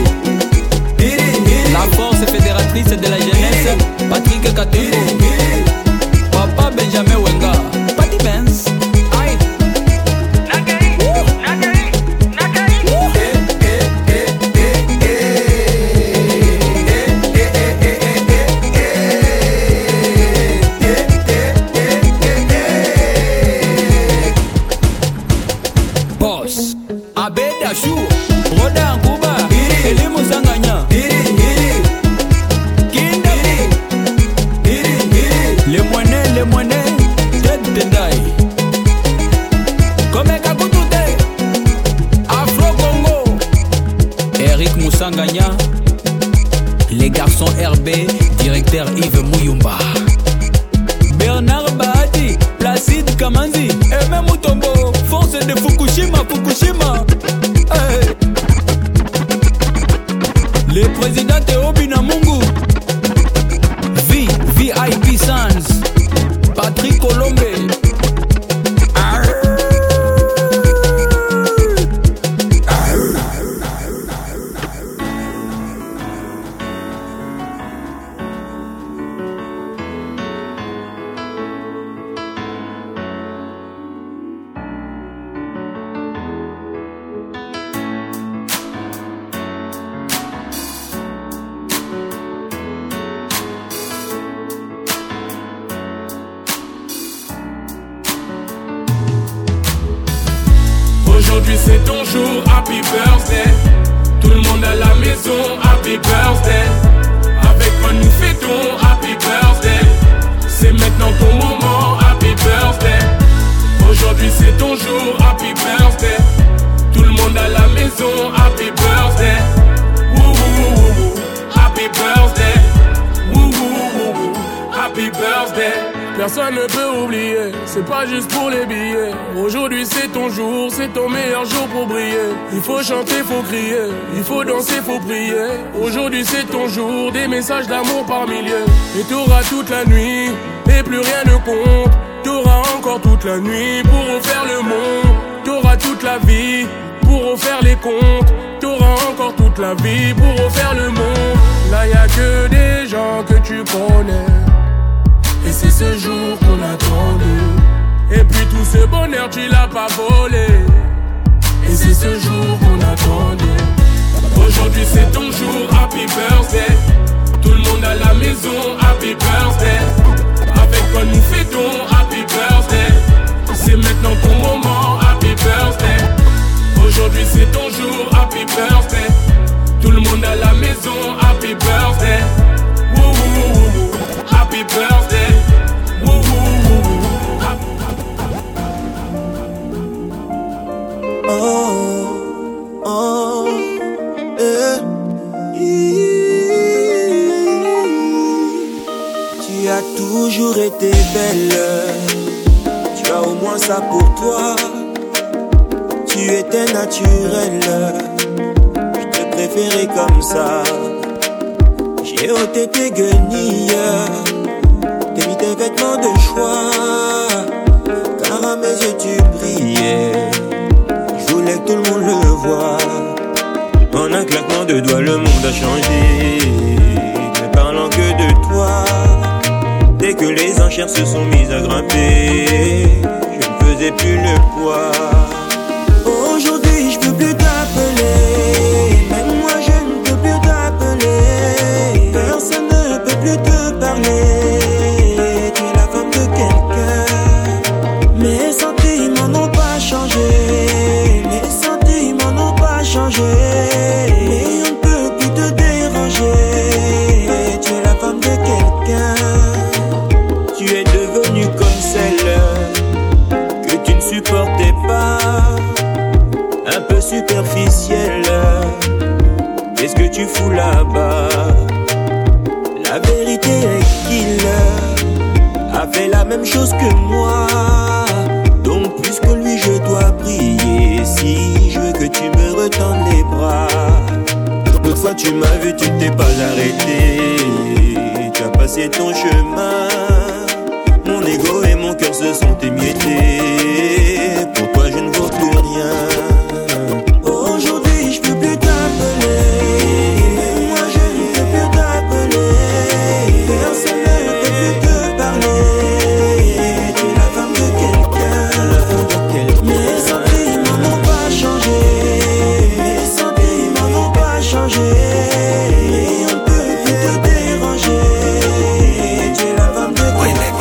La force fédératrice de la jeunesse, Patrick Katumbo. Papa Benjamin Wenga, Patty Benz. Aïe. Boss, Abed Achou, Roda Nkuba, Eli Musanganya, Kinda, les moineaux, Ted Dendai, Komeka Kutute, Afro Congo, Eric Musanganya, les garçons RB, directeur Yves Mouyumba, Bernard Bahati, Placide Kamanzi, Aimé Mutombo, force de Fukushima. Hey. Le président Théo Binamungu, VIP Sans, Patrick Colombe. Aujourd'hui c'est ton jour, happy birthday. Tout le monde à la maison, happy birthday. Avec moi nous fêtons, happy birthday. C'est maintenant ton moment, happy birthday. Aujourd'hui c'est ton jour, happy birthday. Tout le monde à la maison, happy birthday. Woo woo woo woo, happy birthday. Woo woo woo woo, happy birthday. Personne ne peut oublier, c'est pas juste pour les billets. Aujourd'hui c'est ton jour, c'est ton meilleur jour pour briller. Il faut chanter, faut crier, il faut danser, faut prier. Aujourd'hui c'est ton jour, des messages d'amour par milliers. Et t'auras toute la nuit, et plus rien ne compte. T'auras encore toute la nuit pour refaire le monde. T'auras toute la vie pour refaire les comptes. T'auras encore toute la vie pour refaire le monde. Là y'a que des gens que tu connais. Et c'est ce jour qu'on attendait. Et puis tout ce bonheur tu l'as pas volé. Et c'est ce jour qu'on attendait. Aujourd'hui c'est ton jour, happy birthday. Tout le monde à la maison, happy birthday. Avec quoi nous fêtons, happy birthday. C'est maintenant ton moment, happy birthday. Aujourd'hui c'est ton jour, happy birthday. Tout le monde à la maison, happy birthday. Woo woo woo woo, happy birthday. Woo woo woo woo. Oh, oh, Tu as toujours été belle. Tu as au moins ça pour toi. Tu étais naturelle. Je te préférais comme ça. J'ai ôté tes guenilles, t'as mis tes vêtements de choix, car à mes yeux tu brillais. Je voulais que tout le monde le voie. En un claquement de doigts le monde a changé, ne parlant que de toi. Dès que les enchères se sont mises à grimper, je ne faisais plus le poids. Aujourd'hui je peux plus t'appeler, même moi je ne peux plus t'appeler. Personne ne peut plus te parler, tu es la femme de quelqu'un. Mes sentiments n'ont pas changé, mes sentiments n'ont pas superficiel. Qu'est-ce que tu fous là-bas? La vérité est qu'il a fait la même chose que moi. Donc plus que lui je dois prier. Si je veux que tu me retendes les bras. L'autre fois tu m'as vu, tu t'es pas arrêté. Tu as passé ton chemin. Mon ego et mon cœur se sont émiettés. Pour toi je ne vaux plus rien. Aujourd'hui je peux plus t'appeler. Moi je ne peux plus t'appeler. Personne ne peut plus te parler. Tu es la femme de quelqu'un. Mes sentiments n'ont pas changé. Mes sentiments n'ont pas changé. On ne peut plus te déranger. Tu es la femme de quelqu'un.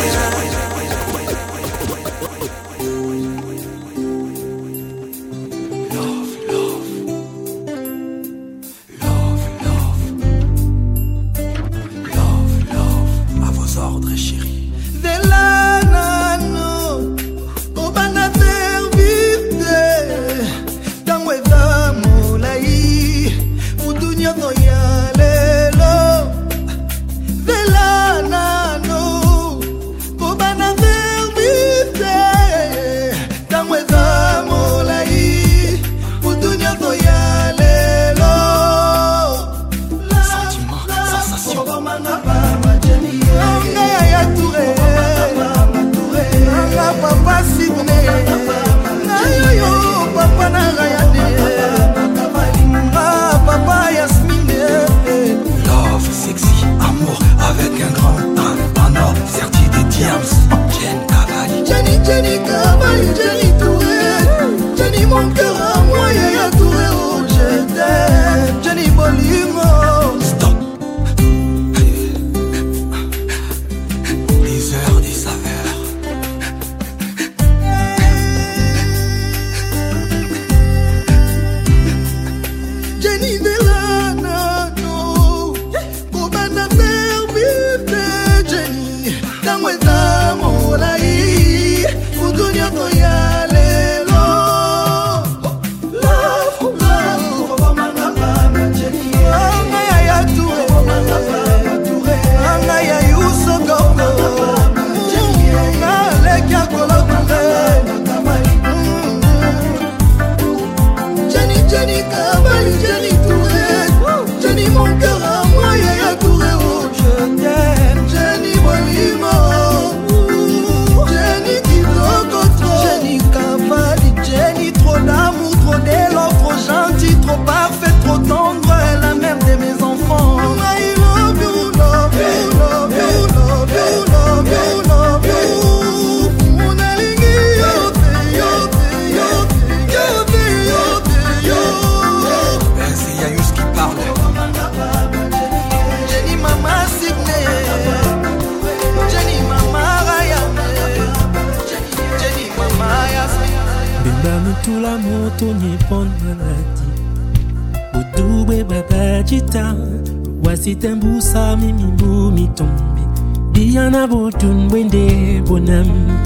Wasitembusa mimi bumi tombi Diana botun wende bonam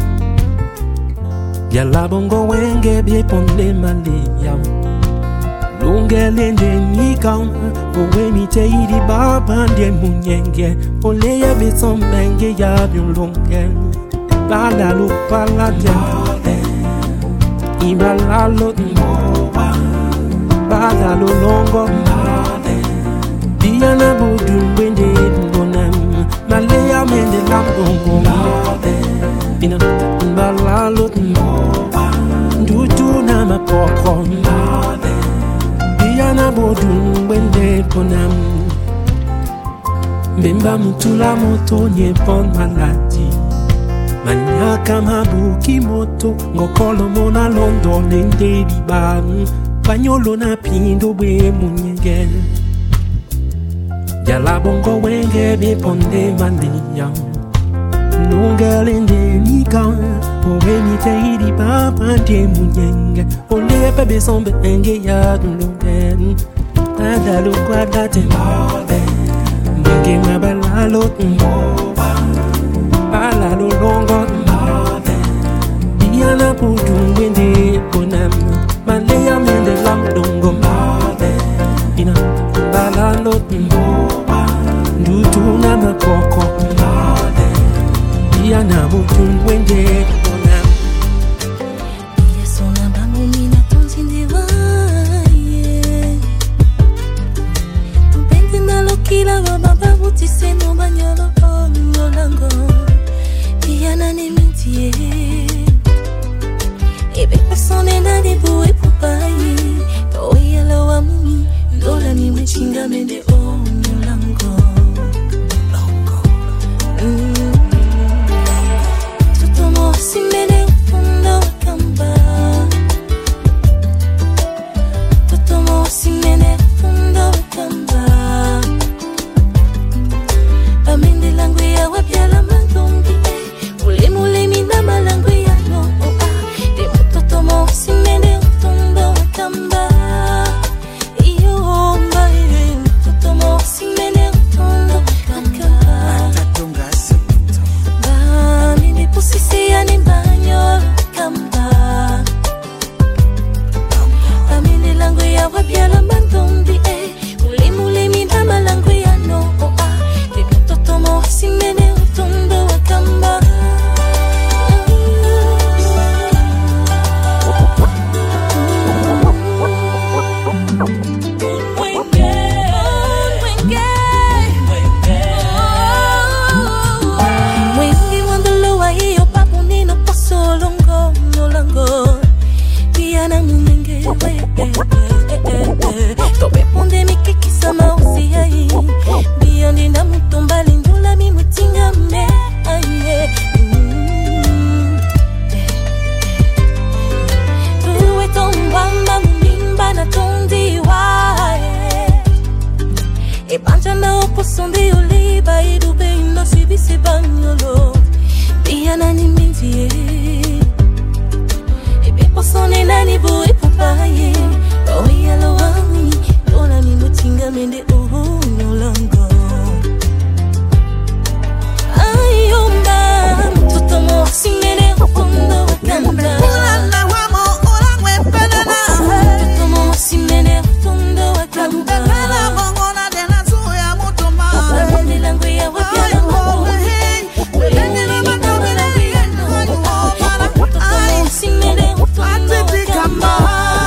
Yala bongo wenge bie ponde male yam Lunge lende nika Owe mi te idi baba ndie munyenge Ole ya beson benge ya biolonge Bala lo pala de Ibala lo mboba Bala lo longo Diana bodun wende bonam Malaya mende lambongo Ina balalo Ndutu na mapoko Diana bodun wende bonam Mbemba mutula moto nye pon maladi Manyaka mabuki moto Ngokolo mona londo nende diban Panyolo na pindo we munyenge Yala bongo wenge be ponde mandiya Lunga lende nika Owe mi te idi papa de munyenge Ole bebe sombe enge ya dunlunge Adalo quadrate Mwenge mabalalo Balalo longo Diana putu wende bonam Malaya mende lamdo tise no banyolo lango Piana ni mintie Ebe persone na di bue pupai Toi alo amuni Ndola ni mechinga mende lango Tutomo simene ufundo kamba Tutomo simene ufundo kamba Pamende langu ya wapiala mandombi Mule mina malangu ya no Demo tutomo simene ufundo kamba Iyo mbae Tutomo simene ufundo kamba Bamende pusisi ya ni banyo kamba Pamende langu ya wapiala mandombi Mule mina malangu ya no Demo tutomo simene ufundo kamba Tobe ponde mi kiki sama usi ai Biondi na mutomba lindula mi mutinga me aye Tuwe tombamba mumimba na tondi wae E banja na oposondi oliba idube ino sibisi banyolo Biana ni minzie Ebe posone nani bui pupaye Oye alo wami Lola mi mutinga mende lango Ayomba Tutomo simene ufundo wakanda Tutomo simene ufundo wakanda Pamende langu ya wapiala wangu Tutomo simene ufundo wakanda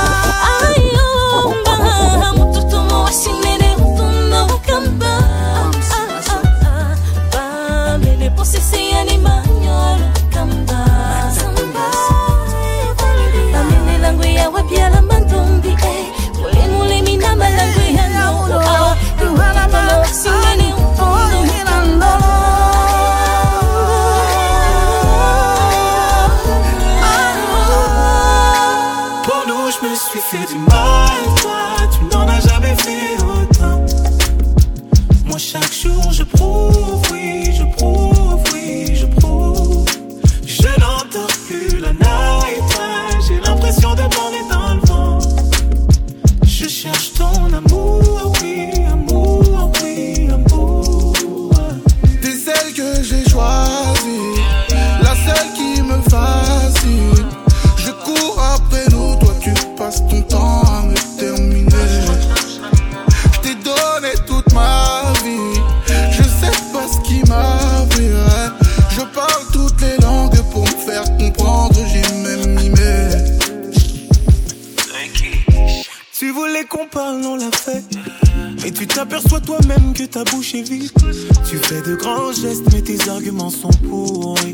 Ta bouche est vide. Tu fais de grands gestes mais tes arguments sont pourris.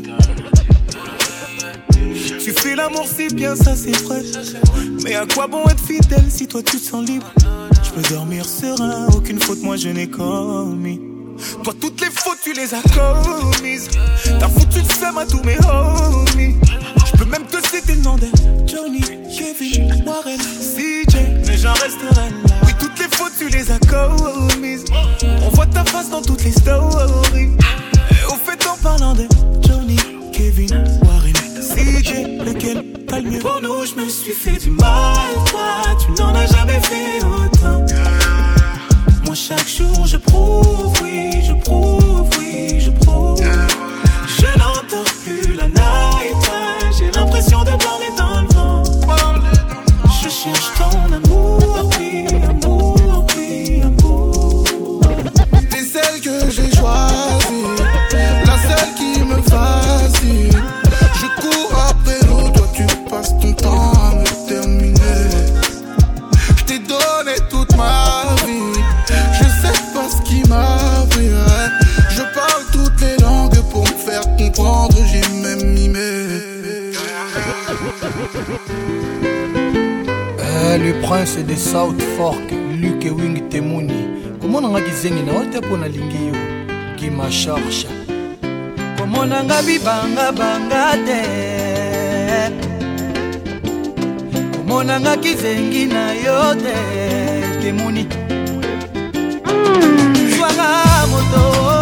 Tu fais l'amour si bien, ça c'est vrai. Mais à quoi bon être fidèle si toi tu te sens libre? Je peux dormir serein, aucune faute moi je n'ai commis. Toi toutes les fautes tu les as commises. T'as foutu le seum à tous mes homies. Je peux même te citer le nom de Johnny, Kevin, Warren, CJ, mais j'en resterai là. Oui toutes les fautes tu les as commises. On voit ta face dans toutes les stories. Et au fait en parlant de Johnny, Kevin, Warren, CJ, lequel t'as le mieux? Pour nous je me suis fait du mal. Toi tu n'en as jamais fait autant. Moi chaque jour je prouve, oui je prouve, oui je prouve. Je n'entends plus la night. J'ai l'impression de parler dans le vent. Je cherche ton amour, oui amour, oui amour. T'es celle que j'ai choisie, la seule qui me fascine. Je cours après l'eau, toi tu passes ton temps à me terminer. Je t'ai donné toute ma vie, je sais pas ce qui m'arriverait. le prince de South Fork, Luke Wing Temuni. Comment on a dit na ote pona lingi yo qui ma charge. Comment on a bibanga bangate. Comment on a kizengi na yote Temuni. Swanga moto.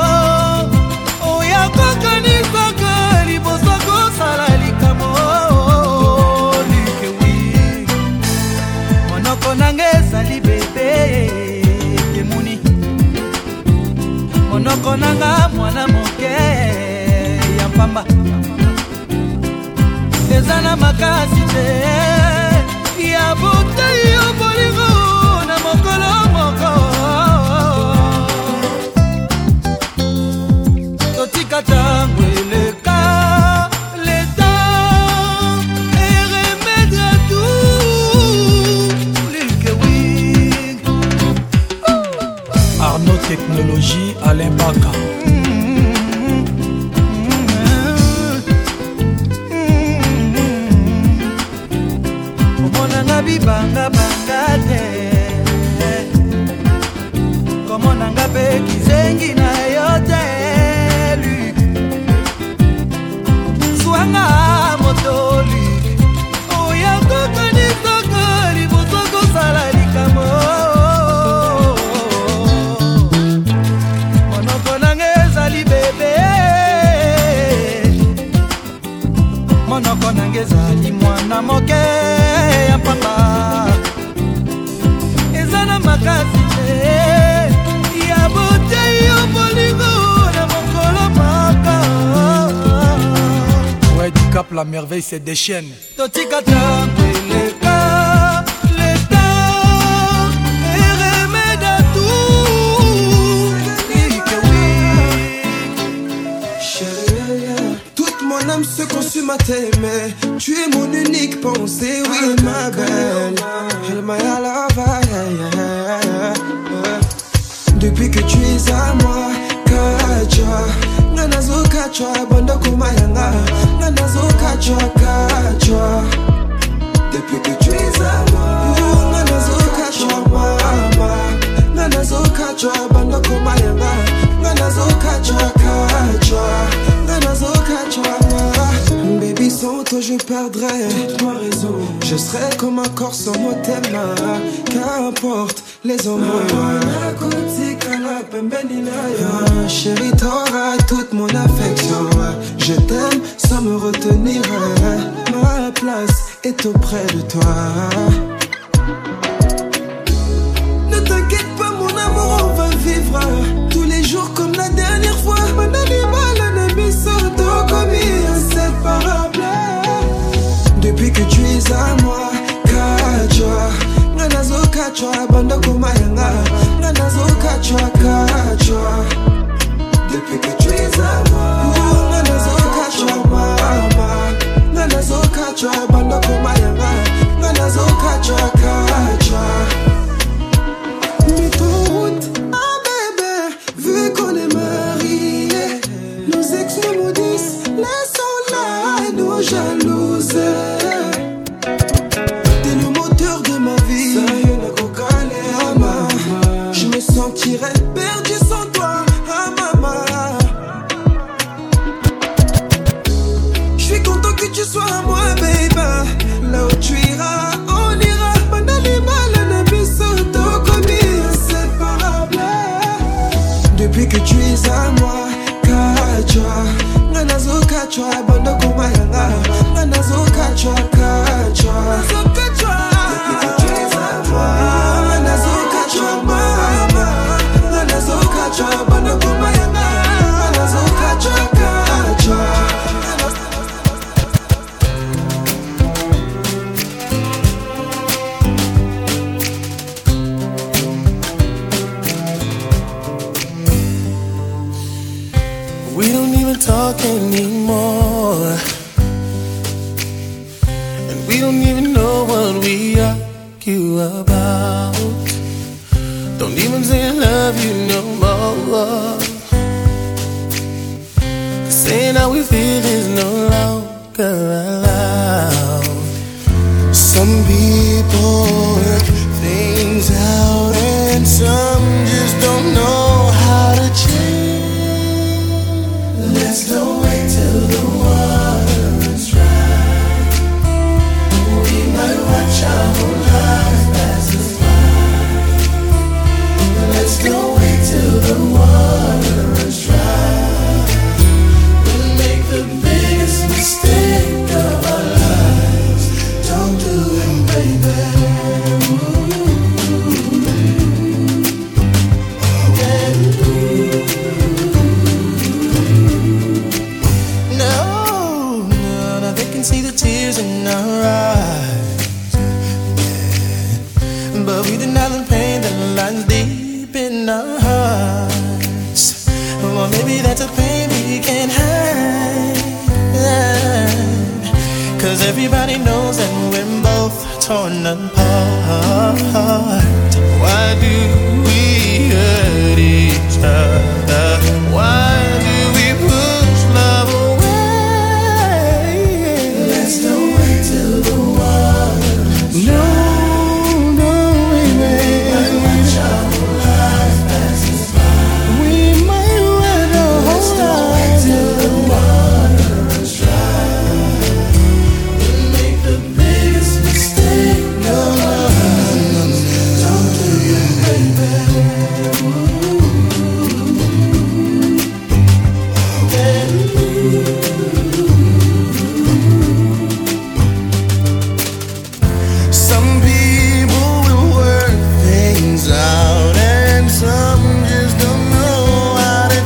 Oya kokani kokani bosako salali kamo. Luke Wing. Monoko nange sali bébé. Monoko nanga mwana moke ya mpamba ezana makasi te ya bote yo bolingo na mokolo moko totika tango eleka leta et remède à tout Luke Wing Arnaud Technologie Alain Baka Komonanga bibanga bangate Komonanga pe kizengi na yote Swanga motoli Oya kokani kokani bosoko salali kamo Monoko nangezali mwana moke ya papa ezana makasi te ya bote yo bolingo na mokolo maka Ouais du Cap la merveille c'est des chaînes totika tapeleka leta et remède à tout toute mon âme se consume à t'aimer. Tu es mon unique pensée, oui ma belle. Elmaya lava, depuis que tu es à moi, Kacha. Nanazo Kacha, banda kumayanga. Nanazo Kacha, Kacha. Depuis que tu es à moi, Nanazo Kacha, mama. Nanazo Kacha, banda kumayanga. Nanazo Kacha, Kacha. Nanazo Kacha. Baby, sans toi je perdrais toute ma raison. Je serais comme un corps sans mot thème. Qu'importe les hommes. Chérie, t'auras toute mon affection. Je t'aime sans me retenir. Ma place est auprès de toi. Ne t'inquiète pas mon amour, on va vivre tous les jours comme la dernière fois. Mon animal, un ami sortant comme inséparable. Depuis que tu es à moi, Kacha. Nanazo Kacha, banda kumayanga. Nanazo Kacha, Kacha. Depuis que tu es à moi, Nanazo Kacha, mama. Nanazo Kacha, banda kumayanga. Nanazo Kacha, Kacha. Mais ton route, ah bébé, vu qu'on est mariés, nos ex nous maudissent, laissons-la nous jalouser. T'es le moteur de ma vie, je me sentirais perdu sans toi, ah maman. Je suis content que tu sois à moi, baby. Là où tu iras, on ira. Depuis que tu es à moi, Kacha. Nanazo Kacha, banda kumayanga. Nanazo Kacha, Kacha. Depuis que tu es à moi, Nanazo Kacha, mama. Nanazo Kacha, banda kumayanga. Nanazo Kacha, Kacha. We don't even talk anymore, and we don't even know what we argue about. Don't even say I love you no more. Saying how we feel is no longer allowed. Some people denying pain that lies deep in our hearts. Or maybe that's a pain we can't hide. 'Cause everybody knows that we're both torn apart. Why do we hurt each other? Why do we push love away? Let's don't wait till the water runs dry. No, baby. We might watch our whole lives pass us by. We might wait a whole life. Let's don't wait till the water runs dry. We'll make the biggest mistake of our lives. Don't do it, baby. Some people will work things out, and some just don't know how to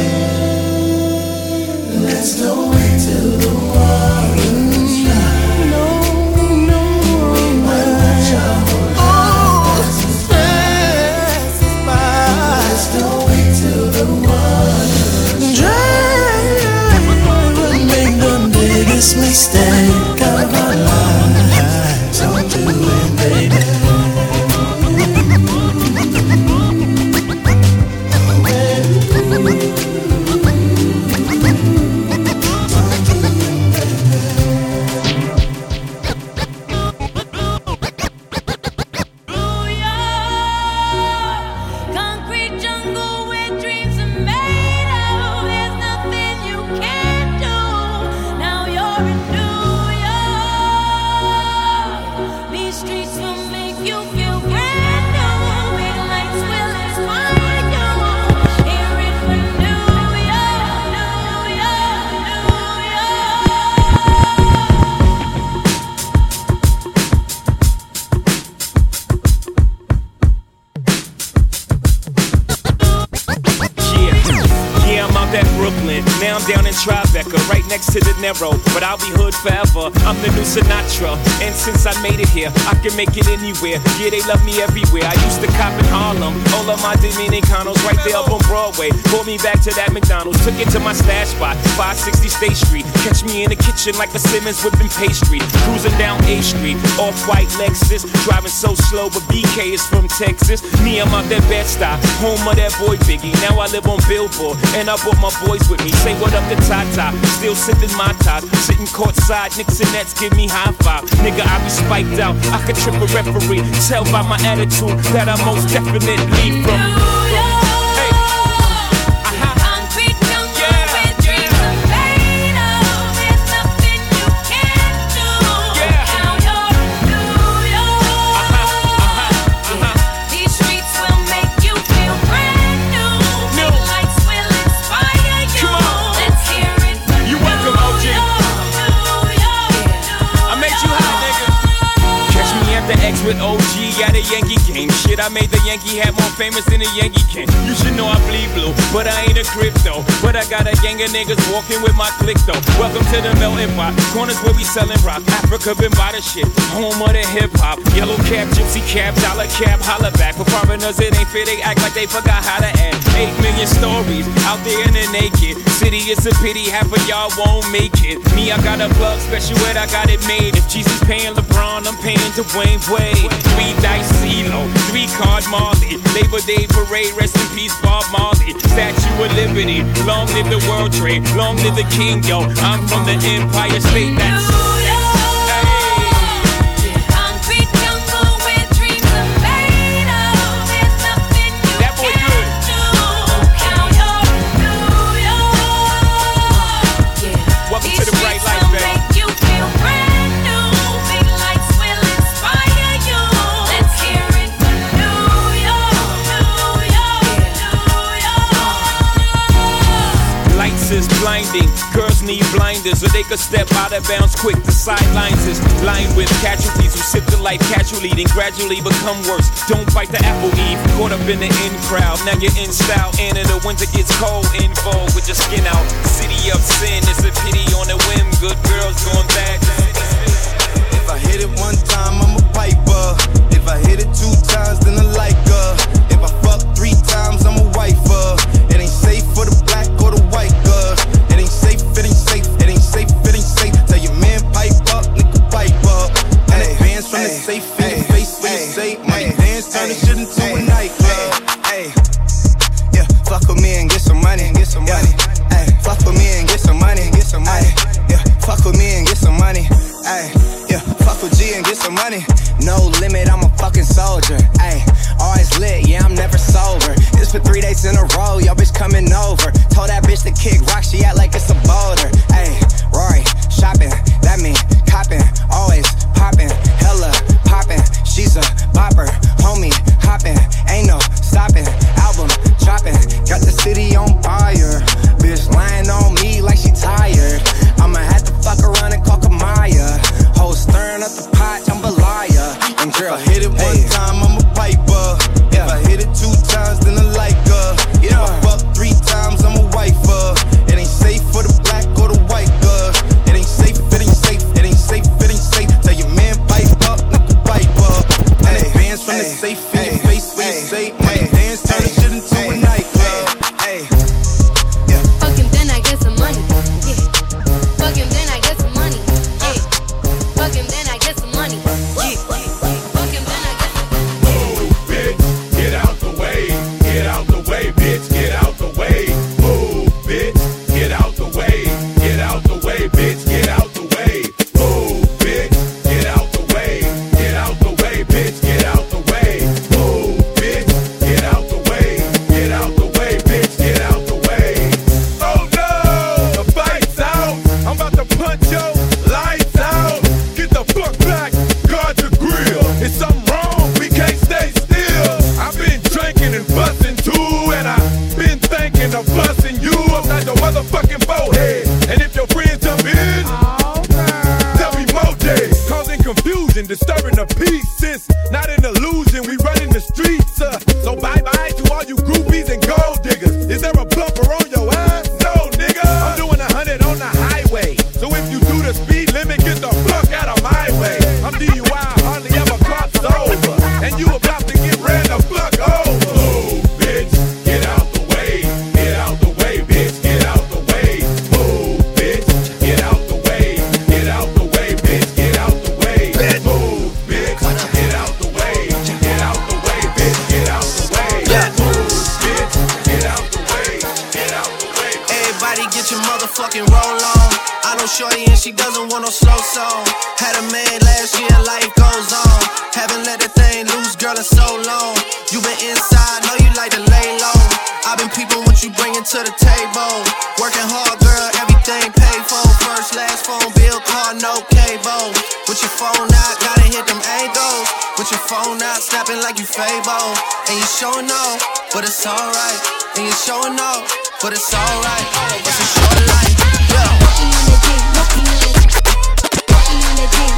change. Let's don't wait till the water runs dry. No, we might watch our whole lives pass us by. Let's don't wait till the water runs dry. We'll make the biggest mistake of our lives. Don't do it, baby. Concrete jungle where dreams are made of. There's nothing you can't do. Now you're in New York. These streets will make you feel brand new. Big lights will inspire you. Hear it from New York, New York, New Yeah, I'm out at Brooklyn. Now I'm down in Tribeca, right next to the Narrow. But I'll be hood forever. I'm the new Sinatra. And since I made it here, I can make it anywhere. Yeah, they love me everywhere. I used to cop in Harlem. All of my Dominicanos right there up on Broadway. Pulled me back to that McDonald's. Took it to my stash spot, 560 State Street. Catch me in the kitchen like a Simmons whipping pastry. Cruising down A Street, off-white Lexus. Driving so slow, but BK is from Texas. Me, I'm out that Bed-Stuy, home of that boy Biggie. Now I live on Billboard, and I brought my boys with me. Say what up to Tata, still sipping my top. Sitting courtside, Knicks and Nets give me high five. Nigga, I be spiked out, I could trip a referee. Tell by my attitude that I most definitely from. Hey. concrete jungle where dreams are made of. There's nothing you can't do. Now you're in New York. These streets will make you feel brand new. Big lights will inspire you. Come on. Let's hear it from You welcome, OG. New York. I made you hot, nigga. Catch me at the X with OG at a Yankee game. Shit, I made the Yankee hat more famous than a Yankee can. You should know I bleed blue, but I ain't a crypto. But I got a gang of niggas walking with my click though. Welcome to the melting pot. Corners where we selling rock. Africa been by the shit. Home of the hip hop. Yellow cap, gypsy cap, dollar cap, holla back. For foreigners it ain't fair, they act like they forgot how to act. 8 million stories out there in the naked city. It's a pity half of y'all won't make it. Me, I got a plug special ed, I got it made. If Jesus paying LeBron, I'm paying Dwayne Wade. 3 dice CeeLo, 3 card Marley. Labor Day parade, rest in peace Bob Marley. Statue of Liberty, long live the World Trade, long live the King, yo. I'm from the Empire State, that's Concrete jungle where dreams are made of. There's nothing you That boy can't good. do. Now you're in New York. Welcome These to the bright streets life, will baby. make you feel brand new. Big lights will inspire you. Let's hear it from New York, New York, New York. Lights is blinding, girls need blinders, or they could step out of bounds quick. The sidelines is lined with casualties who sip the life casually, then gradually become worse. Don't bite the apple eve, caught up in the in crowd. Now you're in style, and in the winter gets cold, in vogue with your skin out. City of sin, it's a pity on a whim. Good girls going bad. If I hit it one time, I'm a piper. If If I hit it 2 times, then I like her. If I fuck 3 times, I'm a wifer. It ain't safe for the black or the white girl. It ain't safe, it ain't safe, it ain't safe, it ain't safe. Tell your man pipe up, nigga pipe up. And advance from the safe in your face when you say money dance, turn this shit into a nightclub. Yeah, fuck with me and get some money, and get some money. Fuck with me and get some money, and get some money. Yeah, fuck with me and get some money. Yeah, fuck with G and get some money. No limit, I'm a fucking soldier. Always lit, yeah, I'm never sober. It's for 3 days in a row, yo bitch coming over. Told that bitch to kick rock, she act like it's a boulder. Rory, shopping, that mean copping. Always popping, hella popping. She's a bopper, homie, hopping. Ain't no stopping, album dropping. Got the city on fire. Bitch lying on me like she tired. I'ma have to fuck around and call Kamaya. Whole stirring up the pot, I'm a liar. And girl, if I hit it 1 time, I'm a piper. If I hit it 2 times, then I like her. If I fuck 3 times, I'm a wifer. It ain't safe for the black or the white girl. It ain't safe, it ain't safe, it ain't safe, it ain't safe. Tell your man pipe up, nigga pipe up. And advance from the safe in your face when you say money dance, turn this shit into a nightclub. Fuck him, then I get some money. Yeah. Fuck him, then I get some money. Yeah. Fuck him, then I get some money. Yeah. Fuck him, then I get some money. Move, bitch, get out the way. Get out the way, bitch, get out the way. Move, bitch, get out the way. Get out the way, bitch, get out the way. Move, bitch, get out the way. Get out the way, bitch, get out the way. Move, bitch, get out the way. Get out the way, bitch, get out the way. Oh no, the fight's out. I'm about to punch your lights out. Get the fuck back, guard your grill. Is something wrong? We can't stay still. I've been drinking and busting too, and I've been thinking of busting you upside your motherfucking forehead. And if your friends jump in, tell me more days. Causing confusion, disturbing the peace. Since not an illusion, we running the streets. So bye-bye to all you groupies and gold diggers. Is there a bumper on your ass? No, nigga. I'm doing 100 on the highway. So if you do the speed limit, get the fuck out of my way. I'm DUI, hardly ever crossed over. And you about to get ran the fuck over. Move, bitch, get out the way. Get out the way, bitch, get out the way. Move, bitch, get out the way. Get out the way, bitch, get out the way. Move, bitch, get out the way. Get out the way, bitch, get out the way. Move, bitch, get out the way. Get out the way. everybody get your motherfucking roll on. I know shorty and she doesn't want no slow song. Had a man last year, life goes on. Haven't let that thing loose, girl, in so long. You been inside, know you like to lay low. I've been peeping what you bringing to the table. Working hard, girl, everything paid for. First, last phone bill, car, no cable. With your phone out, gotta hit them angles. With your phone out, snapping like you Fable. And you showing off, but it's alright. And you showing off, but it's alright. It's a short life, yeah. Walking on the dick, walking on the dick. Walking on the dick.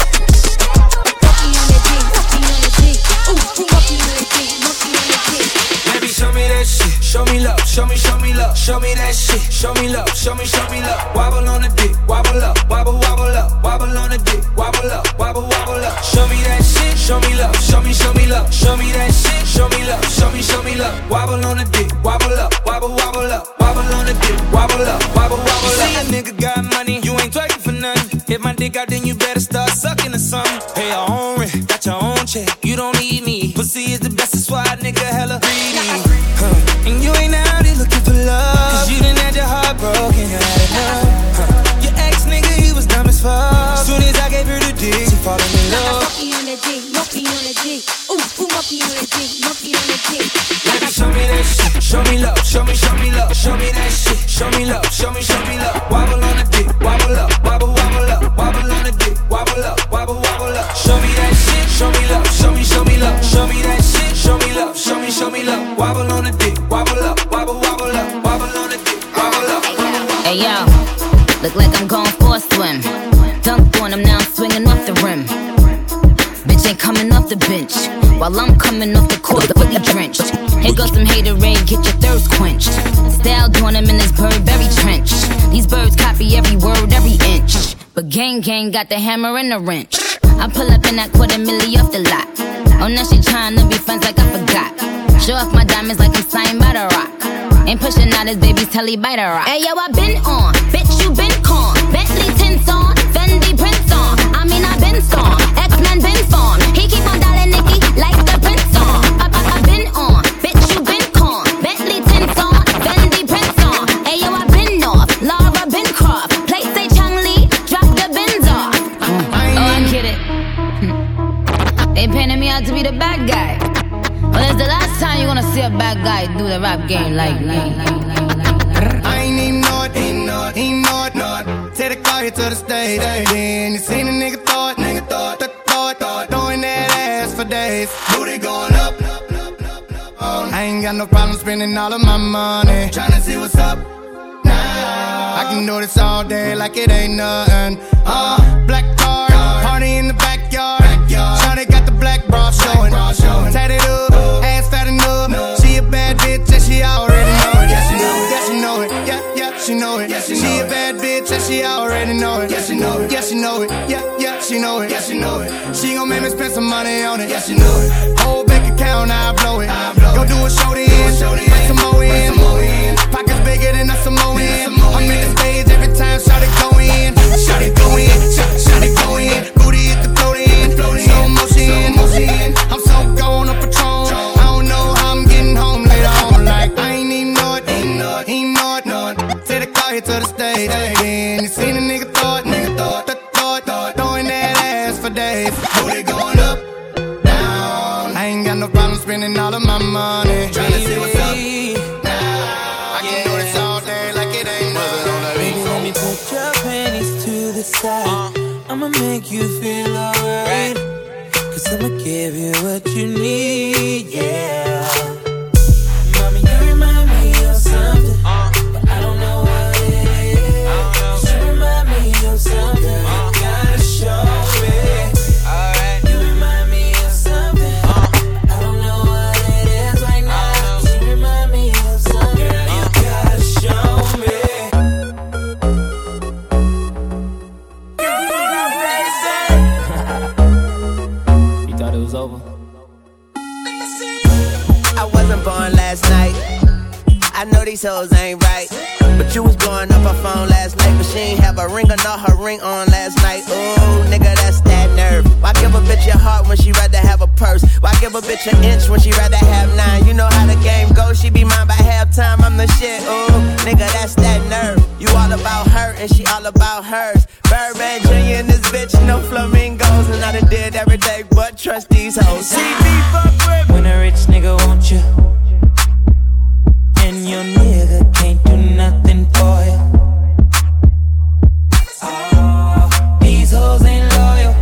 Walking on the dick, walking on the dick. Ooh, walking on the dick, walking on the dick. Baby, show me that shit. Show me love, show me love. Show me that shit. Show me love, show me love. Wobble on the dick, wobble up, wobble up. Wobble on the dick, wobble up, wobble up. Show me that shit. Show me love, show me love. Show me that shit. Show me love, show me love. Wobble on the dick, wobble up, wobble up. Wobble on the dick, wobble up, wobble up. See a nigga got money, you ain't twerking for nothing. Hit my dick out, then you better start sucking or something. Pay your own rent, got your own check. You don't need me. Pussy is the best, that's why a nigga hella greedy. And you ain't out here looking for love, cause you done had your heart broken, you had enough. Your ex nigga, he was dumb as fuck. Soon as I gave her the dick, she falling in love. Monkey on the dick, monkey on the dick. Ooh, monkey on the dick, monkey on the dick. Baby, show me that shit. Show me love, show me love. Show me that shit. Show me love, show me love. Wobble on the dick, wobble up, wobble up. Wobble on the dick, wobble up, wobble up. Show me that shit. Show me love, show me love. Show me that shit. Show me love, show me love. Wobble on the dick, wobble up, wobble up. Wobble on the dick, wobble up. Hey yo, look like I'm going for a swim. Dunked on him, now I'm swinging off the rim. Bitch ain't coming off the bench, while I'm coming off the court fully drenched. Here goes some haterade, get your thirst quenched. Style doing him in this Burberry trench. These birds copy every word, every inch. But gang got the hammer and the wrench. I pull up in that $250,000 off the lot. Oh, now she tryna be friends like I forgot. Show off my diamonds like I'm signed by The Rock. Ain't pushing out his baby's telly by The Rock. Hey, yo, I been on. Bitch, you been con. Bentley tints on. Fendi prints on. I mean, I been storm. X-Men been formed. He keep on dialing Nicki like the prince on. I been on. Bitch, you been con. Bentley tints on. Fendi prints on. Hey, yo, I been off. Laura been Croft. Play say Chung Lee. Drop the bins off. Oh, I get it. They painted me out to be the bad guy. Well, it's the last time you gonna see a bad guy do the rap game like me. I ain't even know it, ain't know it. Take the car here to the stage, then you seen a nigga thought, throwing that ass for days. Booty going up. I ain't got no problem spending all of my money, tryna see what's up. I can do this all day like it ain't nothing. Black car, party in the backyard. Shawty got the black bra showing. Tatted up, ass fat enough. She a bad bitch and she already know it. Yeah, she know it. Yeah, she know it. She a bad bitch and she already know it. Yeah, she know it. Yeah, she know it. Yeah, she know it. Yeah, she know it. She gon' make me spend some money on it. Yeah, she know it. Whole bank account, I blow it. Go do a show then, bring some more in. Pockets bigger than a Samoan. I'm in the stage every time Shawty go in. Shawty go in. Shawty go in. Booty hit the float in. Slow motion. I'm so gone on Patron. I don't know how I'm getting home later on. Like I ain't even know it. Ain't know it. Take the car here to the stage. Then you seen a nigga thought, throwing that ass for days. Booty going up, down. I ain't got no problem spending all of my money, tryna see what's up. I can do this all day like it ain't nothing. Let me put your panties to the side. I'ma make you feel alright. Cause I'ma give you what you need, yeah. Mommy, you remind me of something, but I don't know what it is. You remind me of something, you gotta show me. You remind me of something, I don't know what it is right now. You remind me of something, girl, you gotta show me. You thought it was over? I wasn't born last night. I know these hoes ain't right. But you was blowing up her phone last night, but she ain't have a ring or not her ring on last night. Ooh, nigga, that's that nerve. Why give a bitch your heart when she rather have a purse? Why give a bitch an inch when she rather have 9? You know how the game goes, she be mine by halftime, I'm the shit. Ooh, nigga, that's that nerve. You all about her and she all about hers. Birdman Jr. and this bitch, no flamingos. And I done did every day but trust these hoes. See me fuck with when a rich nigga want you, and your nigga can't do nothing for you. Oh, these hoes ain't loyal.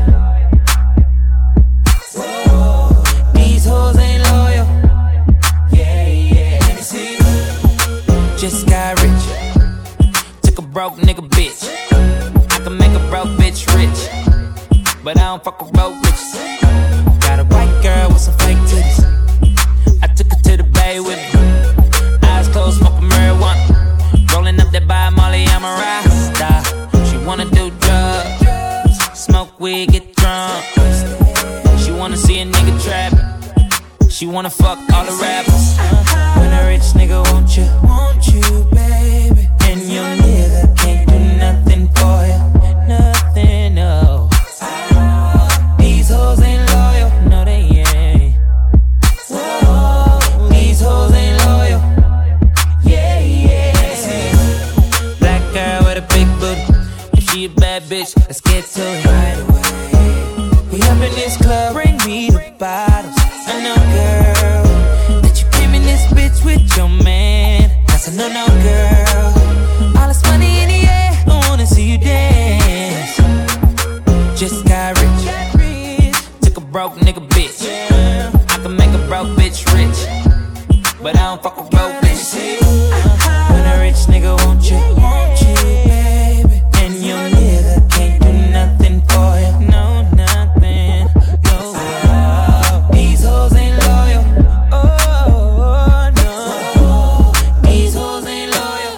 Whoa, these hoes ain't loyal. Yeah. Let me see. Just got rich. Took a broke nigga bitch. I can make a broke bitch rich, but I don't fuck with broke bitches. Got a white girl with some fake titties. I took her to the bay with me. Eyes closed, smoking marijuana. Rolling up that by Molly, I'm a rasta. She wanna do drugs, smoke weed, get drunk. She wanna see a nigga trap. She wanna fuck all the rappers. When a rich nigga want you, baby, and your nigga can't do nothing for you, nothing, no. These hoes ain't loyal, no they ain't. Whoa, these hoes ain't loyal. Yeah. Black girl with a big booty. If she a bad bitch, let's get to it right away. We up in this club, bring me the bottles. I know, girl, that you came in this bitch with your man. That's a no, girl. All this money in the air, I wanna see you dance. Just got rich. Took a broke nigga bitch. I can make a broke bitch rich, but I don't fuck with broke bitches. When a rich nigga want you, baby, and your nigga can't do nothing for you, no, nothing, no. These hoes ain't loyal, oh, no. These hoes ain't loyal,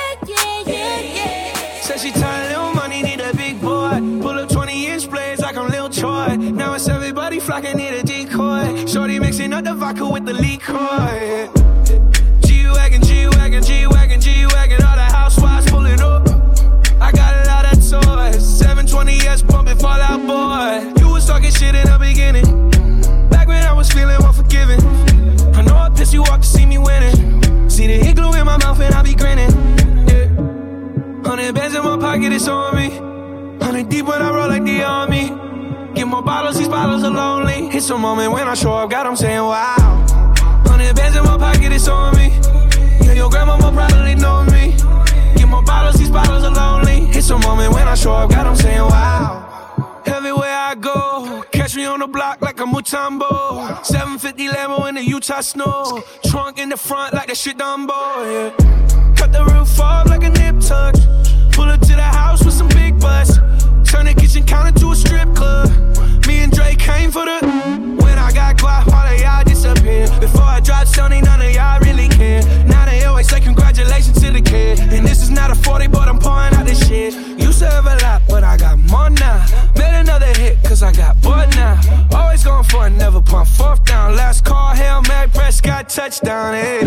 yeah. Said she tired, little money, need a big boy. Pull up 20-inch blades like I'm Lil Troy. Now it's everybody flocking, need a decoy. the liquor. G-Wagon, G-Wagon, G-Wagon, G-Wagon. All the housewives pulling up. I got a lot of toys. 720S pumping Fall Out Boy. You was talking shit in the beginning. Back when I was feeling unforgiving. I know I pissed you off to see me winning. See the hit glue in my mouth and I be grinning. Yeah. 100 bands in my pocket, it's on me. 100 deep when I roll like the army. Get more bottles, these bottles are lonely. It's a moment when I show up, God, I'm saying wow. 100 bands in my pocket, it's on me. Yeah, your grandma will probably know me. Get more bottles, these bottles are lonely. It's a moment when I show up, God, I'm saying wow. Everywhere I go, catch me on the block like a Mutombo. 750 Lambo in the Utah snow. Trunk in the front like that shit Dumbo, yeah. Cut the roof off like a nip tuck. Pull up to the house with some big butts. Turn the kitchen counter to a strip club. Me and Drake came for the. When I got quiet, all of y'all disappear. Before I dropped Sony, none of y'all really care. Now they always say congratulations to the kid. And this is not a 40, but I'm pouring out this shit. Used to have a lot, but I got more now. Made another hit, cause I got bored now. Always going for it, never pump fourth down. Last call, Hail Mary, Prescott, touchdown, hey.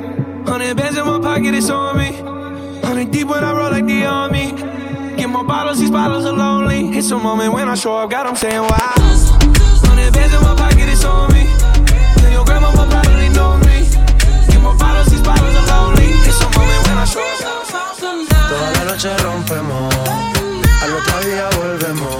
100 bands in my pocket, it's on me. 100 deep when I roll like the army. Get more bottles, these bottles are lonely. It's a moment when I show up, God, I'm saying wow. 100 bands in my pocket, it's on me. Yeah, your grandma will probably know me. Get more bottles, these bottles are lonely. It's a moment when I show up. Toda la noche rompemos, al otro día volvemos.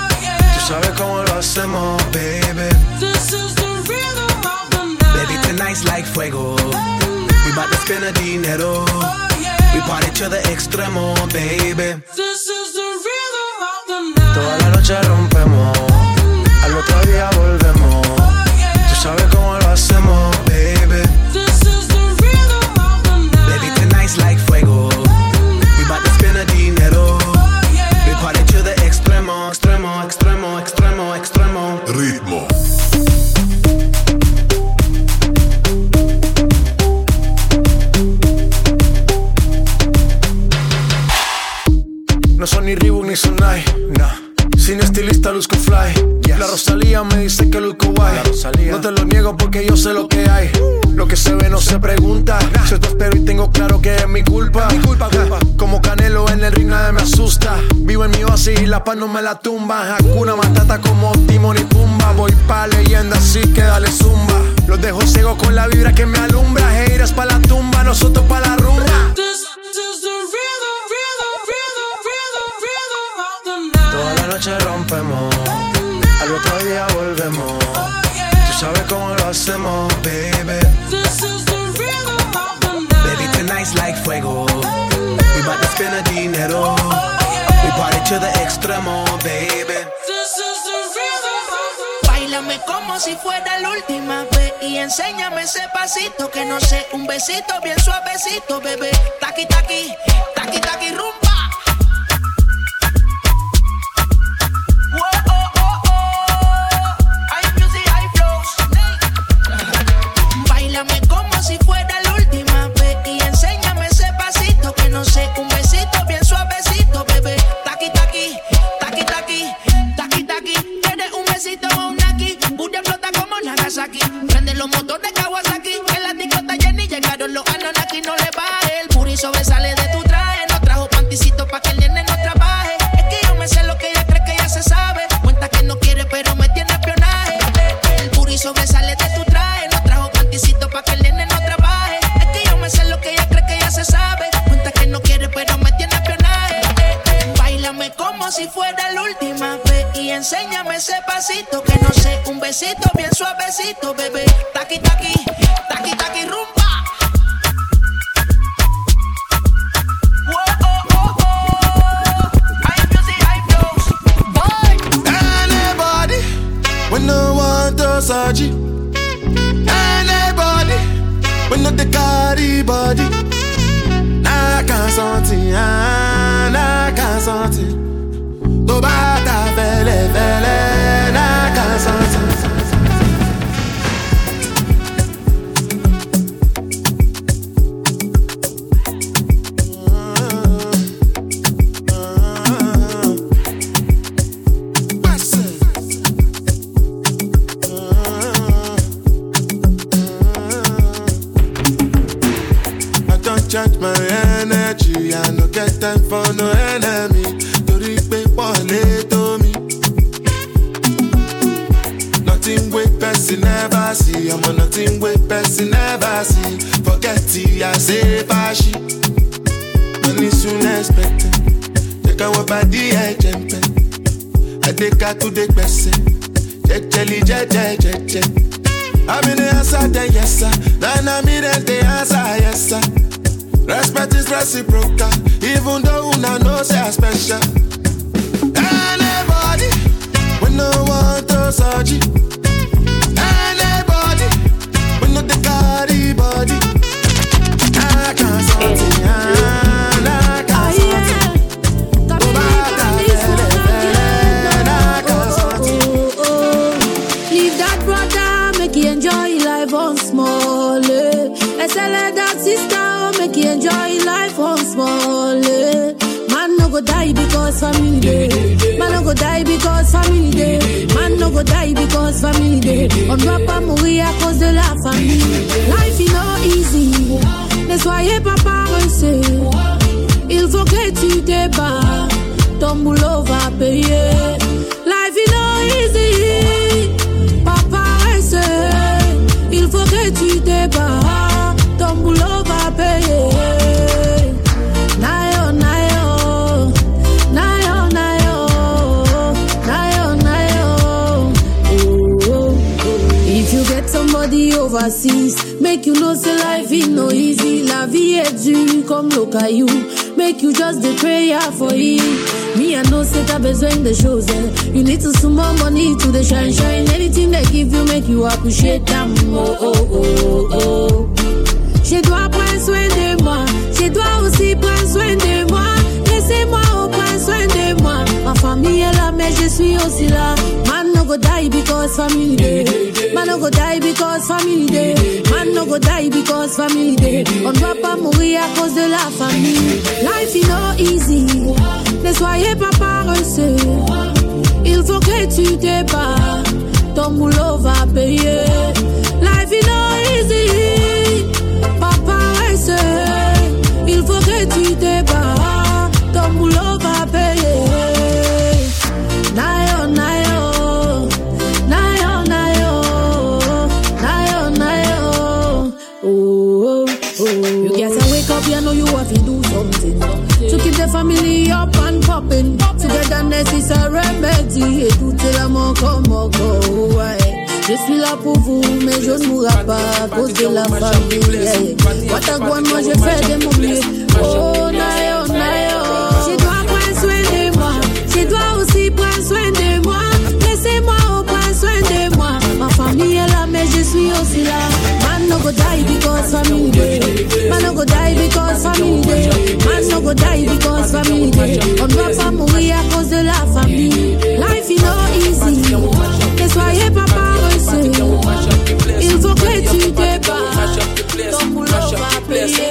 Tú sabes cómo lo hacemos, baby. This is the rhythm of the night. Baby, tonight's like fuego. We bout to spend the dinero. We party to the extremo, baby. This is the rhythm of the night. Toda la noche rompemos, al otro día volvemos. Tú sabes cómo lo hacemos, baby. This is the rhythm of the night. Baby, tonight's like fuego. We bout to spend the dinero. We party to the extremo, extremo, extremo, extremo, extremo. Ritmo. No son ni Reebok ni Sonai, nah. Sin estilista luzco fly, yes. La Rosalía me dice que luzco guay. No te lo niego porque yo sé lo que hay. Lo que se ve no se pregunta. Si esto espero y tengo claro que es mi culpa. Culpa. Como Canelo en el ring nadie me asusta. Vivo en mi oasis y la paz no me la tumba. Hakuna Matata como Timon y Pumba. Voy pa' leyenda así que dale zumba. Los dejo ciego con la vibra que me alumbra. Haters pa' la tumba, nosotros pa' la rumba. Toda la noche rompemos, al otro día volvemos. Tú sabes cómo lo hacemos, baby. This is the rhythm of the night. Baby, tonight's like fuego. We bout to spend the dinero. We party to the extremo, baby. This is the rhythm of the night. Báilame como si fuera la última vez y enséñame ese pasito que no sé, un besito bien suavecito, bebé. Taqui, taqui, taqui, taqui, rumba. Prende los motores Kawasaki. En la discota Jenny llegaron los Anunnaki. No le baje, el puri sobresale de tu traje. No trajo panticito pa' que el nene no trabaje. Es que yo me sé lo que ella cree que ya se sabe. Cuenta que no quiere pero me tiene espionaje. El puri sobresale de tu traje. No trajo panticito pa' que el nene no trabaje. Es que yo me sé lo que ella cree que ya se sabe. Cuenta que no quiere pero me tiene espionaje. Báilame como si fuera la última vez y enséñame ese pasito que no sé, un besito bien suavecito, bebé. Taqui, taqui, taqui, taqui, rumba. Anybody, when no one does Saji. Anybody, when no the carry body. I can't sentir, I can't sentir. To bata fele, I can't sentir. my energy. I no get time for no enemy. Tori pe pole to me. Nothing with person never see. I'm on nothing with person never see. Forget it, I say fashi. Money soon expected. Take our body, I jump. I take her to the person. Jelly, je. I'm in the answer, then yes sir. Then I'm in the answer, yes sir. Respect is reciprocal, even though una know say I special. Anybody, we no want to search it. Anybody, we no the carry body. I can't sort it, I can't sort it. Leave that brother, make you enjoy life on small. I say let that sister, make you enjoy life on small. Man no go die because family day. Man no go die because family day. Man no go die because family day. On doit pas mourir à cause de la famille. Life is not easy. Ne soyez pas paresseux. Il faut que tu te bats. Ton boulot va payer. Life is not easy. Pas paresseux. Il faut que tu te bats. Ton boulot va payer. Nayo, nayo. Nayo, nayo. Nayo, nayo. Oh. If you get somebody overseas, make you know say life is no easy. La vie est dure comme le caillou. Make you just the prayer for it. Me I know say t'as besoin de choses. You need to sum more money to the shine. Anything they give you make you appreciate them. Oh. Je dois prendre soin de moi. Je dois aussi prendre soin de moi. Laissez-moi prendre soin de moi. Ma famille est là mais je suis aussi là. Man no go die because family day. Man no go die because family day. Man no go die because family day. On ne doit pas mourir à cause de la famille. Life is not easy. Ne soyez pas paresseux. Il faut que tu te bats. Ton boulot va payer. Life is not easy. Pas paresseux. Il faut que tu te bats. Ton boulot va payer. Nayo, nayo. Nayo, nayo. Nayo, nayo. Oh. You gotta wake up, you know you have to do something to keep the family up and popping. Togetherness is a remedy. Et tout est l'amour comme encore. Je suis là pour vous, mais je ne mourrai pas à cause de la famille. Watagouan, moi je fais de mon mieux. Oh, nayo, nayo. Je dois prendre soin de moi. Je dois aussi prendre soin de moi. Laissez-moi prendre soin de moi. Ma famille est là, mais je suis aussi là. Man no go die because family day. Man no go die because family day. Man no go die because family day. On ne doit pas mourir à cause de la famille. Life is not easy. Ne soyez pas paresseux. Il faut que tu te bats. Ton boulot va payer.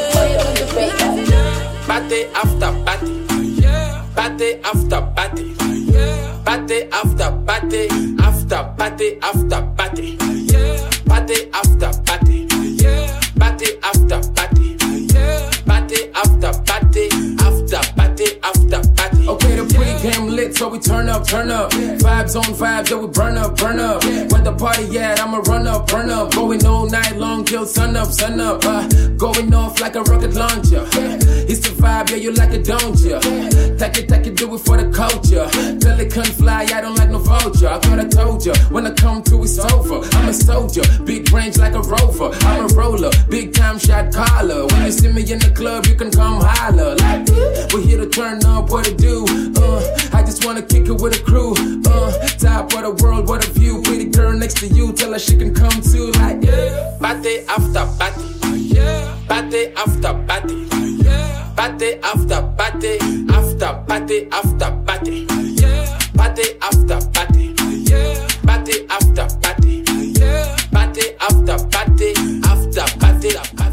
Party after party. Party after party. Party after party. After party after party. Party after party. Party after party. Party after party. After party after party. Okay, the pre-game lit, so we turn up. Vibes on vibes, yeah, we burn up. Where the party at, I'ma run up. Going all night long till sun up. Going off like a rocket launcher. It's the vibe, yeah, you like it, don't ya? Take it, do it for the culture. Pelican fly, I don't like no vulture. I thought I told ya, when I come through, it's over. I'm a soldier, big range like a rover. I'm a roller, big time shot caller. When you see me in the club, you can come holler. Like, we're here to turn up, what it do? I just wanna kick it with a crew. Top of the world, what a view. Pretty girl next to you, tell her she can come too. Like, yeah. Party after party. Party after party. Party after party. After party after party. Party after party. Party after party. Party after party. After party.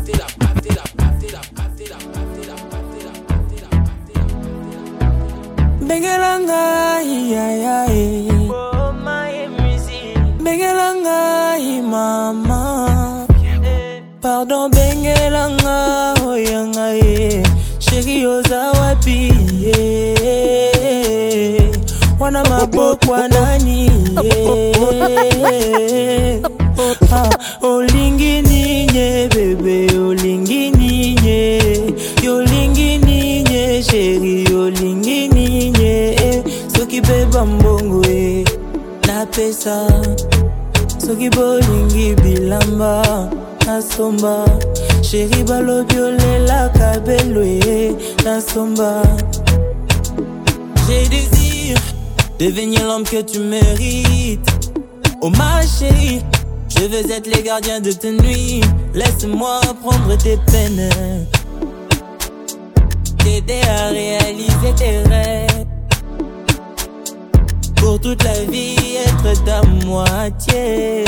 Bengelanga, oh my music. Bengelanga, mama. Pardon bengelanga oyanga ye Chérie ozawapi Wana mabokwa nani Olingi ninye bebe olingi ninye Yolingi ninye chérie olingi ninye Soki beba mbongo na pesa Soki bolingi bilamba Nasomba Chérie balobiole la kabelwe Nasomba J'ai désir devenir l'homme que tu mérites. Oh ma chérie, je veux être les gardiens de tes nuits. Laisse-moi prendre tes peines, t'aider à réaliser tes rêves. Pour toute la vie être ta moitié.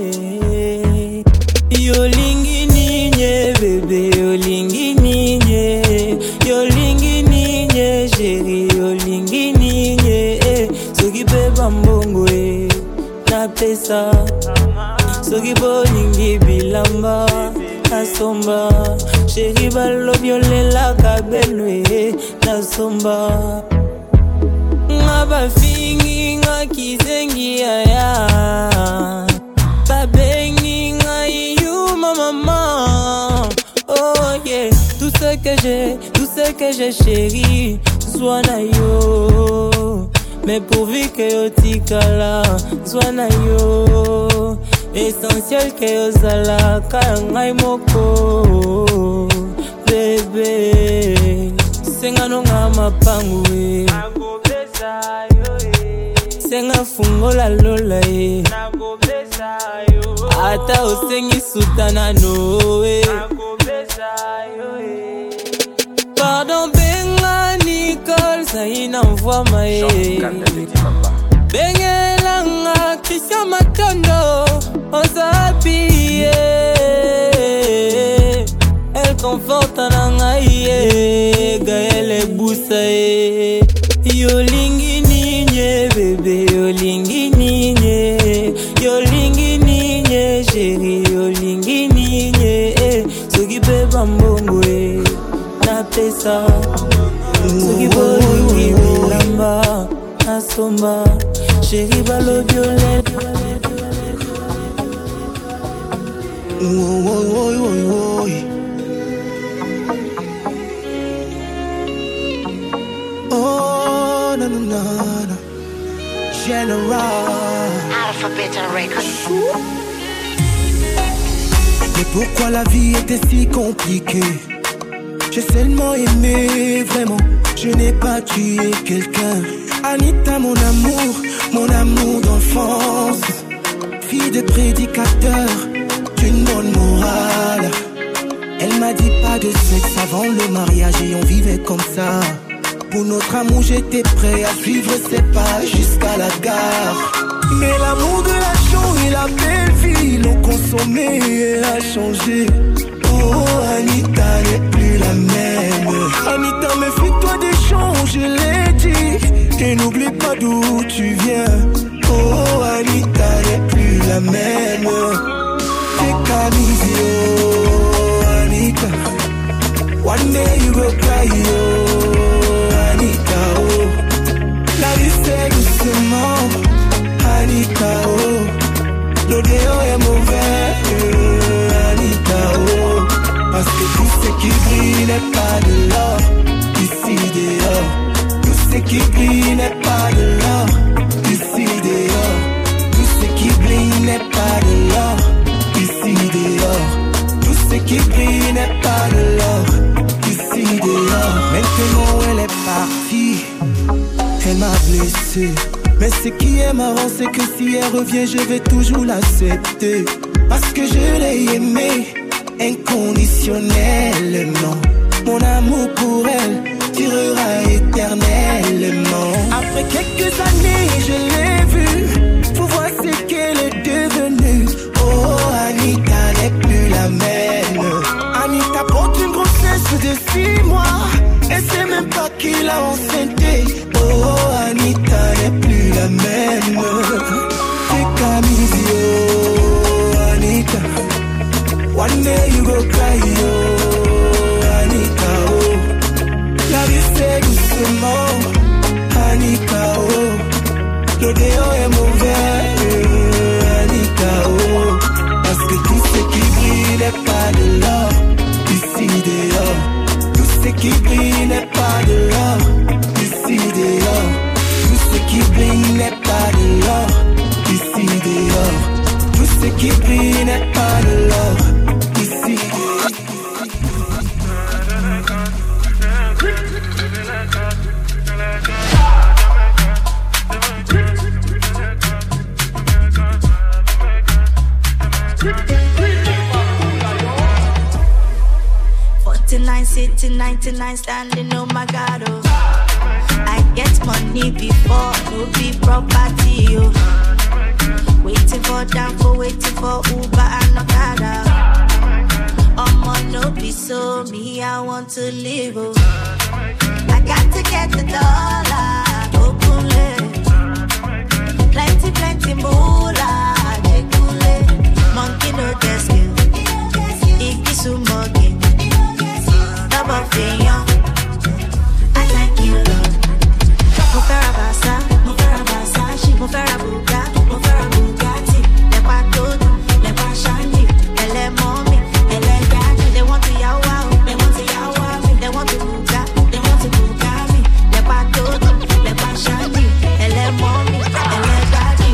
Yolingi ninye bébé, yolingi ninye, yolingi ninye chérie, yolingi ninye. Soki beba mbongo na pesa, soki bolingi bilamba nasomba, chérie balobiole la kabelwe nasomba. Ngaba fingi nga kizengi aya, babengi nga you maman. Oh yeah, tout ce que j'ai chérie, soit na yo. Mais pourvu que yo tikala, soit na yo. Essentiel que yo zala kangai moko. Bébé, senga nonga mapangwe. Senga fungola lola ata osengi sutana noe. Pardon benga Nicole Zaina envoie maé. Bengelanga Christian Matondo Ozapi. Elle conforte nangaye Gaëlle Boussaye. Yolingi ninye bébé, yolingi ninye, yolingi ninye chérie, yolingi ninye. Soki beba mbongo na pesa, soki bolingi bilamba nasomba, chérie balobiole. Oh, na na na na. General Alphabet Records. Mais pourquoi la vie était si compliquée? J'ai seulement aimé, vraiment. Je n'ai pas tué quelqu'un. Anita, mon amour d'enfance. Fille de prédicateur, d'une bonne morale. Elle m'a dit pas de sexe avant le mariage et on vivait comme ça. Pour notre amour j'étais prêt à suivre ses pas jusqu'à la gare. Mais l'amour de l'argent et la belle vie l'ont consommé et a changé. Oh Anita n'est plus la même. Anita méfie-toi des gens, je l'ai dit. Et n'oublie pas d'où tu viens. Oh Anita n'est plus la même. T'es Camille, oh Anita. One day you will cry, oh Anita, oh. La vie c'est doucement, Anita, oh. L'odeur est mauvais, Anita, oh. Parce que tout ce qui brille n'est pas de l'or, ici dehors. Tout ce qui brille n'est pas de l'or, ici dehors. Tout ce qui brille n'est pas de l'or, ici dehors. Tout ce qui brille n'est pas de l'or, ici dehors. Maintenant elle est partie, elle m'a blessé. Mais ce qui est marrant c'est que si elle revient je vais toujours l'accepter. Parce que je l'ai aimée inconditionnellement. Mon amour pour elle durera éternellement. Après quelques années je l'ai vue, faut voir ce qu'elle est devenue. Oh Anita n'est plus la même. Anita porte une grossesse de 6 mois. Elle sait même pas qui l'a enceinté. Oh Anita n'est plus la même. C'est Camille, oh Anita. One day you go cry, oh, Annika, oh. La vie c'est doucement, Annika, oh. Le déo est mauvais, Annika, oh. Parce que tout ce qui brille n'est pas de l'or, ici dehors. Tout ce qui brille n'est pas de l'or, ici dehors. Tout ce qui brille n'est pas de l'or, ici dehors. Tout ce qui brille n'est pas de l'or, ici dehors. Sitting 99 standing, oh my God, oh. I get money before, no be property, oh. Waiting for Danfo, waiting for Uber and Okada. No be so, me I want to live, oh. I got to get the dollar, openly. Plenty moolah, jekule. Monkey no get skill, ikisumogi. I thank you, Lord. Mufera Basa, she Mufera Bugatti, Lepa Todo, Lepa Shani, Ele Mommy, Ele Daddy. They want to yawa, they want to yawa me, they want to Bugatti, Lepa Todo, Lepa Shani, Ele Mommy, Ele Daddy.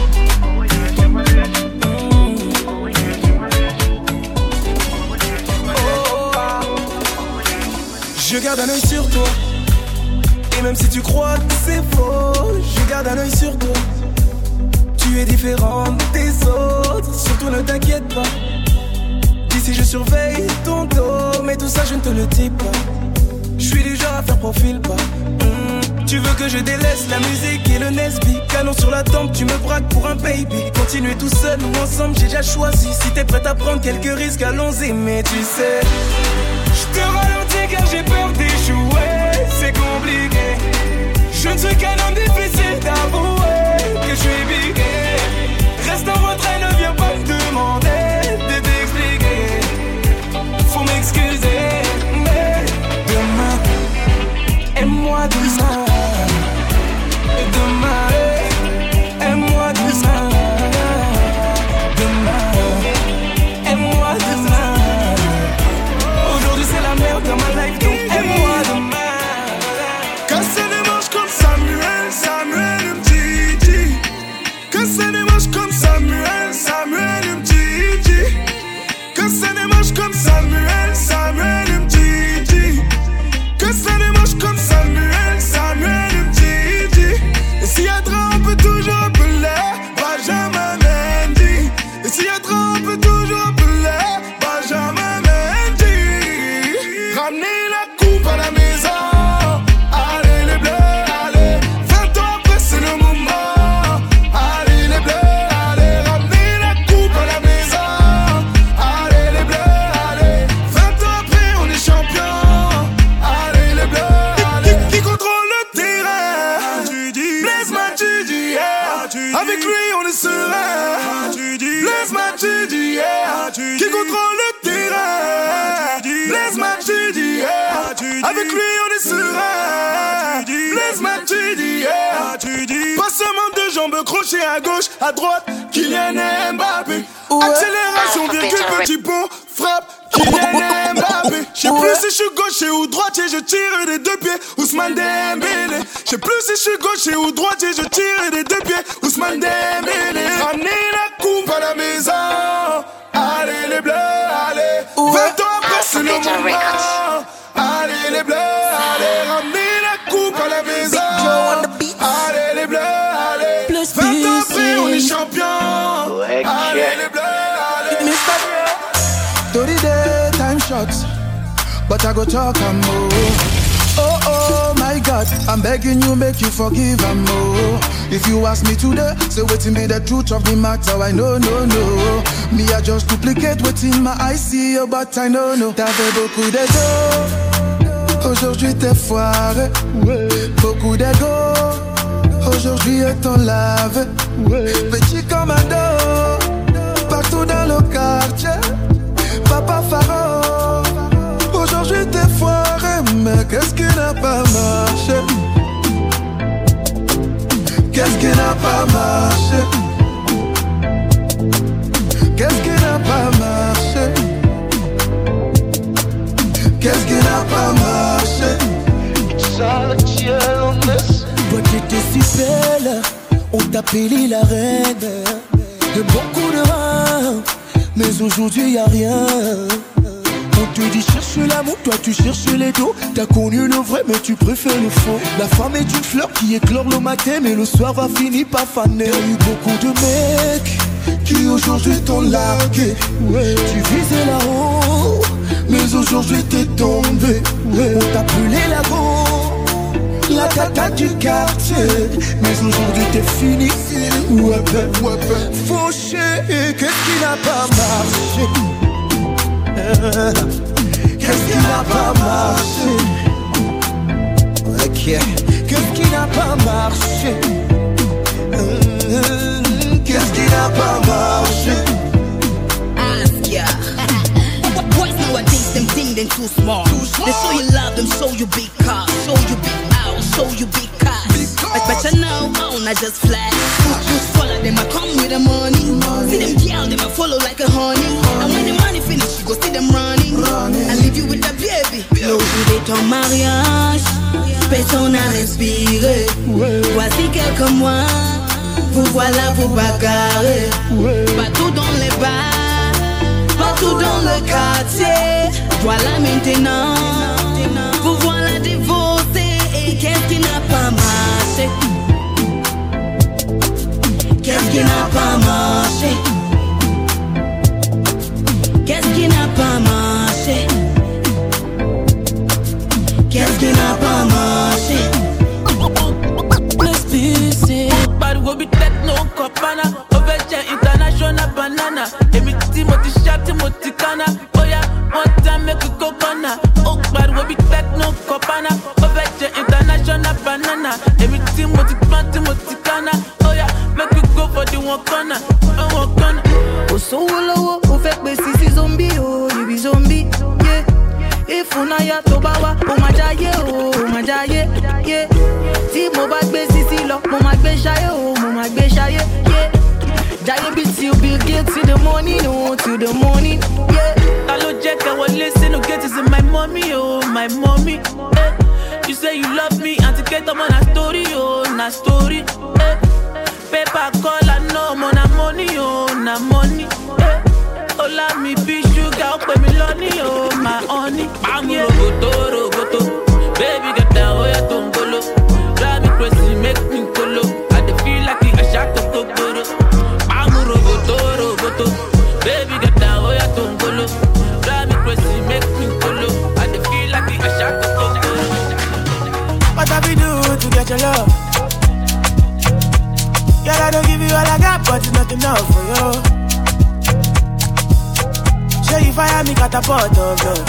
Je garde un œil sur toi. Et même si tu crois que c'est faux, je garde un œil sur toi. Tu es différente des autres, surtout ne t'inquiète pas. D'ici je surveille ton dos, mais tout ça je ne te le dis pas. Je suis du genre à faire profil pas. Tu veux que je délaisse la musique et le Nesby. Canon sur la tempe, tu me braques pour un baby. Continuer tout seul ou ensemble, j'ai déjà choisi. Si t'es prête à prendre quelques risques, allons-y. Mais tu sais, je te ralentis car j'ai peur d'échouer. C'est compliqué. Je ne suis qu'un homme difficile d'avouer que je suis bigué. Reste en retrait, ne viens pas me demander de t'expliquer. Faut m'excuser, mais demain, aime-moi demain. Demain, aime-moi demain. Demain, aime-moi demain. Aujourd'hui c'est la merde dans ma life, donc aime-moi demain. Casser les manches comme Samuel Mtiti. Casser les manches comme Samuel Mtiti. Casser les manches comme Samuel Mtiti. Casser les manches comme Samuel Mtiti. Et s'il y a trop, on peut toujours appeler Benjamin Mendy. Et s'il y a trop, on peut toujours appeler Benjamin Mendy. Ramenez la coupe à la maison. Allez les bleus, allez. 20 ans après c'est le moment. Allez les bleus, allez. Ramenez la coupe à la maison. Allez les bleus, allez. 20 ans après on est champion. Allez les bleus, allez. Qui contrôle le terrain? Blaise Matuidi, yeah. Avec lui on est serein. Blaise Matuidi, yeah. Qui contrôle le terrain? Blaise Matuidi, yeah. Avec lui on est serein. Blaise Matuidi, yeah. Pas seulement deux jambes crochées à gauche, à droite, Kylian Mbappé. Accélération, virgule, petit pont, frappe, Kylian Mbappé. J'sais plus si je suis gaucher ou droitier, je tire des deux pieds, Ousmane Dembélé. J'sais plus si je suis gaucher ou droitier, je tire des deux pieds, Ousmane Dembélé. Ramenez la coupe à la maison. Allez les bleus, allez. 20 ans après c'est le moment. Allez les bleus, allez. Ramenez la coupe à la maison. Allez les bleus, allez. 20 ans après on est champion. Allez les bleus, allez. Dirty day, time shots, but I go talk and more. Oh my God, I'm begging you, make you forgive and more. If you ask me today, say waiting be the truth of the matter. I know, no. Me I just duplicate waiting my eyes see you, but I know. T'avais beaucoup d'ego, aujourd'hui t'es foiré. Beaucoup d'ego, aujourd'hui est ton lave. Petit commando, partout dans le quartier. papa Pharaon. Aujourd'hui t'es foiré, mais qu'est-ce qui n'a pas marché? Qu'est-ce qui n'a pas marché? Qu'est-ce qui n'a pas marché? Qu'est-ce qui n'a pas marché? Toi qui étais si belle, on t'appelait la reine de beaucoup de reins, mais aujourd'hui y'a rien. On te dit cherche l'amour, toi tu cherches les dos. T'as connu le vrai mais tu préfères le faux. La femme est une fleur qui éclore le matin, mais le soir va finir par faner. T'as eu beaucoup de mecs qui aujourd'hui t'ont largué. Tu visais là-haut, mais aujourd'hui t'es tombé. On t'appelait la go, la tata du quartier, mais aujourd'hui t'es fini. Ouais ben, fauché, qu'est-ce qui n'a pas marché? Qu'est-ce qui n'a pas marché? Ok. Qu'est-ce qui n'a pas marché? Qu'est-ce qui n'a pas marché? Ask ya. Boys nowadays, them think they too smart. They show you love, them show you big cars, show you big house, show you big cars. But you know, I just flash. Just follow them, I come with the money. See them girl, them I follow like a honey. And when the money finish, you go see them running. I leave you with the baby. L'aujourd'hui de ton mariage, personne n'a respiré. Voici quelques mois, vous voilà vous bagarrer. Partout dans les bars, partout dans le quartier. Voilà maintenant, vous voilà divorcés. Et qu'est-ce qui n'a pas marché? Qu'est-ce qui n'a pas marché? Qu'est-ce qui n'a pas marché? Qu'est-ce qui n'a pas marché? Let's be sick. But we'll be techno copana. Overture international banana. Every Timothy shot Timothy Kana. Oh yeah, one time make a coconut. Oh, but we'll be techno copana. Overture international banana. Every Timothy Kana. Oh yeah, make we go for the one corner. One corner. Oh so low, oh fait si zombie, oh you be zombie, yeah. If unaya tobawa, oh ma jaye, yeah. Si mo ba gbe sisi lo, mo ma gbe shaye, yeah. Jaye beat you Bill Gates to the morning, oh to the morning, yeah. Hello Jack, I will listen to get is in my mommy, oh my mommy. You say you love me, and to get them on a story, oh na story. Paper call, I know I'm on a money, oh na money. Oh let me be sugar, oh pay me lonely, oh my honey. Bang roboto, baby get down, oh yeah tongolo. Drive me crazy, make me colo. I dey feel like I shot the kokoro. Bang roboto, baby get down, oh yeah tongolo. Drive me crazy, make me colo. I dey feel like I shot the kokoro. What have we do to get your love? Girl, I don't give you all I got, but it's not enough for you. Say you fire me, catapult of love.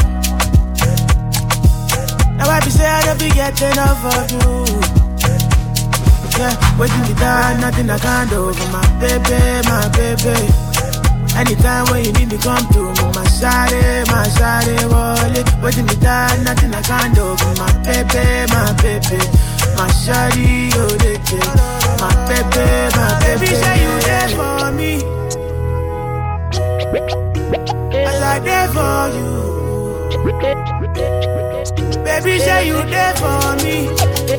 Now I be say I don't be getting enough of you. Yeah, waiting me down, nothing I can't do for my baby. Anytime when you need me, come through me, my shawty, wallet. Waiting me down, nothing I can't do for my baby. My shawty, oh, they my baby, say you there for me. As I there for you. Baby, say you there for me.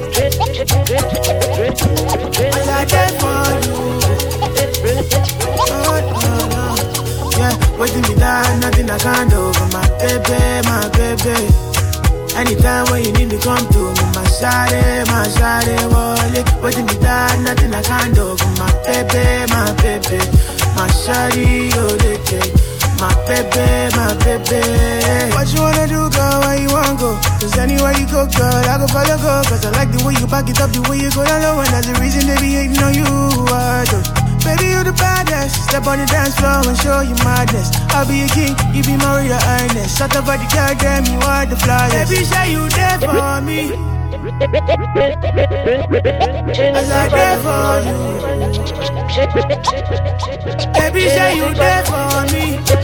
As I there for you. Oh, yeah, waiting me down, nothing I can't do for my baby. Anytime when you need me, come to me, my shawty, wallet. Waiting me down, nothing I can't do for my baby. My shawty, oh, they take my baby. What you wanna do, girl? Where you wanna go? Cause anywhere you go, girl, I go follow, go. Cause I like the way you back it up, the way you go down low. And that's the reason they be hating on you. Baby, you the baddest. Step on the dance floor and show you madness. I'll be a king, you be my royal highness. Shut up at the girl, damn, you are the flyest. Baby, say you there for me. As I there for you. Baby, say you there for me.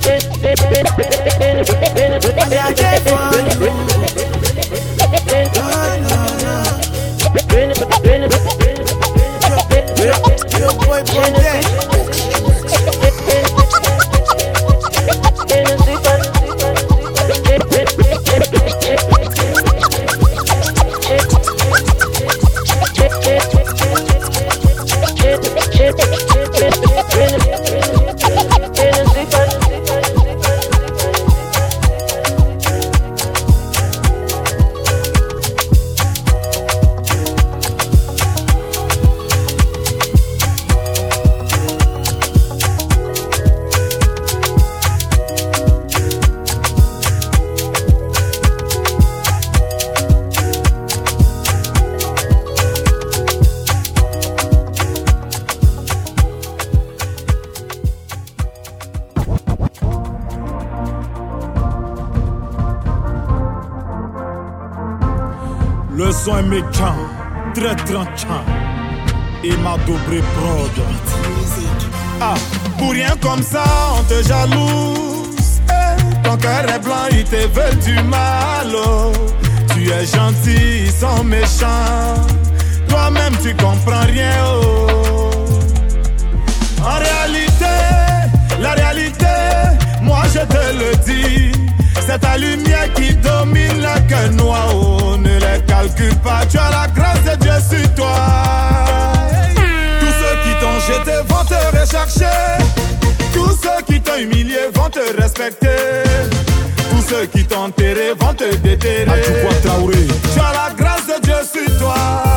Le son est méchant, très tranchant. Et ma double prod. Ah, pour rien comme ça, on te jalouse. Ton cœur est blanc, ils te veulent du mal. Oh. Tu es gentil, ils sont méchants. Toi-même, tu comprends rien. Oh. En réalité, la réalité, moi je te le dis. C'est ta lumière qui domine le cœur noir. Oh, ne les calcule pas, tu as la grâce de Dieu sur toi. Tous ceux qui t'ont jeté vont te rechercher. Tous ceux qui t'ont humilié vont te respecter. Tous ceux qui t'ont enterré vont te déterrer. Tu as la grâce de Dieu sur toi.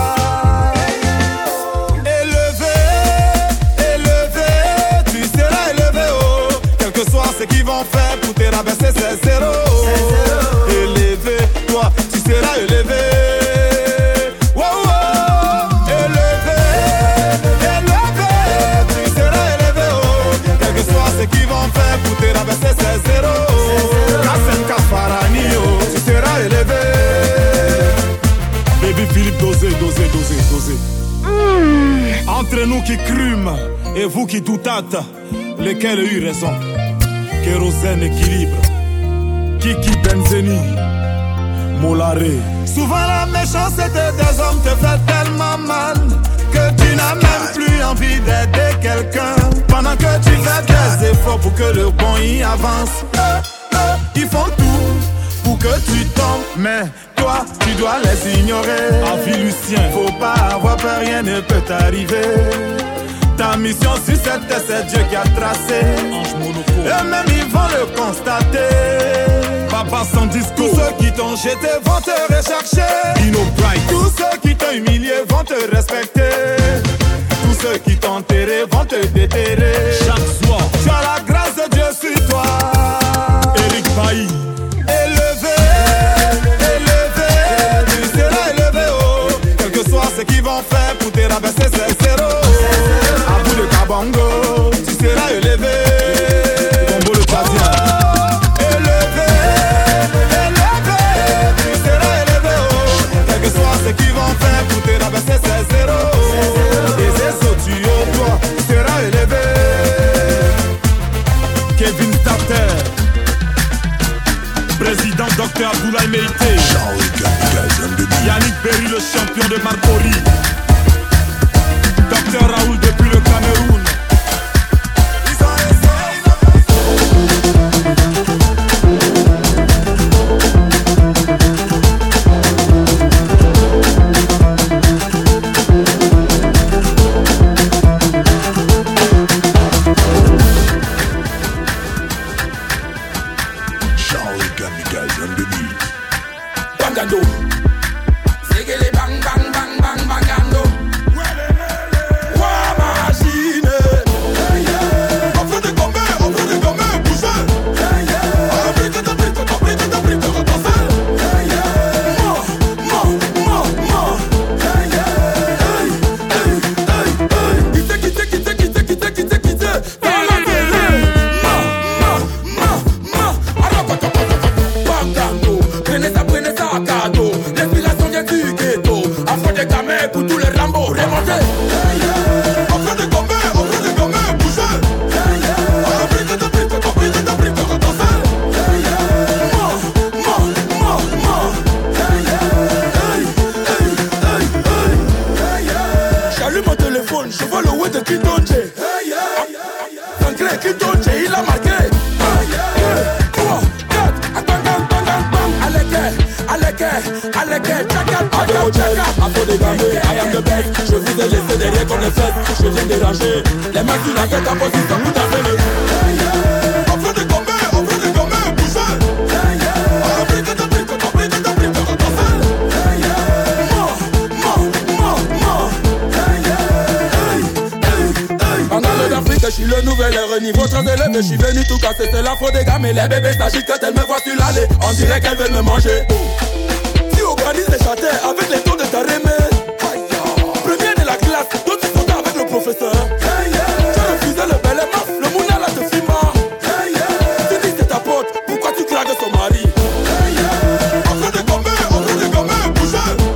Élevé, élevé, tu seras élevé. Oh, quel que soit ce qu'ils vont faire pour te rabaisser, c'est zéro. Élevé, toi, tu seras élevé. Wow, wow. Élevé, élevé, tu seras élevé. Oh, quel que soit ce qu'ils vont faire pour te rabaisser, c'est zéro. Kassem Kafarani, oh, tu seras élevé. Baby Philippe, dosez, dosez, dosez, dosez. Entre nous qui crûmes et vous qui doutâtes, lesquels ont eu raison? Kérosène équilibre, Kiki Benzeni, Molaré. Souvent la méchanceté des hommes te fait tellement mal que tu n'as même plus envie d'aider quelqu'un. Pendant que tu fais des efforts pour que le bon y avance, ils font tout pour que tu tombes, mais toi tu dois les ignorer. Avis Lucien, faut pas avoir peur, rien ne peut t'arriver. Ta mission sur cette terre, c'est Dieu qui a tracé. Eux-mêmes ils vont le constater. Papa sans discours. Tous ceux qui t'ont jeté vont te rechercher. Tous ceux qui t'ont humilié vont te respecter. Tous ceux qui t'ont enterré vont te déterrer. Chaque soir, tu as la grâce de Dieu sur toi. Eric Bailly. Élevé, élevé, tu seras élevé. Oh, quel que soit ce qu'ils vont faire pour te rabaisser, c'est zéro. À bout de Kabongo, tu seras élevé. Combo le patien. Élevé, élevé, tu seras élevé. Oh, quel que soit ce qu'ils vont faire pour te rabaisser, c'est zéro. Et c'est ça, tu es toi, tu seras élevé. Kevin Starter, président Dr Abdoulaye Meïté, Yannick Berry, le champion de Marcory, Dr Raoul depuis le Cameroun. au check, afro dégamé, I am the best. Je vous ai laissé derrière comme les fesses. Je viens déranger, les mains sur la tête en position tout à fait. On veut dégommer, bougez. Je suis le nouvel air, niveau très élevé. Je suis venu tout casser, c'est l'afro des gammes. Et les bébés s'agitent quand elles me voient sur l'allée. On dirait qu'elles veulent me manger. Tu organises les châtains avec les tons de ta remède. Premier de la classe, toi tu sautais avec le professeur. Tu refusais le bel aimant, le mouna là te filma. Tu dis c'est ta pote, pourquoi tu craques son mari? On veut dégommer, bougez.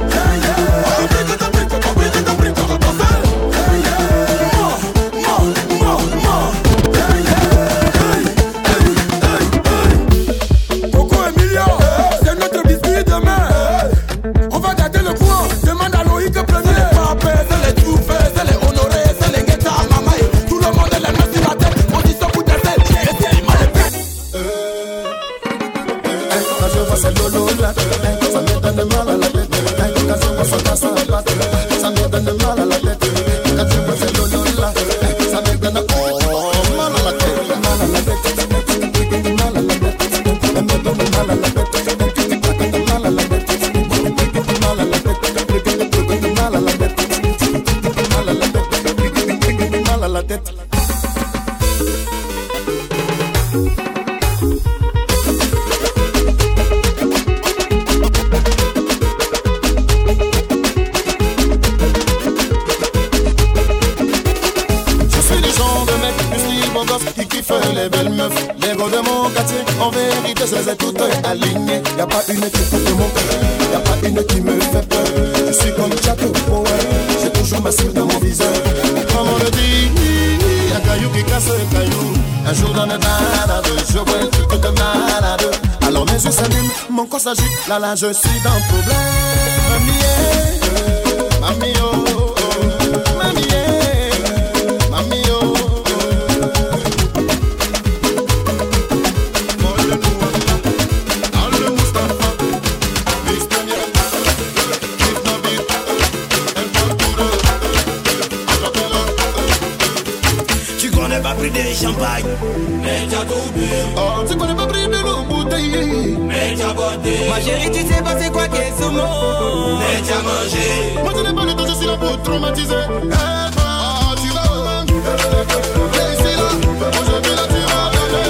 Y'a pas une qui porte mon cœur, y'a pas une qui me fait peur. Je suis comme Jack Power, j'ai toujours ma cible dans mon viseur. Comme on le dit, y'a caillou qui casse le caillou. Un jour dans mes balades, je vois un truc de malade. Alors mes yeux s'allument, mon corps s'agite, là je suis dans le problème. Mamie, oh, oh, oh. Mamie, mamie, oh, oh. Des champagne, mais t'as tout bu. Oh, tu connais pas pris de l'eau bouteille, mais t'as boité. Ma chérie, tu sais pas c'est quoi qu'est ce mot, mais t'as mangé. Moi je n'ai pas le temps, je suis là pour traumatiser. Et toi, tu vas où? Ici là, aujourd'hui là tu vas donner.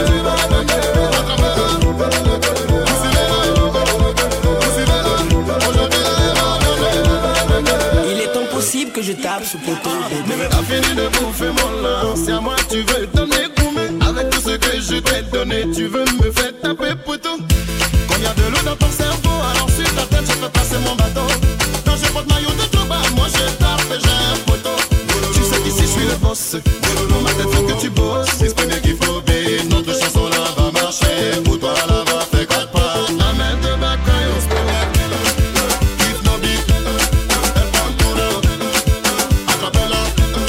Il est impossible que je tape ce poteau. T'as fini de bouffer mon lance, c'est à moi tu veux donner gourmet. Avec tout ce que je t'ai donné, tu veux me faire taper poteau. Quand y'a de l'eau dans ton cerveau, alors sur ta tête je fais passer mon bateau. Quand je porte maillot de tout bas, moi je tape et j'ai un poteau. Tu sais qu'ici je suis le boss, dans ma tête faut que tu bosses. Exprime bien qu'il faut bien, notre chanson là va marcher. Pour toi là va faire 4 pas, amène de bacaille, on se peut mettre. Kiff nos beats, elle prend tout le acapella.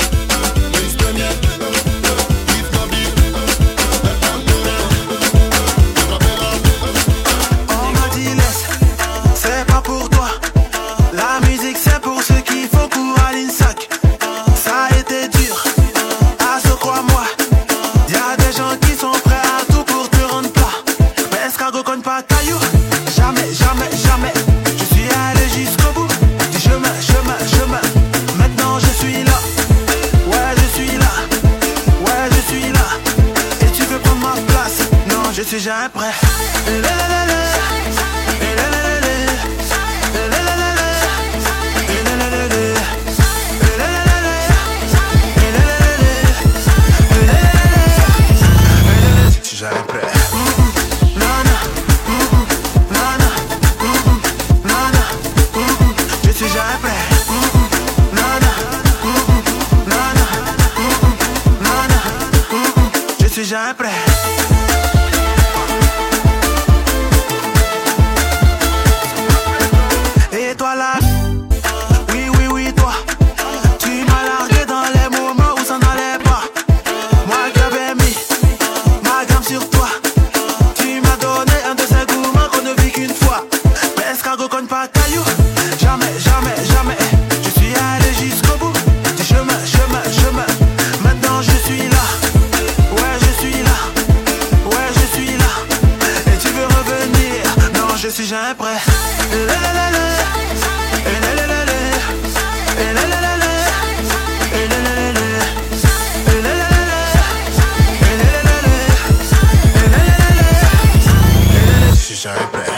suis jamais prêt. Je suis jamais prêt. Je suis jamais prêt. Je suis jamais prêt. je suis jamais prêt. Je suis jamais prêt.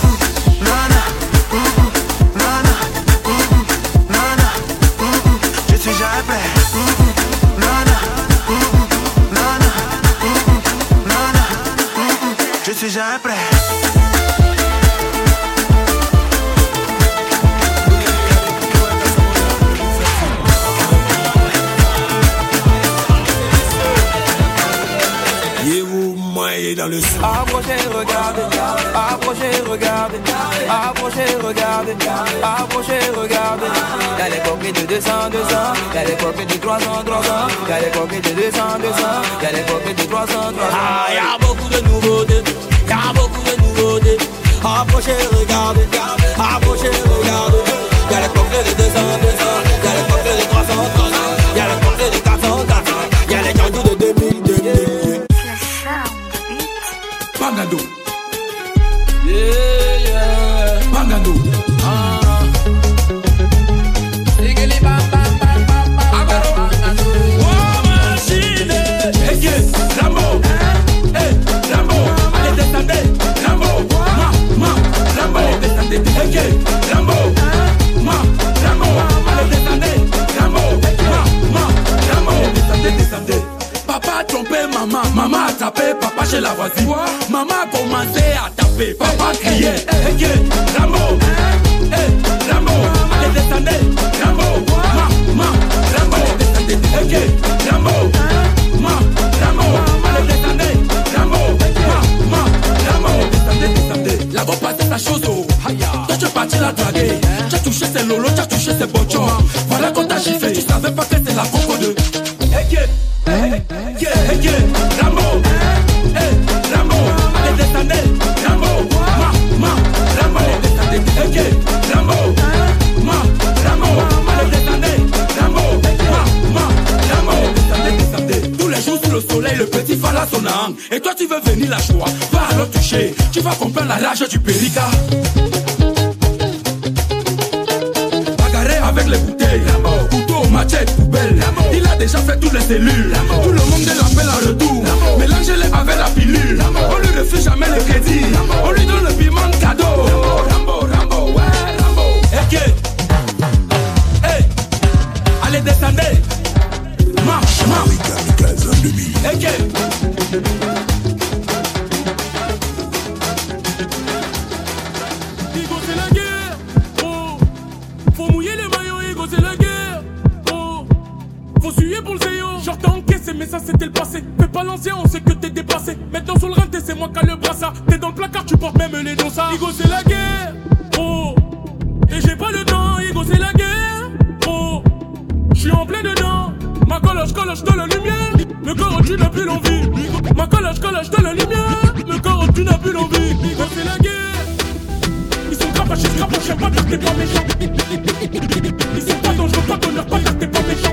Je suis jamais prêt. Dans le son. Approchez, regardez, approchez, regardez, approchez, regardez, approchez, regardez. Y'a les coquets de 200, 200, y'a les coquets de 300, 300, y'a les coquets de 200, 200, y'a les coquets de 300, 300. Ah, y'a beaucoup de nouveautés, y'a beaucoup de nouveautés. Approchez, regardez, approchez, regardez. Y'a les coquets de 200, 200, y'a les coquets de 300, 300, y'a les coquets de 400, 400, y'a les gandous de 2000, 2000. Bangado. Yeah, yeah. Bangado. Digili bam bam bam bam bam. Bangado. Oh machine. Hey, Rambo. Hey, Rambo. Allez descendez. Rambo. Rambo. Allez descendez. Hey, Rambo. Rambo. Allez descendez. Rambo. Rambo. Allez descendez. Papa a trompé maman, maman a tapé, papa chez la voisine. Maman a commencé à taper, papa criait. Hey, Rambo, Rambo, allez descendez. Rambo, Rambo, allez descendez. Hey, Rambo, Rambo, allez descendez. Rambo, Rambo, descendez. La voix passait sa chose, oh. Toi tu es parti la draguer. Tu as touché ses lolos, tu as touché ses bochons. Voilà qu'on t'a giflé, tu savais pas que c'est la coco de. Rambo, Rambo, allez descendez. Rambo, Rambo, allez descendez. Rambo, Rambo, allez descendez. Rambo, Rambo, descendez. Tous les jours sous le soleil, le petit fala son âme. Et toi tu veux venir la joie, va alors toucher. Tu vas comprendre la rage du périca. Bagarrer avec les bouteilles, couteau, machette, poubelle. Il a déjà fait toutes les cellules. Tout le monde l'appelle en retour. Mélangez-les avec la pilule. On lui refuse jamais le crédit. On lui donne le piment de cadeau. Rambo, ouais, Rambo. Hey, allez descendez. Igo c'est la guerre. Oh, faut mouiller les maillots. Igo c'est la guerre. Oh, faut suer pour le zéo. Genre t'as encaissé mais ça c'était le passé. Fais pas l'ancien, on sait que t'es dépassé. Maintenant sur le rinté c'est moi qui a le brassard. T'es dans le placard, tu portes même les dossards. Igo c'est la guerre. Oh, et j'ai pas le temps. Igo c'est la guerre. Oh, j'suis en plein dedans. Ma coloche de la lumière. Le corps tu n'as plus l'envie. Ma coloche de la lumière. Le corps tu n'as plus l'envie. Igo c'est la guerre. Ils sont crapachés, j'aime pas car t'es pas méchant. Ils sont pas dangereux, pas d'honneur, pas car t'es pas méchant.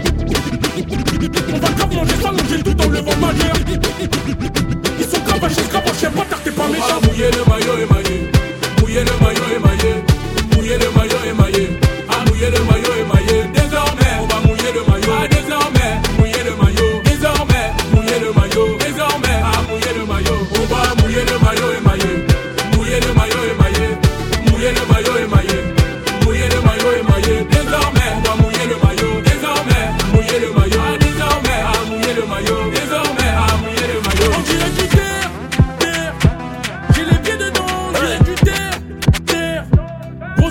On va grave manger, s'allonger tout en levant ma gueule. Ils sont crapachés, j'aime pas car t'es pas méchant. Mouiller le maillot émaillé. Mouiller le maillot émaillé. Mouiller le maillot émaillé. Ah, mouiller le maillot émaillé. Désormais, on va mouiller le maillot. Ah, désormais, mouiller le maillot. Désormais, mouiller le maillot. Désormais, ah, mouiller le maillot. On va mouiller le maillot émaillé. Mouiller le maillot émaillé. Mouiller le maillot émaillé. Mouiller le maillot émaillé. Désormais, on va mouiller le maillot. Désormais, mouiller le maillot. Ah, désormais, ah, mouiller le maillot. Désormais, ah, mouiller le maillot. On dirait du terre, terre. J'ai les pieds dedans, on dirait du terre, terre. Gros,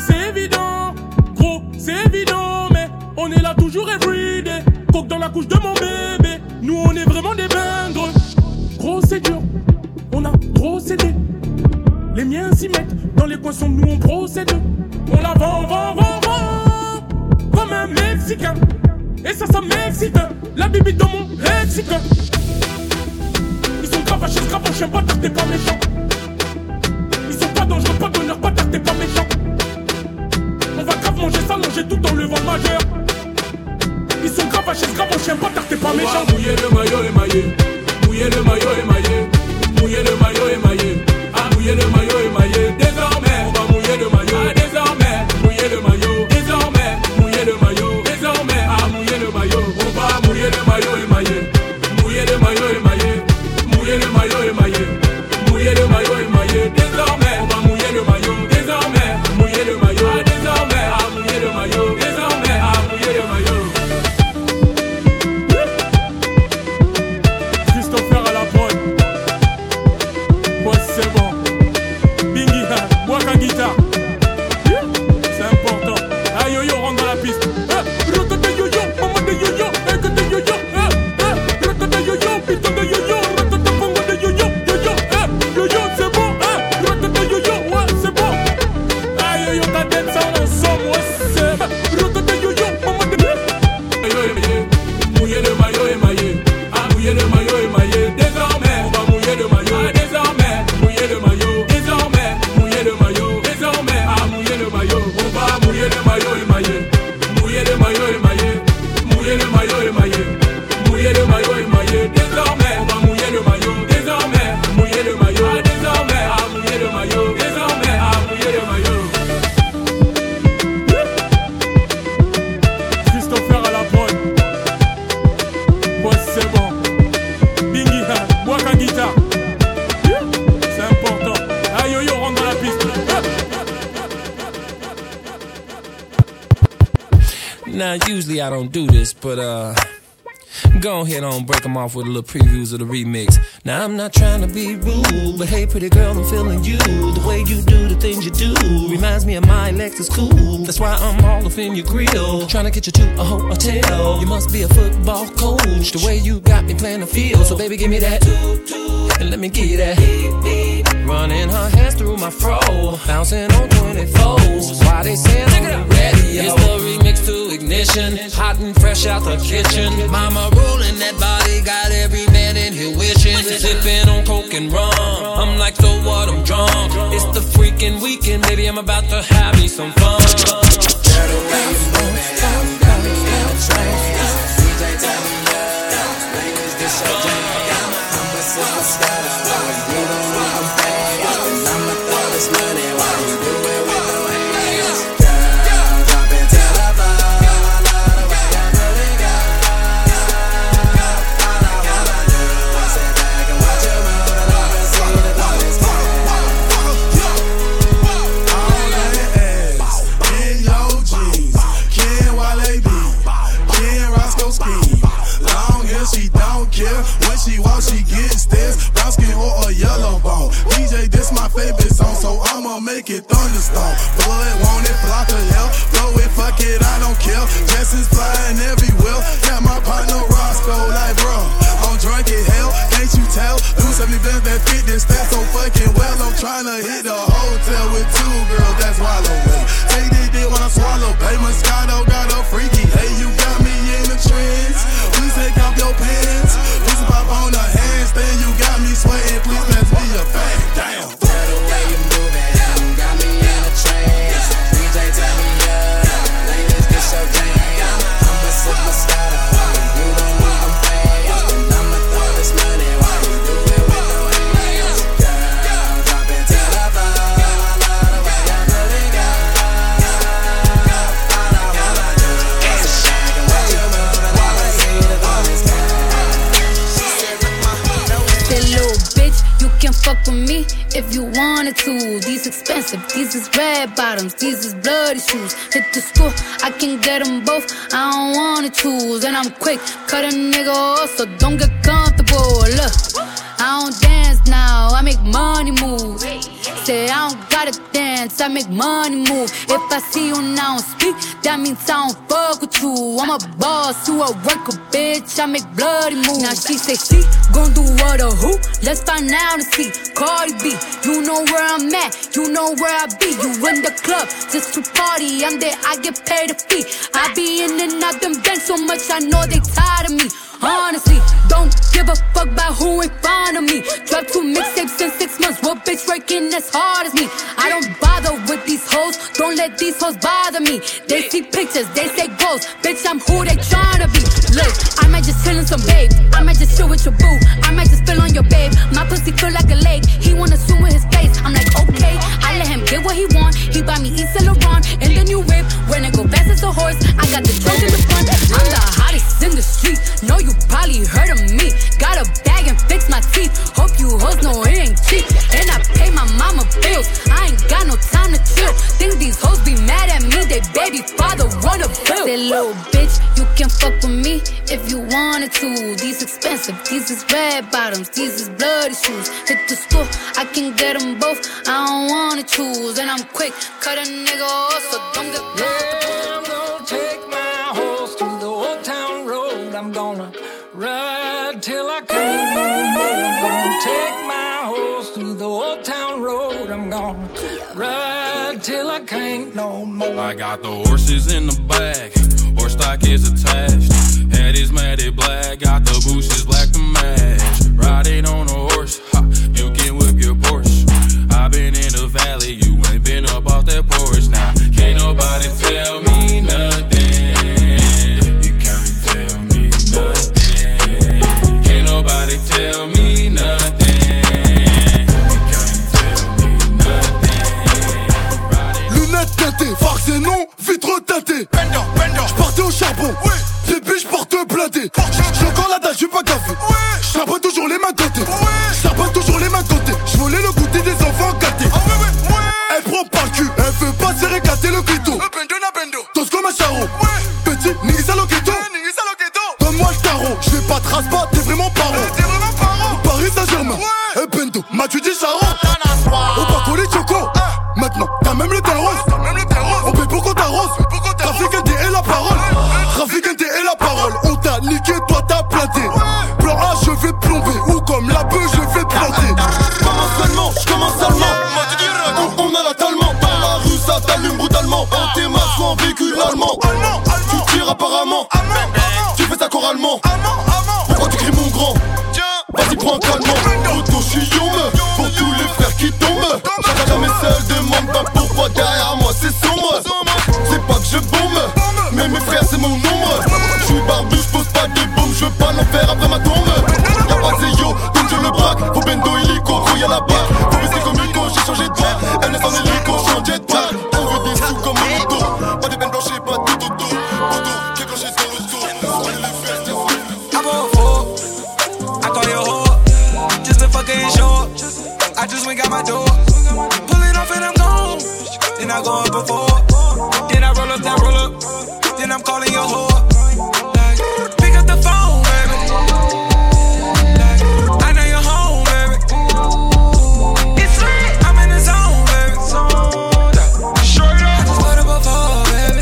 c'est évident, mais on est là toujours everyday. Coque dans la couche de mon bébé. Nous, on est vraiment des bingres. Gros, c'est dur, on a procédé. Les miens s'y mettent, dans les coins sombres, nous on procède. On la vend, comme un Mexicain. Et ça m'excite, la bibi dans mon lexique. Ils sont crapachés, j'aime pas car t'es pas méchant. Ils sont pas dangereux, pas d'honneur, pas car t'es pas méchant. On va grave manger, s'allonger tout en levant majeur. Ils sont crapachés, j'aime pas car t'es pas méchant. Mouiller le maillot émaillé. Mouiller le maillot émaillé. Mouiller le maillot émaillé. Ah, mouiller le maillot émaillé. Désormais Now, usually I don't do this, but go ahead on, break them off with a little previews of the remix. Now, I'm not trying to be rude, but hey, pretty girl, I'm feeling you. The way you do the things you do reminds me of my Lexus coupe. That's why I'm all up in your grill, trying to get you to a hotel. You must be a football coach, the way you got me playing the field. So baby, give me that, and let me give you that. Running her hands through my fro, bouncing on 24s. Why they saying on the radio? It's the remix to Ignition, hot and fresh out the kitchen. Mama rolling that body, got every man in here wishing. Sipping on coke and rum, I'm like, so what, I'm drunk. It's the freaking weekend, baby, I'm about to have me some fun. Girl, the way you move it, I'm got me in a trance. DJ tell me up, ladies, this your jam. I'm a superstar, you don't want to pay, and I'ma throw this money while you do it with no hands. Girl, drop it to the floor, I love the way you put it, girl. All I wanna do is sit back and watch you move it up and see the boys go. All that ass in your jeans, Ken Wale B, Ken Roscoe Ski. Long hair, she don't care. When she walks, she gets stares. Brown skin or a yellow bone. DJ, this my favorite song, so I'ma make it thunderstorm. Blood, want it, block the hell. Throw it, fuck it, I don't care. Jessens flying everywhere. Got my partner Roscoe, like bro, I'm drunk as hell. Can't you tell? Do 70 bands that fit this stat so fucking well. I'm tryna hit the hotel with two girls, that's wallow way. Take this dick when I swallow. Pay Moscato, got a freaky. Hey, you got me in the trends. Please take off your pants. Please pop on the handstand. You got me sweating. Please pass me a fag. Damn. Tell the way you move it, got me in a trance. DJ tell me up, ladies, this your jam. I'm a superstar, you don't need them fans, and I'ma throw this money while you do it with no hands. Girl, drop it to the floor, I love the way you put it, girl. All I wanna do is sit back and watch you move it up and see the boys go. Say, little bitch, you can fuck with me if you wanted to. These expensive, these is red bottoms, these is bloody shoes. Hit the school, I can get them both, I don't wanna choose. And I'm quick, cut a nigga off, so don't get comfortable. Look, I don't dance now, I make money move. Say I don't gotta dance, I make money move. If I see you now speak, that means I don't fuck with you. I'm a boss, you a worker, bitch, I make bloody moves. Now she say she gon' do what or who? Let's find out and see. Cardi B, you know where I'm at, you know where I be. You in the club just to party, I'm there, I get paid a fee. I be in and out them banks so much, I know they tired of me. Honestly, don't give a fuck about who in front of me. Drop 2 mixtapes in 6 months. What bitch working as hard as me? I don't bother with these hoes. Don't let these hoes bother me. They see pictures, they say goals. Bitch, I'm who they tryna be. Look, I might just chill in some babe. I might just chill with your boo. I might just spill on your babe. My pussy feel like a lake. He wanna swim with his face. I'm like, okay, I let him get what he want. He buy me East Saint Laurent and the new whip. When it go fast as a horse, I got the trunk in the front. I'm the hottest in the street. Know you probably heard of me. Got a bag and fix my teeth. Hope you hoes know it ain't cheap. And I pay my mama bills. I ain't got no time to chill. Think these hoes be mad at me. They baby father wanna bill. Say, little bitch, you can fuck with me if you wanted to. These expensive, these is red bottoms, these is bloody shoes. Hit the school, I can get them both. I don't wanna choose. And I'm quick, cut a nigga off, so don't get comfortable. I'm gonna take my horse to the old town road. I'm gonna ride till I can't no more. I'm gonna take my horse to the old town road. I'm gonna ride till I can't no more. I got the horses in the back, horse stock is attached. Head is matted black, got the bushes black to match. Riding on a horse, ha, you can whip your Porsche. I've been in the valley, you ain't been up off that porch. Now, can't nobody tell me nothing. You can't tell me nothing. Can't nobody tell me nothing. You can't tell me nothing. Lunettes teintées, farce et non, vitre teintée. J'partais au charbon, bébé j'porte blindé. J'ai encore la dalle, j'suis pas café. J'charbonne toujours les mains côté. J'charbonne toujours les mains côté. J'volais le goûter des enfants gâtés. Elle prend par le cul, elle veut pas se régater le clito. Tous comme un charron, petit maintenant t'as même les teint rose. On paye pour qu'on t'arrose. Trafic NT et la parole. Trafic NT et la parole. On t'a niqué, toi t'as planté. Plan A, je vais plomber. Ou comme la bœuf, je vais planter. Je commence seulement. On a la talent. Dans la rue, ça t'allume brutalement. En tes masques ou en véhicule allemand. Tu tires apparemment. Tu fais ça choralement. Pourquoi tu cries mon grand? Vas-y, prends un calmant. Auto, je suis young. Pour tous les frères qui tombent. Jamais seul, demande pas pourquoi derrière moi c'est sombre. C'est pas que je bombe, mais mes frères c'est mon nombre. Je suis barbu, je pose pas de bombe. Je veux pas l'enfer après ma tombe. Y'a pas de Zéyo, donc je le braque. Faut bendo illico, gros y'a la balle. Faut baisser comme Nico, j'ai changé de voix. Elle laisse en hélico, j'suis en jetpack. On veut des sous comme un auto. Pas de peine blanchée, pas de tout auto. Auto, qui est blanché sur le dos. I'm a fool, I call you a whore. Just a fucking show. I just went got my door. Pull it off and I'm gone. Then I go up before. Then I roll up, then I'm calling your whore. Like, pick up the phone, baby. Like, I know you're home, baby. It's lit, I'm in the zone, baby. Straight up, I just put up before, baby.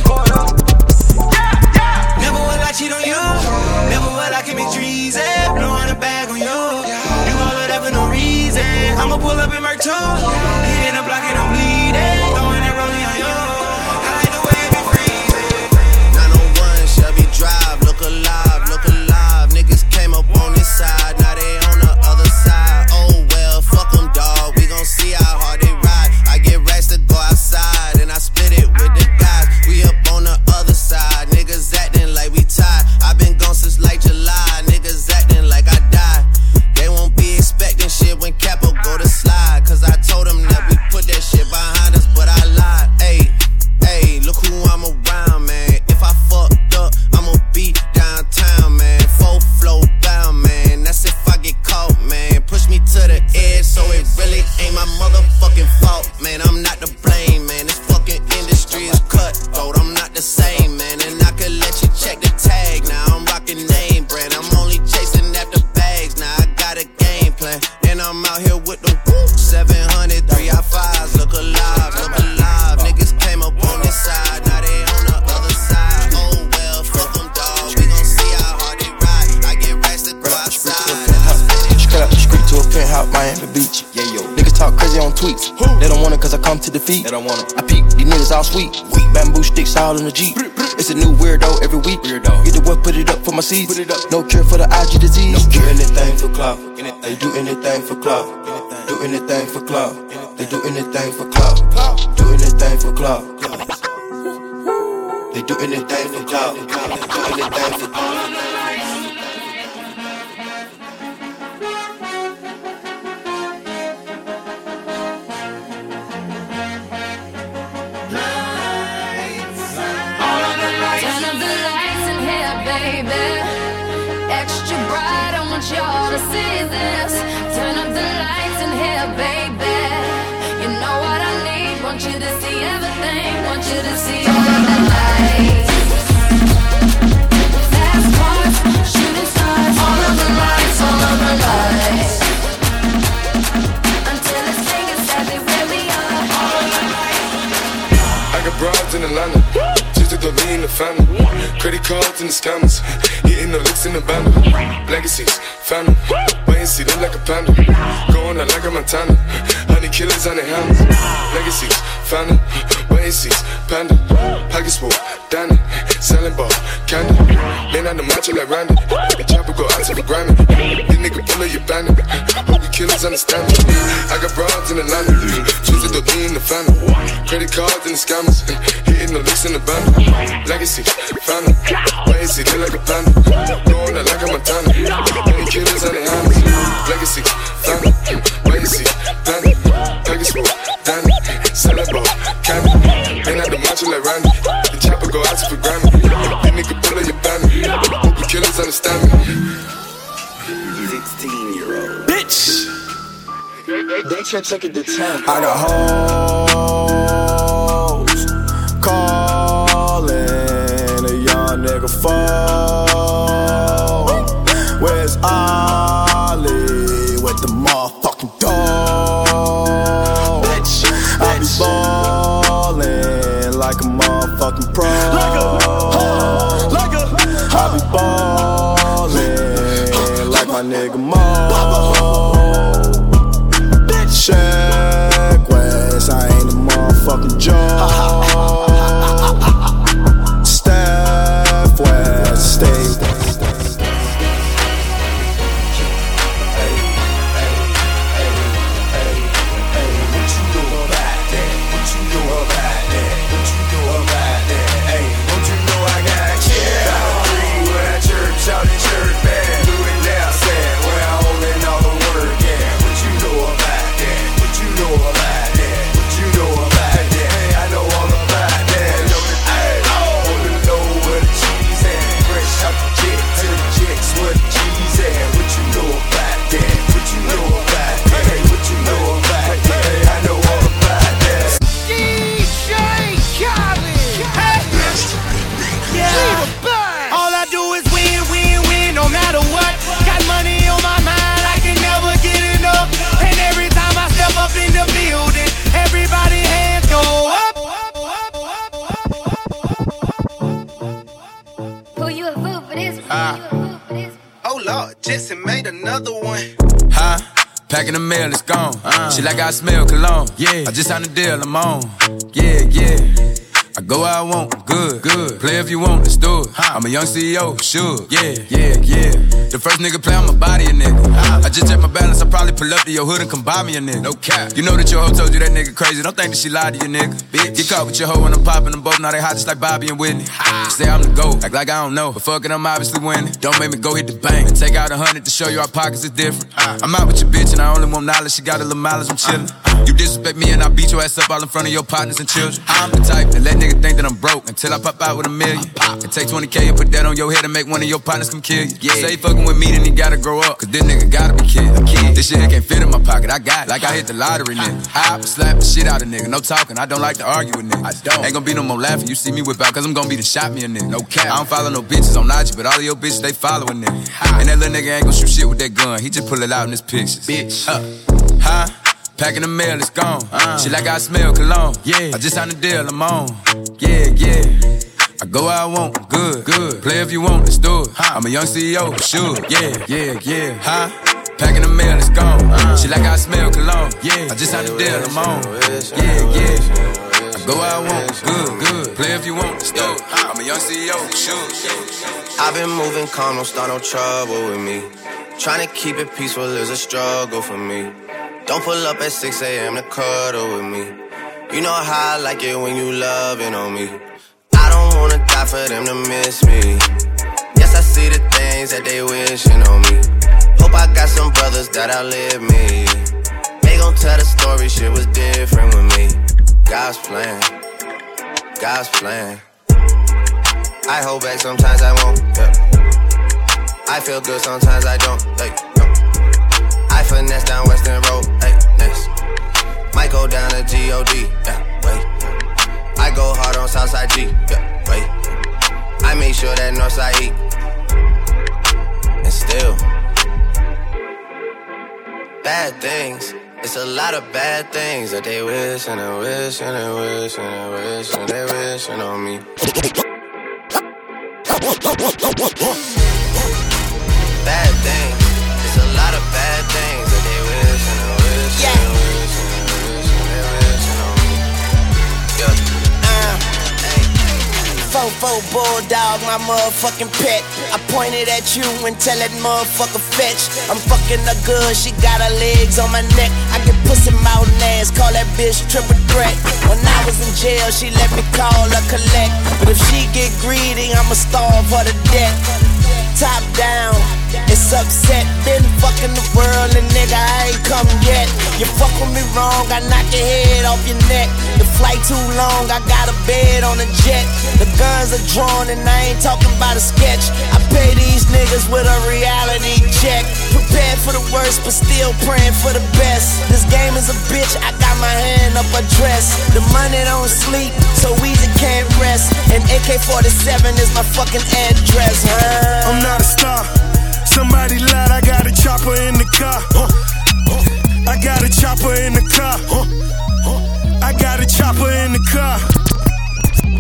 Never will I cheat on you. Never will I commit treason. Blowing a bag on you. You all of that for no reason. I'ma pull up in my too. Hitting the block and I'm bleeding. Throwing it rolling on you. I like the way it be freezing. 901 Shelby Drive, look alive, look alive. Niggas came up on this side, now they on the other side. Oh well, fuck them dawg, we gon' see how hard they ride. I get racks to go outside, and I split it with the guys. We up on the other side, niggas acting like we tied. I been gone since like July, niggas acting like I died. They won't be expecting shit when Capo go to slide. Cause I told them that we put that shit behind us, but I lied. Ayy, look who I'm around, man. If I fucked up, I'ma be downtown, man. Full flow bound, man. That's if I get caught, man. Push me to the edge, so it really ain't my motherfucking fault, man. I'm not to blame, man. This fucking industry is cutthroat. I'm not the same, man. And I could let you check the tag. Now I'm rocking name brand. I'm only chasing after bags. Now I got a game plan. And I'm out here with them 700 3i5s. Look alive, look alive. Niggas came up on this side. Now they on the other side. Oh well, fuck them dawg. We gon' see how hard they ride. I get racks to go outside. Straight up the street to a penthouse, Miami Beach. Yeah, yo. Niggas talk crazy on tweets. They don't want it cause I come to defeat. They don't want it. I peek, these niggas all sweet. Bamboo sticks all in the Jeep. It's a new weirdo every week. Get the what, put it up for my seeds. No cure for the IG disease. Do anything for clout. They do anything for clout. Do anything for clout. They do anything for clout. Do anything for clout. They do anything for clout. Do anything for clout. Extra bright, I want y'all to see this. Turn up the lights in here, baby. You know what I need. Want you to see everything. Want you to see all of the lights. Fast cars, shooting stars. All of the lights, all of the lights. Until it's taken, sadly where we are. All of the lights. I got broads in Atlanta. Just to lean in the family. Credit cards and the scammers. Hitting the licks in the band. Legacies, phantom. Wait and see, look like a panda. Going out like a Montana. Honey killers on their hands. Legacies, phantom. Wait and see, panda. Pockets full, Danny. Selling ball, candy. Lean on the macho like Randy. The chopper go out to the Grammy. This nigga pull up your bandit. Hope you killers understand it. I got broads in Atlanta. Choose to lean in the family. Credit cards and the scammers. Hitting the licks in the band. Legacy, phantom. Wait and see, look like a panda. Going out like a Montana. Many killers on their hands. Legacy, phantom. Wait and see, panda. Package full, Danny. Selling ball, candy. Ain't out the macho like Randy. The chopper go out to the Grammy. This nigga pull up your bandit. Hope the killers understand me. 16-year-old bitch. They check it to 10. I got hoes calling a young nigga phone. Where's Ollie with the motherfucking dog? Bitch, I be like a motherfucking pro. I be ballin' like my nigga Mo. Check West, I ain't a motherfucking Joe. Steph West, stay. Jesse made another one. Huh? Packing the mail, it's gone. She like I smell cologne. Yeah. I just signed a deal, I'm on. Yeah, yeah. I go where I want, good, good. Play if you want, let's do it. I'm a young CEO, sure. Yeah, yeah, yeah. The first nigga play, I'ma body a nigga. I just check my balance, I probably pull up to your hood and come buy me a nigga. No cap. You know that your hoe told you that nigga crazy. Don't think that she lied to you, nigga. Bitch. Get caught with your hoe when I'm popping them both. Now they hot just like Bobby and Whitney. Say I'm the GOAT, act like I don't know. But fuck it, I'm obviously winning. Don't make me go hit the bank and take out 100 to show you our pockets is different. I'm out with your bitch and I only want knowledge. She got a little mileage, I'm chillin'. You disrespect me and I beat your ass up all in front of your partners and children. I'm the type that let niggas think that I'm broke until I pop out with $1 million. And take 20K and put that on your head and make one of your partners come kill you. Yeah. Say fucking with me, then he gotta grow up, cause this nigga gotta be kid. This shit can't fit in my pocket, I got it. Like I hit the lottery, nigga. I slap the shit out of nigga, no talking, I don't like to argue with niggas. I don't. Ain't gonna be no more laughing, you see me whip out, cause I'm gonna be the shot me a nigga. No cap. I don't follow no bitches on IG, but all of your bitches, they following nigga. And that little nigga ain't gon' shoot shit with that gun, he just pull it out in his pictures. Bitch. Huh? Packing the mail, it's gone. She like I smell cologne. Yeah. I just signed a deal, I'm on. Yeah, yeah. I go where I want, good, good. Play if you want, let's do it. I'm a young CEO, sure. Yeah, yeah, yeah. Huh? Packing the mail, it's gone. She like I smell cologne. Yeah. I just signed a deal, I'm on. Yeah, yeah. I go where I want, good, good. Play if you want, let's do it. I'm a young CEO, sure. I've been moving calm, don't start no trouble with me. Trying to keep it peaceful is a struggle for me. Don't pull up at 6 a.m. to cuddle with me. You know how I like it when you loving on me. I don't wanna die for them to miss me. Yes, I see the things that they wishing on me. Hope I got some brothers that outlive me. They gon' tell the story, shit was different with me. God's plan, God's plan. I hold back, sometimes I won't, yeah. I feel good, sometimes I don't, like, no. I finesse down Western Road, hey, next. Might go down to G.O.D., yeah, wait. I go hard on Southside G, yeah, wait. I make sure that Northside eat. And still, bad things. It's a lot of bad things that they wish and they wish and they wish and they wish and they wishing on me. Bad things. It's a lot of bad things that they wish and they wish and they wish and they wish and they wishing on me. Yeah. Fofo bulldog, my motherfucking pet. I pointed at you and tell that motherfucker fetch. I'm fucking her good, she got her legs on my neck. I get pussy mouth and ass, call that bitch triple threat. When I was in jail, she let me call her collect. But if she get greedy, I'ma starve her to death. Top down, it's upset. Been fucking the world and nigga, I ain't come yet. You fuck with me wrong, I knock your head off your neck. The flight too long, I got a bed on a jet. The guns are drawn and I ain't talking about a sketch. I pay these niggas with a reality check. Prepared for the worst, but still praying for the best. This game is a bitch, I got my hand up a dress. The money don't sleep, so easy can't rest. And AK-47 is my fucking address, huh? I'm not a star. Somebody lied, I got a chopper in the car. I got a chopper in the car. I got a chopper in the car.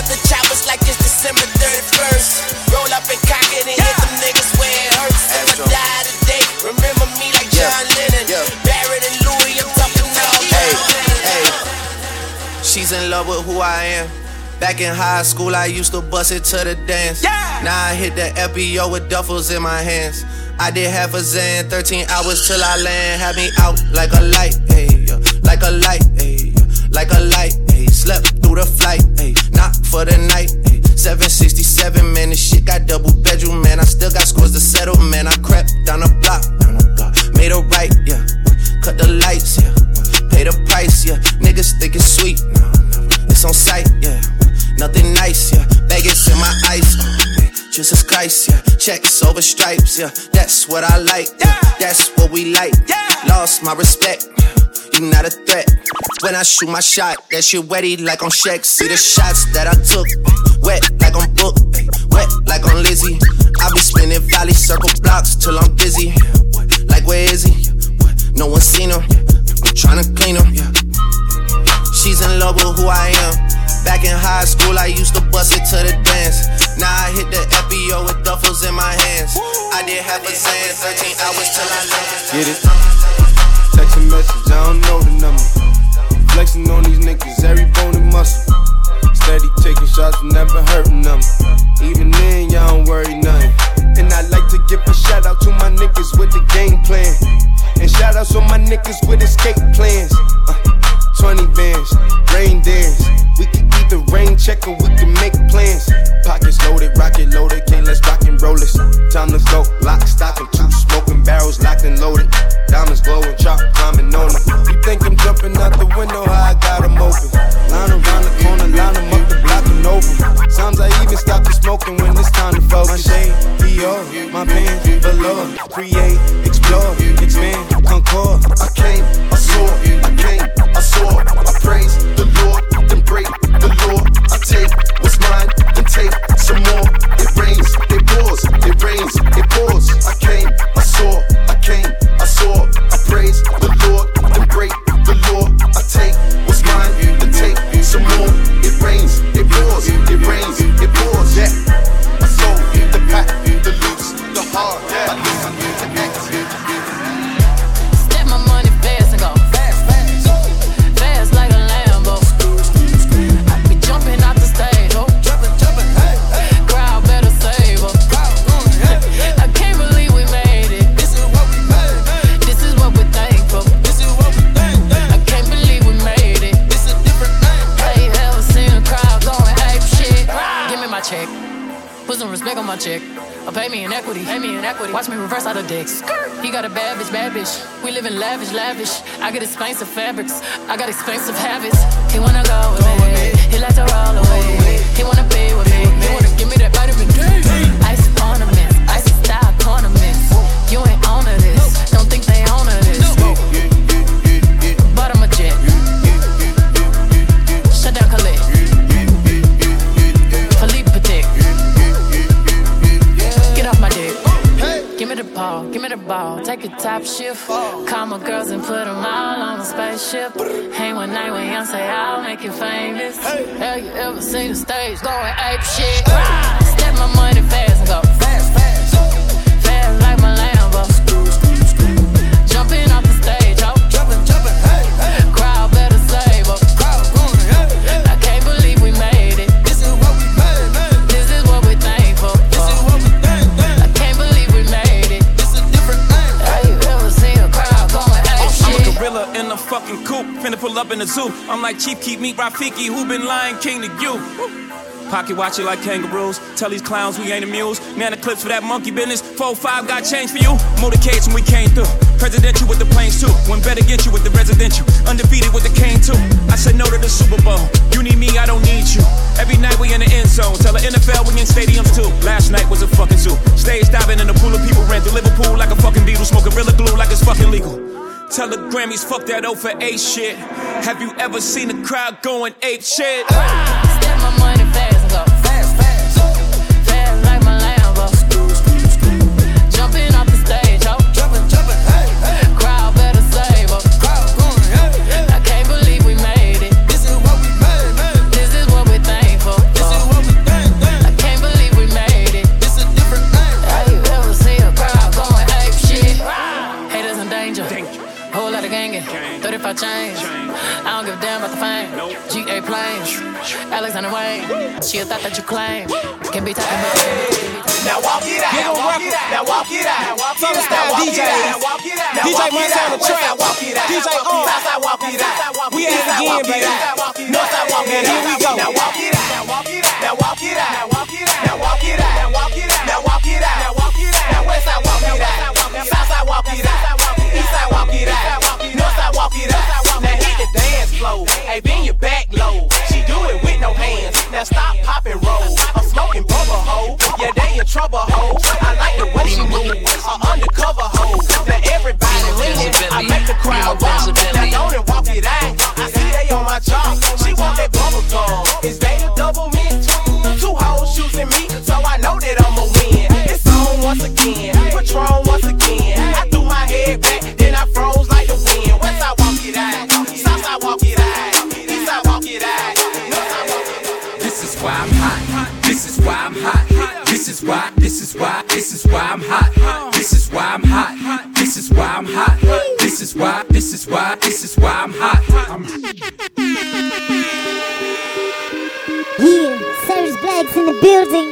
the choppers like it's December 31st. Roll up and cock it and hit them niggas where it hurts. If I die today, remember me like John Lennon. Barrett and Louis, I'm talking all hey. She's in love with who I am. Back in high school, I used to bust it to the dance. Now I hit the FBO with duffels in my hands. I did half a Zan, 13 hours till I land. Had me out like a light, ayy, like a light, ayy, like a light, ayy. Slept through the flight, ayy, not for the night, ayy. 767, man, this shit got double bedroom, man. I still got scores to settle, man. I crept down the block, made a right, yeah. Cut the lights, yeah. Pay the price, yeah. Niggas think it's sweet, no, it's on sight, yeah. Nothing nice, yeah. Vegas in my ice, man. Jesus Christ, yeah. Checks over stripes, yeah. That's what I like, yeah. That's what we like. Lost my respect, you not a threat. When I shoot my shot, that shit wetty like on Shaq. See the shots that I took, wet like on Book, wet like on Lizzie. I be spinning valley circle blocks till I'm busy. Like where is he? No one seen him. I'm tryna clean him. She's in love with who I am. Back in high school, I used to bust it to the dance. Now I hit the FBO with duffels in my hands. I did half a Zan, 13 hours till I left. Get it? Text a message, I don't know the number. Flexing on these niggas, every bone and muscle. Steady taking shots, never hurting them. Even then, y'all don't worry nothing. And I like to give a shout out to my niggas with the game plan. And shout outs on my niggas with escape plans. 20 bands, rain dance. We can either rain check or we can make plans. Pockets loaded, rocket loaded, okay, let's rock and roll this. Time to go, lock, stock, and two smoking barrels locked and loaded. Diamonds glowing, chop, climbing on them. You think I'm jumping out the window, how I got them open. Line around the corner, line them up, the block and over. Sometimes I even stop the smoking when it's time to focus. My shade, Dior, my pants, below. Create, explore, expand, concord. I came, I saw, I came, I saw. I praise the Lord, then break the law. I take what's mine, then take some more. It rains, it pours, it rains, it pours. I came, I saw, I came, I saw. I praise the Lord, then break the law. I take what's mine, then take some more. It rains, it pours, it rains, it pours. Yeah, I sold the pack, the loose, the hard. I listen to act. Step my money fast and go fast, fast, fast like a Lambo. I be jumping out the stage, oh, jumping, hey, hey. Crowd better save her. I can't believe we made it. This is what we made. This is what we're thankful. This is what we think. I can't believe we made it. This is a different thing. Have you ever seen a crowd going ape shit? Give me my check. Put some respect on my check. Or pay me in equity. Watch me reverse out of dicks. He got a bad bitch. We live in lavish. I get expensive fabrics. I got expensive habits. He wanna go with me. He like to roll away. He wanna be with me. He wanna give me that vitamin D. Ice ornaments, icy style ornaments. You ain't on to this. Don't think they own to this. But I'm a jet. Shut down Khalid. Philippe Patek. Get off my dick. Give me the ball, take a top shift. Call my girls and put them all on a spaceship. Hang one night with Beyonce, I'll make you famous. Have you ever seen the stage going ape shit? Step my money fast and go fast, fast, fast like my Lambo. Jumping off the stage, oh, jumping, hey, hey. Crowd better save up. I can't believe we made it. This is what we made, man. This is what we're thankful for. This is what we think, man. I can't believe we made it. This is a different thing. Have you ever seen a crowd going ape shit? I'm a gorilla in a fucking coop, finna pull up in the zoo. I'm like Chief Keef, meet Rafiki, who been Lion King to you. Pocket watch it like kangaroos. Tell these clowns we ain't amused. Nana clips for that monkey business. 4-5 got change for you. Motorcades when we came through. Presidential with the planes too. When better get you with the residential. Undefeated with the cane too. I said no to the Super Bowl. You need me, I don't need you. Every night we in the end zone. Tell the NFL we in stadiums too. Last night was a fucking zoo. Stage diving in a pool of people ran through Liverpool like a fucking beetle. Smoking Gorilla Glue like it's fucking legal. Tell the Grammys fuck that 0 for 8 shit. Have you ever seen a crowd going ape shit? Step my money fast and go fast, fast, fast like my Lambo. Jumping off the stage, oh, jumping, hey, hey. Crowd better save up. I can't believe we made it. This is what we made, man. This is what we're thankful for. This is name. GA planes, Alexander Wayne. She a thought that you claim. Can't be talking about. Now walk it out. Now walk it out. Now walk it out. Southern style DJ. DJ Montana Trap. DJ Southside walk it out. We at it again, baby. Northside walk it out. Here we go. Now walk it out. Now walk it out. Now walk it out. Now walk it out. Now walk it out. Now walk it out. Now walk it out. Now walk it out. Now Westside walk it out. Southside walk it out. Eastside walk it out. Northside walk it out. Now hit the dance floor. Hey, bend your back low. She do it with no hands. Now stop, pop and roll. I'm smoking bubble hoe. Yeah, they in trouble hoe. I like the way she move. Undercover hoe. Now everybody leaning. I make the crowd walk. Now don't and walk it out. I see they on my job. She want that bubble gum. Is they the double mint? Two hoes shooting me, so I know that I'ma win. It's on once again. Patron once again. I threw my head back, then I froze like the wind. Westside walk it out. Southside walk it out. Eastside walk it out. Northside walk it out. This is why I'm hot. This is why I'm hot. This is why I'm hot. This is why I'm hot. This is why I'm hot. This is why I'm hot. Yeah, Cyrus Black's in the building.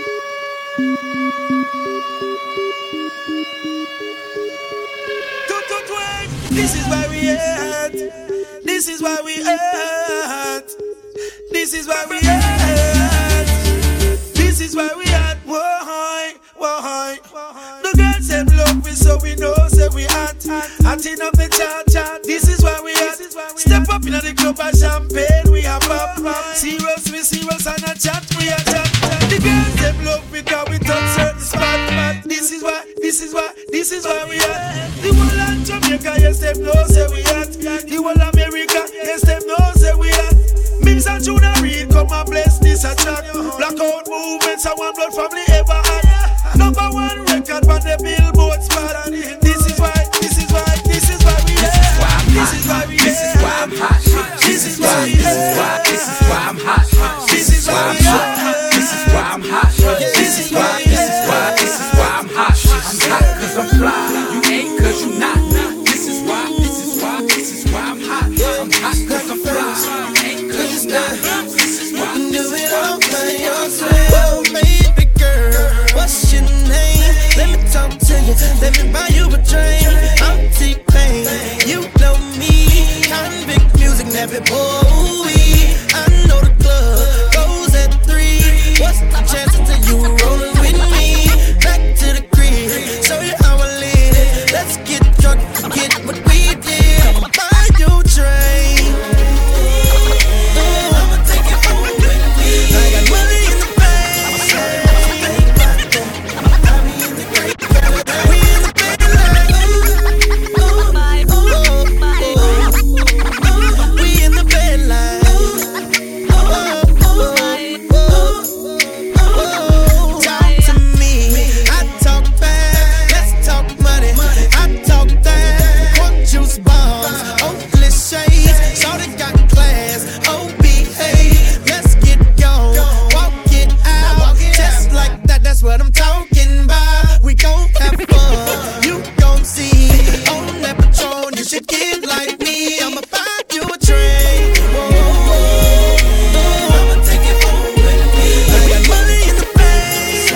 This is why we at. This is why we at. This is why we at. This is why we at. Why? The girls them love we, so we know say we at. Acting up the chat. This is why we at. Step up in the club and champagne we have pop. Serious and a chat we a chat. The girls them love we, cause we touch certain spot. This is why we at. The whole of Jamaica, yes them know say we at. The whole of America, yes them know say we at. Mims and Juna Reid come and bless this a track. Blackout movements and one blood family ever had. Number one record on the Billboard spot. This is why we at. This is why we at. This is why I'm hot. This is why I'm hot. This is why I'm hot. This is why I'm hot. This is why I'm hot. I'm hot cause I'm fly. You ain't cause you not. This is why I'm hot. I'm hot cause I'm fly. You ain't cause you not. This is why. Do it all by yourself, baby girl. What's your name? Let me talk to you. Let me buy you a drink. I'm T-Pain. You know me. Convict music, never boy. I know the club goes at 3. What's the chances of you rolling with me? Back to the crib, show you how I live. Let's get drunk, forget what we did. I'ma buy you a drink. I'ma take it home with me. I got money in the bank. We in the bed like we in the bed like talk to me. I talk fast. Let's talk money. I talk that. Cork juice bombs. Oakless shades. Shorty got class. Oh, behave. Let's get gone. Walk it out. Just like that. That's what I'm talking about. We gon' have fun. You gon' see. On that Patron, you should get like me. I'ma buy you a drink. I'ma take it home with me. I got money in the bank.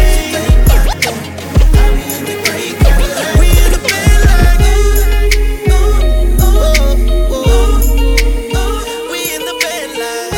We in the bed like we in the bed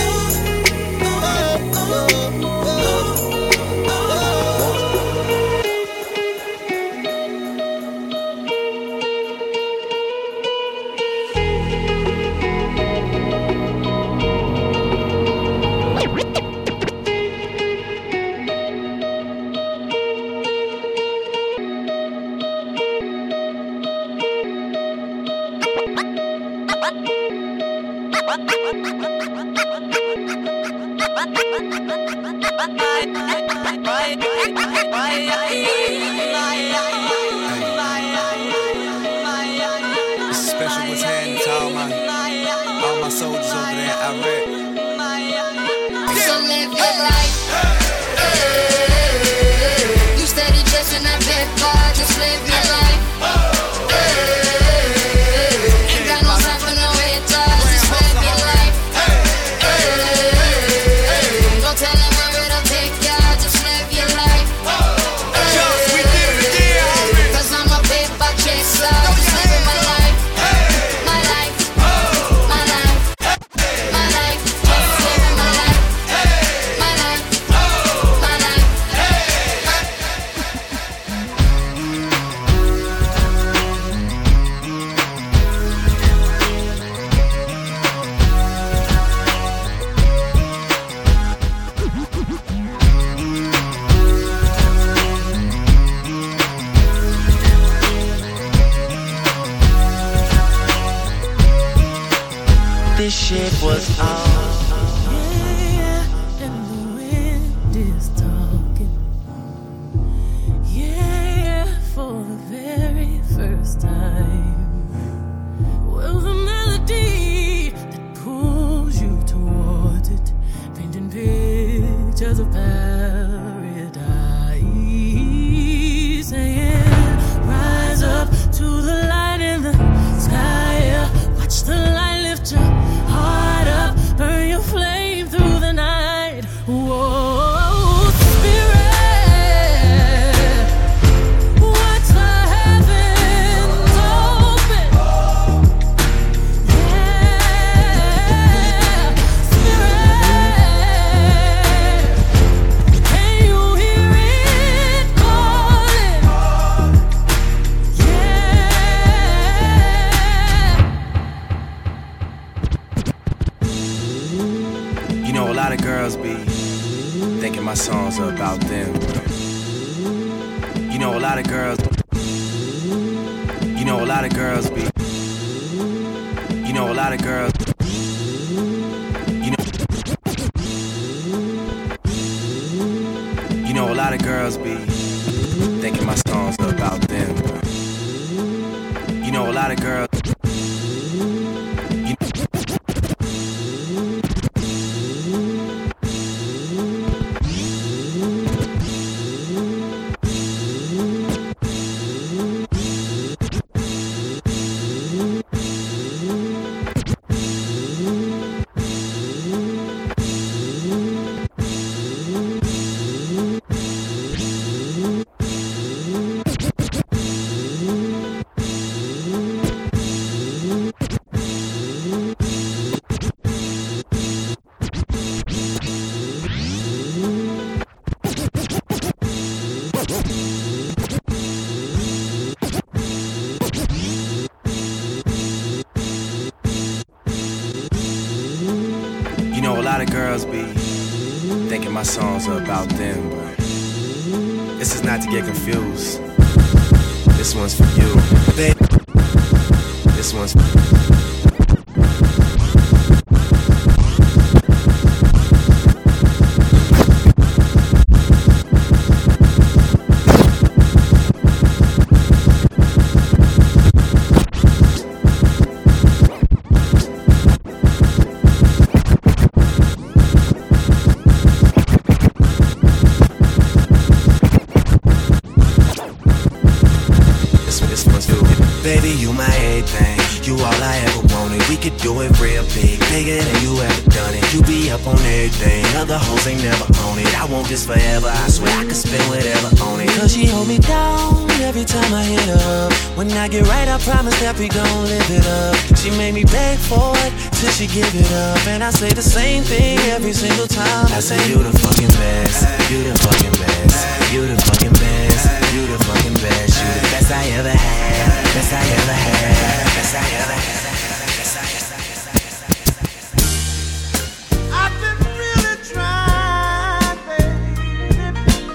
This is special what's happening to all my soldiers over there in Iraq. So live your life. You steady dressing that big car, just live your life. Ain't got no time for no haters, just live your life. shit was on. Yeah, and the wind is talking. Yeah, for the very first time. Well, the melody that pulls you towards it, painting pictures of paradise, saying, rise up to the light in the sky. Watch the light lift your heart up, burn your flame through the night. Whoa, spirit, watch the heavens open. Yeah, spirit, can you hear it calling? You know, a lot of girls be thinking my songs are about them. You know, a lot of girls. You know, a lot of girls be. You know, a lot of girls. You know. You know, a lot of girls be thinking my songs are about them. You know, a lot of girls. You know, a lot of girls be thinking my songs are about them, but this is not to get confused. This one's for you, baby. This one's for you. Baby, you my everything, you all I ever wanted. We could do it real big, bigger than you ever done it. You be up on everything, other hoes ain't never on it. I want this forever, I swear I could spend whatever on it. Cause she hold me down every time I hit her up. When I get right, I promise that we gon' live it up. She made me beg for it, till she give it up. And I say the same thing every single time. I say you the fucking best, you the fucking best, you the fucking best, you the fucking best, you the best I ever had, best I ever had, best I ever had. I've been really trying, baby,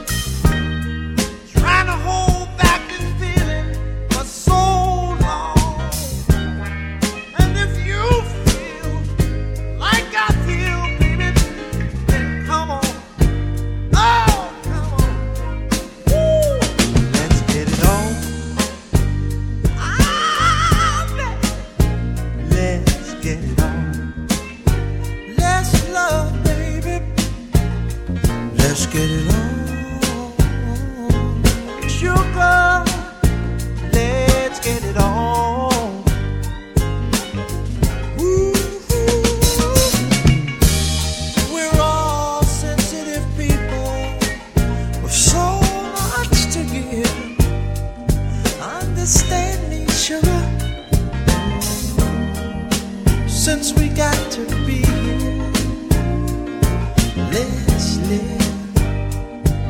trying to hold back this feeling for so long. And if you feel like I feel, baby, then come on. Oh, come on. Woo. Let's get it on. Let's get it on. Let's love, baby. Let's get it on. Sugar, let's get it on. Ooh, we're all sensitive people with so much to give. Understand me, sugar. Since we got to be here, let's live.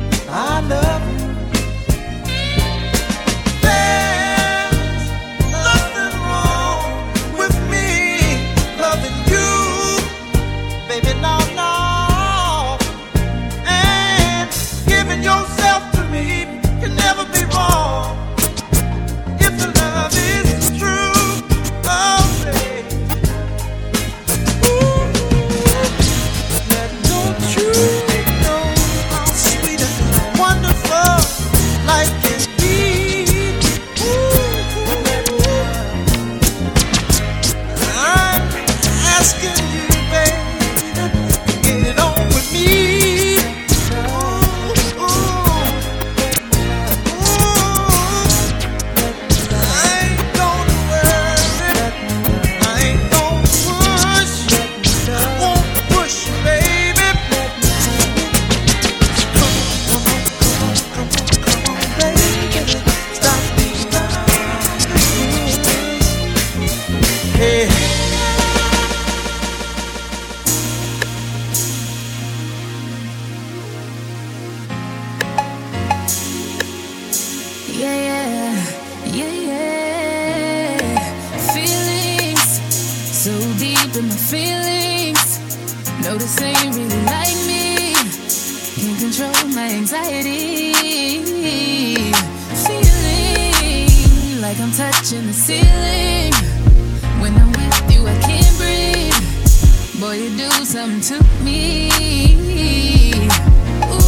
Notice they ain't really like me. Can't control my anxiety. Feeling like I'm touching the ceiling. When I'm with you, I can't breathe. Boy, you do something to me. Ooh,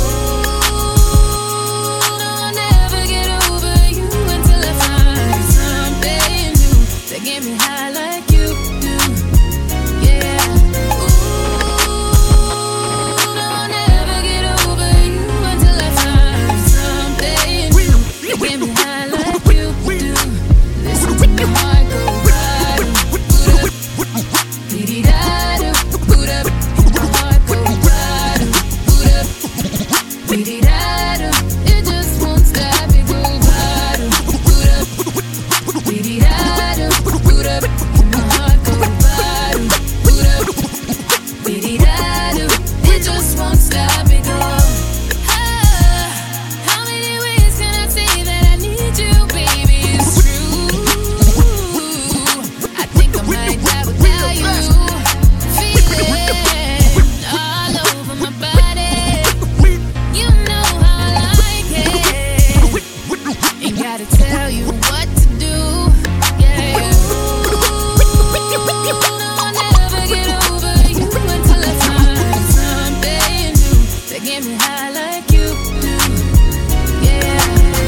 no, I'll never get over you until I find something new that get me high like you do. Yeah. Ooh, no, I'll never get over you until I find something new that get me high like you do. Listen to my heart go bottom, boot up, dee-dee-da-do, boot up, and my heart go bottom, boot up, dee-dee-da-do. It just won't stop, it go bottom, boot up, dee-dee-da-do, boot up, and my heart go bottom, boot up, dee-dee-da-do. It just won't stop, it go. How many ways can I say that I need you, baby? It's true. I think I might die without you. Feeling all over my body. You know how I like it. Ain't gotta tell you what to do. Yeah. No, I'll never get over you until I find something new that get me high like you do. Yeah.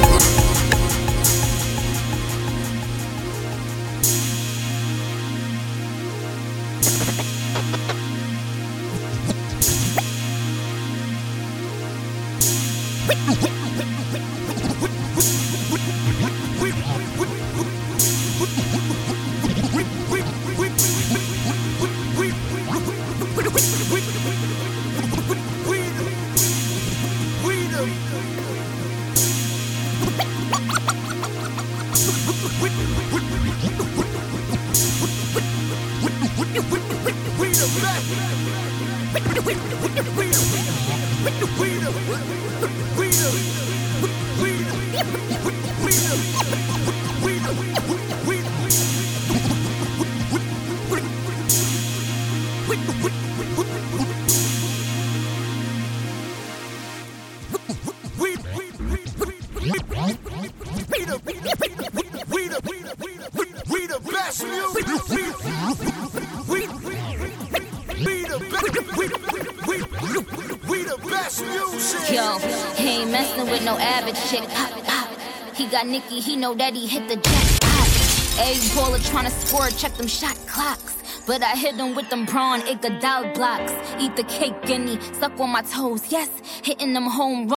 Yo, he ain't messing with no average chick. Pop, pop. He got Nicki, he know that he hit the jackpot. Egg baller tryna score, check them shot clocks. But I hit him with them prawn Iguodala blocks. Eat the cake, guinea, suck on my toes, yes, hitting them home runs.